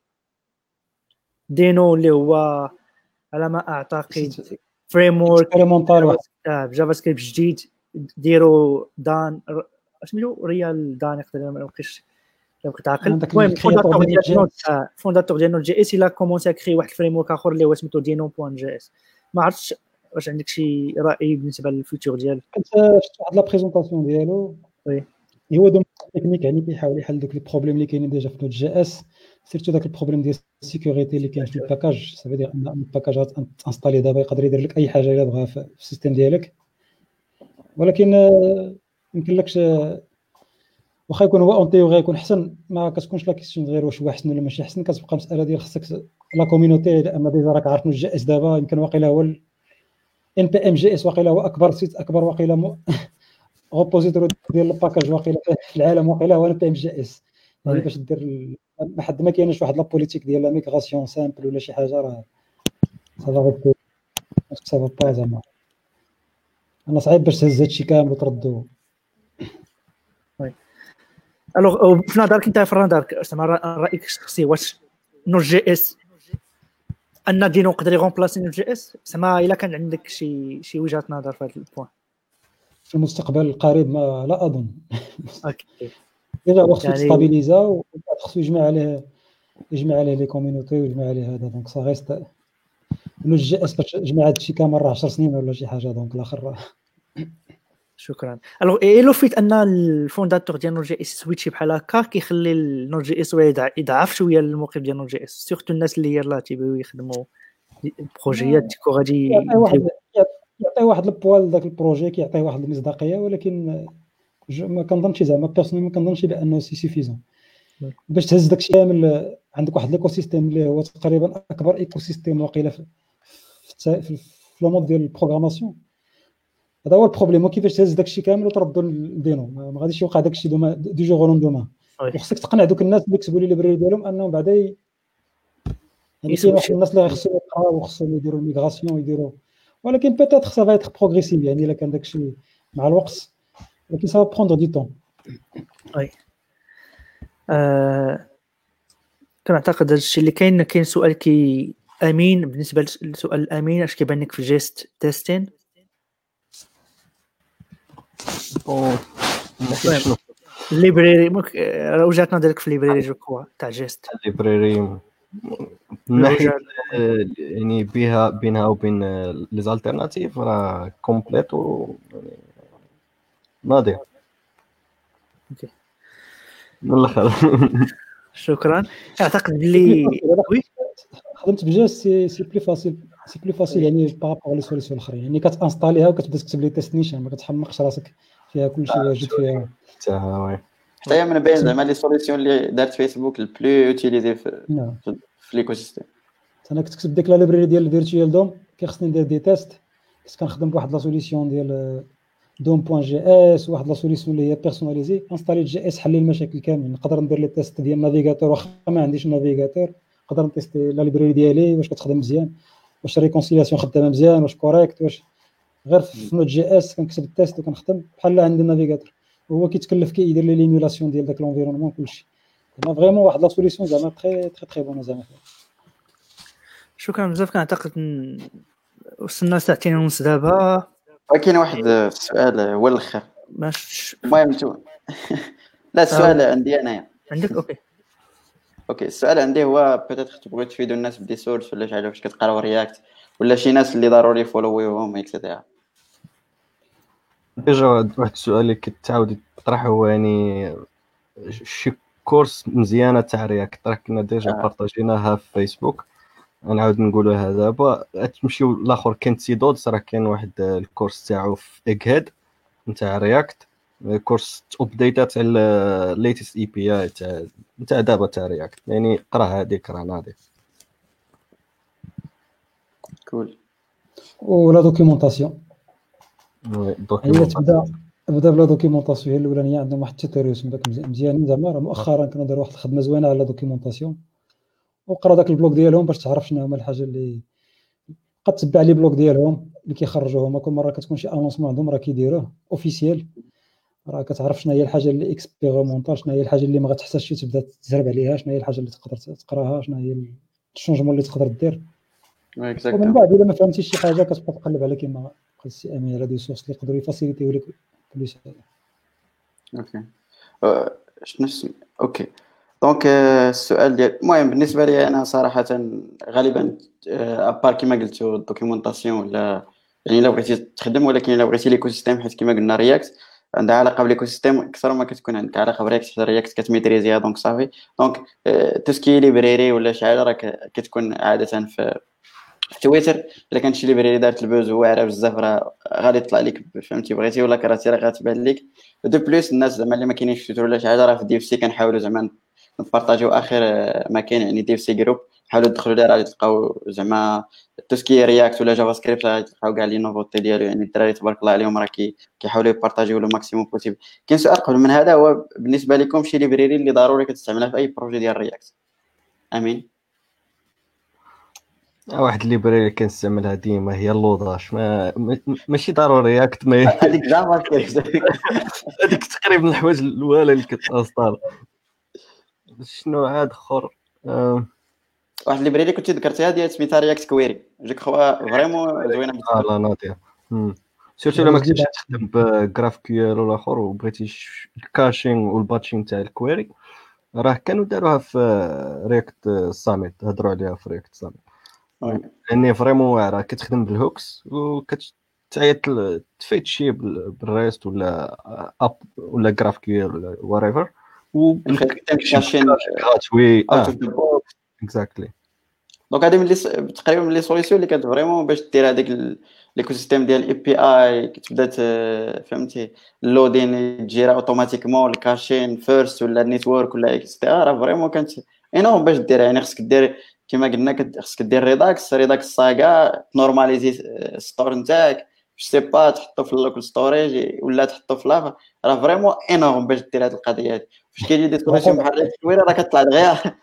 دينو اللي هو على ما اعتقد فريم ورك جافا سكريبت جديد، ديروا دان اسميتو ريال دان، يقدر ما يبقيش لو كنت عاقل. المهم فونداتور ديال نوت جي اس الا كومونسي كري واحد الفريم ورك اخر اللي هو سميتو دينو بوان جي اس. ما عرفتش واش عندك شي راي بالنسبه للفيوتشر ديال؟ كنت شفت واحد لا بريزونطاسيون ديالو، وي هو دوم تكنيك، يعني كيحاول يحل دوك لي بروبليم اللي كاينين ديجا في نوت جي اس، سيرتو داك البروبليم ديال السيكوريتي اللي كاين في الباكاج. سافي دير ان الباكاجات انستالي دابا يقدر يدير لك اي حاجه الا بغا في السيستم ديالك، ولكن يمكن لكش واخا يكون هو اون تيوري يكون حسن، ما كتكونش لا كيسيون غير واش هو حسن ولا ماشي حسن، كتبقى مساله ديال خصك لا كوميونيتي. اما ديجا راك عارف نوت جي اس دابا يمكن واقيلا هو ان بي ام جي اس، واقيلا هو اكبر سيت، اكبر واقيلا غوبوزيتوري ديال الباكاج واقيلا في العالم، واقيلا هو ان بي ام جي اس. يعني باش دير لحد ما كاينش واحد لا بوليتيك ديال لا ميغراسيون سامبل ولا شي حاجه، راه صافا با زعما انا صعيب باش تهز هادشي كامل وتردو. الوغ في نظرك انت فران دارك زعما رايك الشخصي، واش نوت جي اس ان دينو يقدر يغومبلاسي نوت جي اس؟ زعما الا كان عندك شي وجهه نظر في هذا البوين في المستقبل القريب؟ ما لا اظن. اوكي ديجا خصو يستابيليزا وخصو يجمع عليه لي كوميونيتي ويجمع عليه هذا، دونك صا غيست نوت جي اس باش تجمع هادشي كامل راه 10 سنين ولا شي حاجه، دونك الاخر. شكرا. الوغ اي لو فيت ان الفونداتور ديال نوت جي اس سويتشي بحال هكا كيخلي نوت جي اس يضعف شويه الموقف ديال نوت جي اس، سورتو الناس اللي يلاه تيبغيو يخدموا بروجيات تيكو غادي يعطي واحد البوال داك البروجي، كيعطي واحد المصداقيه، ولكن ما كنظنش زعما بيرسونيل ما كنظنش بانه سي سيفيزون باش تهز داكشي كامل. عندك واحد ليكو سيستيم اللي هو تقريبا اكبر ايكو سيستيم واقيلا في لو مود ديال البروغراماسيون. هذا هو البروبليم، كيفاش تهز داكشي كامل وتردو لدينو. ما غاديش يوقع داكشي دو جور روندومان. وخصك تقنع دوك الناس اللي كتبوا لي البريد ديالهم انهم بعدا يعني كاين واحد الناس اللي خصهم يقراو وخصهم يديروا الميغراسيون يديروا، ولكن بيتيتر سا فا ايتر بروغريسيف، يعني الا كان داكشي مع الوقت، ولكن سا بروندر دي طون. وي كنعتقد هذا الشيء اللي كاين سؤال كي امين. بالنسبه للسؤال الامين، اش كيبان لك في جيست تيستين؟ الليبراري وجهه نظرك في الليبراري جو كوا تاع جيست؟ الليبراري يعني بينها وبين لي زالتيرناتيف راه كومبليت و ناضي. اوكي من الاخر شكرا. اعتقد بلي وي خدمت بجاست سي بلي فاسيل يعني بارابور لي سوليسيون الاخرين، يعني كتانستاليها وكتبدا تكتب لي تيست نيشان، ما كتحمقش راسك فيها كلشي واجد فيها حتى هي من بين زعما لي سوليسيون اللي دارت فيسبوك البلو اوتيليزي في ليكو سيستيم. انا كنت كتب ديك لا ليبراري ديال فيرتوال دوم، كيخصني ندير دي تيست، كنت كنخدم بواحد لا سوليسيون ديال دوم بوان جي اس، واحد لا سوليسيون اللي هي بيرسوناليزي. انستاليت جي اس حل لي المشاكل كاملين، نقدر ندير لي تيست ديال النافيغاتور واخا ما عنديش النافيغاتور، نقدر نتيستي لا ليبراري ديالي واش كتخدم مزيان، واش الريكونسيلياسيون خدامه مزيان، واش كوريكت، واش غير في نوت جي اس كنكتب التيست وكنخدم بحال عندي النافيغاتور، وهو كيتكلف كيدير لي ليمولاسيون ديال داك لونفيرونمون كلشي. زعما فريمون واحد لا سوليسيون زعما تري بون زعما. شكرا بزاف. كنعتقد وصلنا ساعتين ونص دابا. كاين واحد السؤال هو الاخر. باش المهم لا السؤال عندي انايا. عندك اوكي السؤال عندي هو بيتيتر تبغيو تفيدوا الناس بدي سورس ولا شي حاجه فاش كتقراو رياكت ولا شي ناس اللي ضروري فولويوهم اكسيتيرا. ديجا واحد السؤال اللي كتعاود تطرح هو يعني شي كورس مزيانه تاع رياكت راه كنا ديجا بارطاجيناها في فيسبوك. نعاود نقولوها دابا تمشيو الاخر كاين سيدود راه كاين واحد الكورس تاعو في ايغهيد نتاع رياكت كورس ابديتات تاع الليتست اي بي اي تاع دابا تاع رياكت يعني قرا هذيك راه ناضي كول. ولا دوكيومونطاسيون هي دوكيومنت بدا بلا دوكيومونطاسيون هي الاولانيه عندهم واحد التيتوريوس داك مزيانين زعما راه مؤخرا كندير واحد الخدمه زوينه على دوكيومونطاسيون وقرا داك البلوك ديالهم باش تعرف شنو هما الحاجه اللي قد تتبع لي بلوك ديالهم اللي كيخرجوه هما كل مره كتكون شي انونسمون عندهم راه كيديروه اوفيسيال راه كتعرف شنو هي الحاجه اللي اكسبيريمونطال شنو هي الحاجه اللي ما غتحتاجش تبدا تجرب عليها شنو هي الحاجه اللي تقدر تقراها شنو هي الشونجمون اللي تقدر دير ومن بعد الا ما فهمتيش شي حاجه كتبقى تقلب على كيما قال السي امين على دي سورس اللي يقدروا يفاسيليتيو لك بلوس. اوكي شنو اوكي دونك السؤال ديال المهم بالنسبه لي انا صراحه غالبا ابار كيما قلتوا الدوكيومونطاسيون ولا يعني الا بغيتي تخدم ولكن الا بغيتي ليكو سيستيم حيت كيما قلنا رياكت عندها علاقه بالايكو سيستيم اكثر ما كتكون عندك علاقه برياكت رياكت كتميتريزيها دونك صافي دونك توسكي ليبريري ولا شي حاجه راه كتكون عاده في تويتر الا كانت شي ليبريري دارت البوز واعره بزاف راه غادي يطلع لك فهمتي بغيتي ولا كرهتي راه غتبان لك دو بليس الناس زعما اللي ما كاينينش في تويتر ولا شي حاجه راه في دي اف سي كنحاولوا زعما نبارطاجيو اخر ما كاين يعني دي اف سي جروب حاولوا تدخلوا ليه راه تلقاو زعما توسكي رياكت ولا جافا سكريبت راه تلقاو كاع لي نوفوتي ديالو يعني الدراري تبارك الله عليهم راه كيحاولوا يبارطاجيو لو ماكسيموم بوسيبل. كاين سؤال قبل من هذا هو بالنسبه لكم شي ليبريري اللي ضروري كتستعملها في اي بروجي ديال رياكت؟ امين. واحد الليبراري كنستعملها ديما هي اللوداش ماشي ضروري رياكت ما هذيك جافا سكريبت هذيك تقريبا الحوايج الاولى اللي كتاصدر. شنو عاد اخر واحد الليبراري كنت ذكرتيها ديال سميتها رياكت كويري جو كخوا فريمون زوينه بزاف. لا ناضيه سيرتو لما كنتي تخدم بغراف كيو ال والاخر وبغيتي الكاشين والباتشين تاع الكويري راه كانوا داروها في رياكت ساميت هضروا عليها في رياكت ساميت يعني فريمون واعره كتخدم بالهوكس وكتعيط تفيت شي بالريست ولا اب ولا غراف كيو ولا ورايفر وكاشين غراتوي اكزاكتلي. دونك هذه من تقريبا من لي سوليسيون اللي كانت فريمون باش دير هذاك ليكو سيستيم ديال الاي بي اي كتبدا فهمتي اللودين تجيرا اوتوماتيكمون الكاشين فيرست ولا النيتورك ولا اكسترا راه فريمون كانت انورم باش دير يعني خصك دير كما قلنا خصك دير ريداكس ساغا نورماليزي ستور نتاعك سي با تحطو في اللوكال ستوريج ولا تحطو في لافا راه فريمون انورم باش دير هذه القضيه هذه فاش كيجي دي سوليسيون بحال الكويره راه كطلع دغيا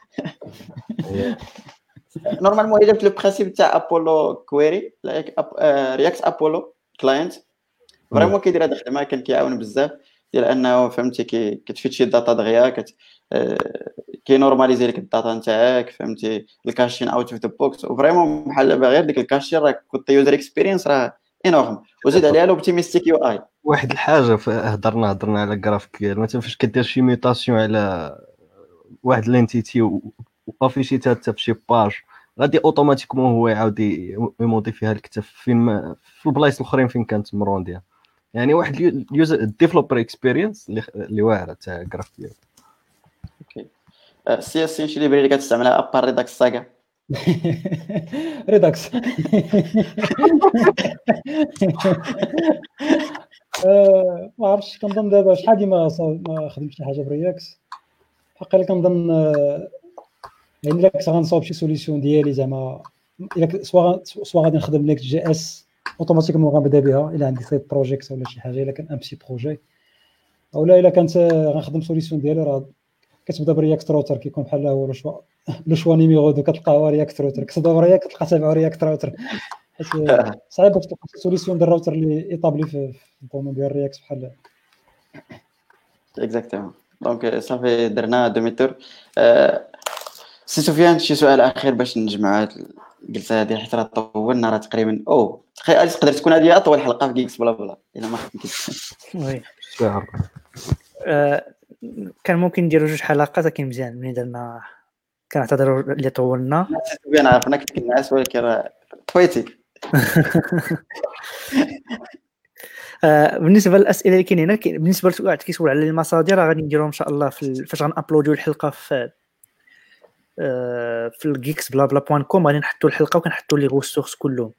نورمالمون هي جابت لو برينسيپ تاع ابولو كويري رياكت ابولو كلاينت فريمون كيدير هذا الخدمه كان كيعاون بزاف ديال انه فهمتي كتفيد شي داتا دغيا كي نورماليزي لك الداتا نتاعك فهمتي الكاشين اوت اوف ذا بوكس وفريمون بحال غير ديك الكاشين راه كنت يوزر اكسبيرينس راه انورم وزيد عليها لوبتيميستيك يو اي. واحد الحاجه هضرنا على جرافيكيال مثلا فاش كدير شي ميوتاسيون على واحد لانتيتي وافيشيتها حتى في شي باج غادي اوتوماتيكمون هو يعاود يموديفيها لك حتى فين في البلايص الاخرين فين كانت مرونديا يعني واحد اليوزر ديفلوبر اكسبيرينس اللي واعره تاع جرافيكيال. اوكي سي اس شي ليبراري اللي كتستعملها ابار ريداكس ساغا ريداكس ما عرفتش كنظن دابا شحال ديما ما خدمتش شي حاجه برياكس حقا كنظن يعني الا كنت غنصاوب شي سوليسيون ديالي زعما الا سوا غادي نخدم نيكست جي اس اوتوماتيكمون غنبدا بها الا عندي سايد بروجيكت ولا شي حاجه الا كان ام سي بروجي اولا الا كانت غنخدم سوليسيون ديالي راه كتبدا برياكت روتر كيكون بحال هو لو شوا نيميرو 2 كتلقى هو رياكت روتر كتبدا برياكت كتلقى تابع رياكت روتر حيت صعيب باش تلقى سوليسيون ديال الراوتر اللي ايطابلي في الدومين ديال رياكت بحال اكزاكتومون دونك صافي درنا دومي تور. سي سفيان شي سؤال اخير باش نجمع الجلسه هذه حيت راه طولنا راه تقريبا تقدر تكون هذه اطول حلقه في جيكس بلا بلا الا ما خدمتيش وي كان ممكن نديروا 2 حلقات لكن مزيان ملي درنا كنعتذروا اللي طولنا. بيان عرفنا كنت كنعس ولكن راه طفيتي. بالنسبه للاسئله اللي كاينين هنا بالنسبه لسؤال كيسول على المصادر راه غادي نديرهم ان شاء الله فاش غنابلوديو الحلقه في الجيكس بلا بلا بوان كوم غادي نحطوا الحلقه وكنحطوا لي غوسورس كلهم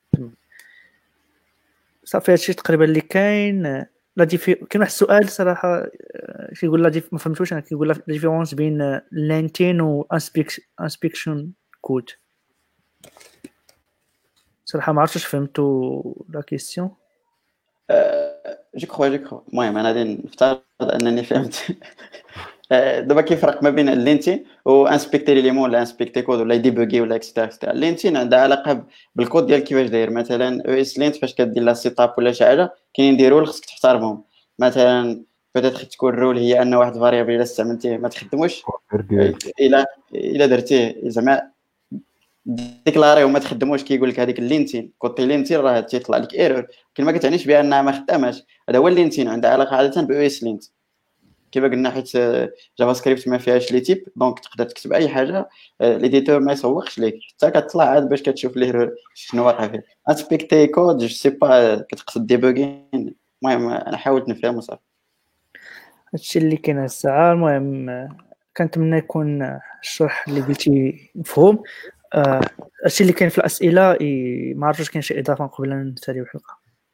صافي. هادشي تقريبا اللي كاين. كاين واحد السؤال صراحه كيقول لا ما فهمتوش انا. كيقول لا ديفيرونس بين لينتين و انسبكشن كود. صراحه ما عرفتش فهمتوا لا كيسيون. جو كخوا المهم انا غادي نفترض انني فهمت. دابا كيفرق ما بين اللينتين و انسبكتي ليليمون ولا انسبكتي كود ولا ديبوغي ولا اكسترا. اللينتين عندها علاقه بالكود ديال كيفاش داير. مثلا او اس لينت فاش كدير لا سيتاب ولا شي حاجه كاينين دي رول خصك تحترمهم. مثلا بيتيت تكون رول هي ان واحد فاريابل الا استعملتيه ما تخدموش الا درتيه زعما ديكلاري وما تخدموش كيقول لك هذيك اللينتين كوتي لينتين راه تيطلع لك ايرور لكن ما كتعنيش بانها ما خداماش. هذا هو اللينتين عندها علاقه عاده باو اس لينت كيما قلنا حيت جافا سكريبت ما فيهاش لي تيب دونك تقدر تكتب اي حاجه ليديتور ما يسوقش ليك حتى كتطلع عاد باش كتشوف ليه شنو واقع فيه. انسبكتي كود جو سي با كتقصد ديبوغين. المهم انا حاولت نفهم صافي. هادشي اللي كاين الساعه. المهم كنتمنى يكون الشرح اللي قلتي مفهوم. هادشي اللي كاين في الاسئله. ما عرفتش كاين شي اضافه قبل ان نساليو الحلقه.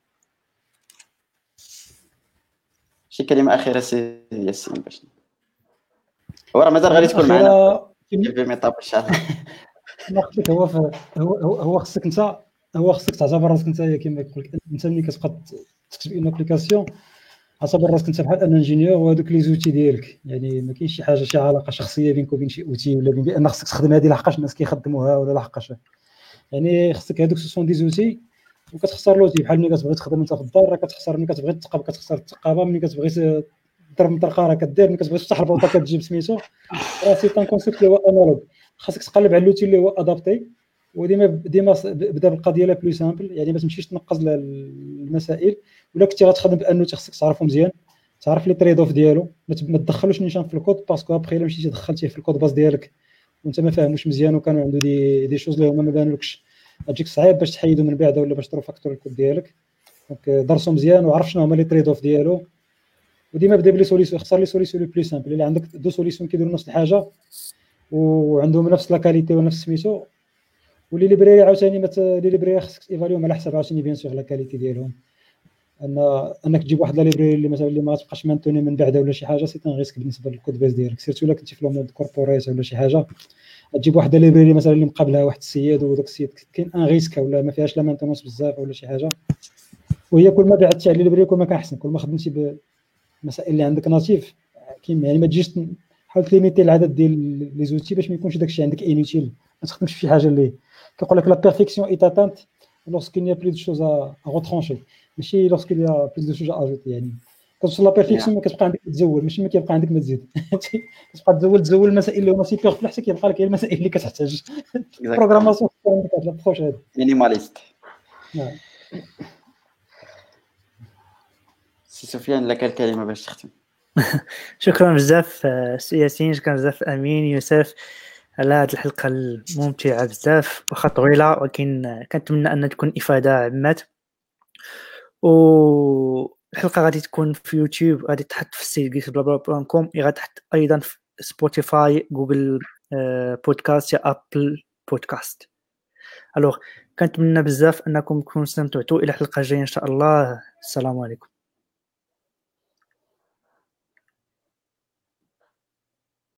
شي كلمه اخيره سي ياسين باش هو راه مازال غادي تكون معنا في ميطاب ان شاء الله. نقولك هو خصك انت خصك تعتبر راسك انت كما يقول لك انت ملي كتبقى تكتب اون ابليكاسيون اعتبر راسك انت بحال ان انجينيور وهذوك لي زوتي ديالك. يعني ما كاينش شي حاجه شي علاقه شخصيه بينك وبين شي اوتي ولا بان خصك تخدم هذه لحقاش الناس كيخدموها ولا لحقاش. يعني خصك هذوك سون دي زوتي وكتخسر لوتي بحال ملي كتبغي تخدم انت في الدار راه كتخسر. ملي كتبغي تثقب كتخسر الثقابه. ملي كتبغي تضرب مطرقه راه كدير. ملي كتبغي تفتح البوطه كتجيب سميتو. راه سي طون كونسيبت اللي هو انالوج. خاصك تقلب على اللوتي اللي هو ادابتي وديما بدا بالقضيه لا بلو سامبل. يعني ما تمشيش تنقز المسائل ولا كنتي غتخدم بانه خصك تعرفو مزيان تعرف لي تريد اوف ديالو. ما تدخلوش نيشان في الكود باسكو ابخي الا مشيتي دخلتيه في الكود باز ديالك وانت ما فاهموش مزيان وكانوا عنده دي شوز اللي هما ما بانولكش تجيك صعيب باش تحيدو من بعده ولا باش تروفاكتور الكود ديالك. دونك درسو مزيان وعرف شنو هما لي تريد اوف ديالو وديما بدا بلي سوليسيون. اختار لي سوليسيون لو بلو سامبل. الا عندك دو سوليسيون كيديروا نفس الحاجه وعندهم نفس لا كاليتي ونفس سميتو ولي ليبراري عاوتاني لي ليبراري خصك ايفاليوم على حساب عاوتاني بيان سور لا كاليتي ديالهم. انك تجيب واحد لا ليبراري اللي مثلا اللي ما تبقاش مانتوني من بعده ولا شي حاجه سي ان ريسك بالنسبه للكود بيس ديالك. سيرتو الا كنتي في المود كوربوريت ولا شي حاجه تجيب واحد لا ليبراري مثلا اللي مقابلها واحد السيد وداك السيد كاين ان ريسك ولا ما فيهاش لا مانتونس بزاف ولا شي حاجه. وهي كل ما بعدتي على ليبراري كل ما كان احسن. كل ما خدمتي بالمسائل اللي عندك ناتيف كاين يعني ما تجيش حاول تليميتي العدد ديال لي زوتي باش ما يكونش داكشي عندك انوتيل. ما تخدمش في شي حاجه اللي كيقول لك لا بيرفيكسيون اي تاتانت لوسكيل ني بلو دو شوز ا غوترونشي ماشي لوسكيل يا بلو دو شوز اجوتي. يعني كتوصل لا بيرفيكسيون ما كتبقى عندك تزول ماشي ما كيبقى عندك ما تزيد. كتبقى تزول المسائل اللي هما سيبر فلاح حتى كيبقى لك المسائل اللي كتحتاج بروغراماسيون عندك هاد الابروش هذا مينيماليست. سي سفيان لك الكلمه باش تختم. شكرا بزاف ياسين. شكرا بزاف امين يوسف على هذه الحلقه الممتعه بزاف واخا طويله ولكن كنتمنى ان تكون افاده عمات. والحلقه غادي تكون في يوتيوب غادي تحط في السيت جيكس بلا بلا بلا كوم غادي تحط ايضا في سبوتيفاي جوجل بودكاست يا ابل بودكاست. الوغ كنتمنى بزاف انكم تكونوا استمتعتوا. الى الحلقه الجايه ان شاء الله. السلام عليكم.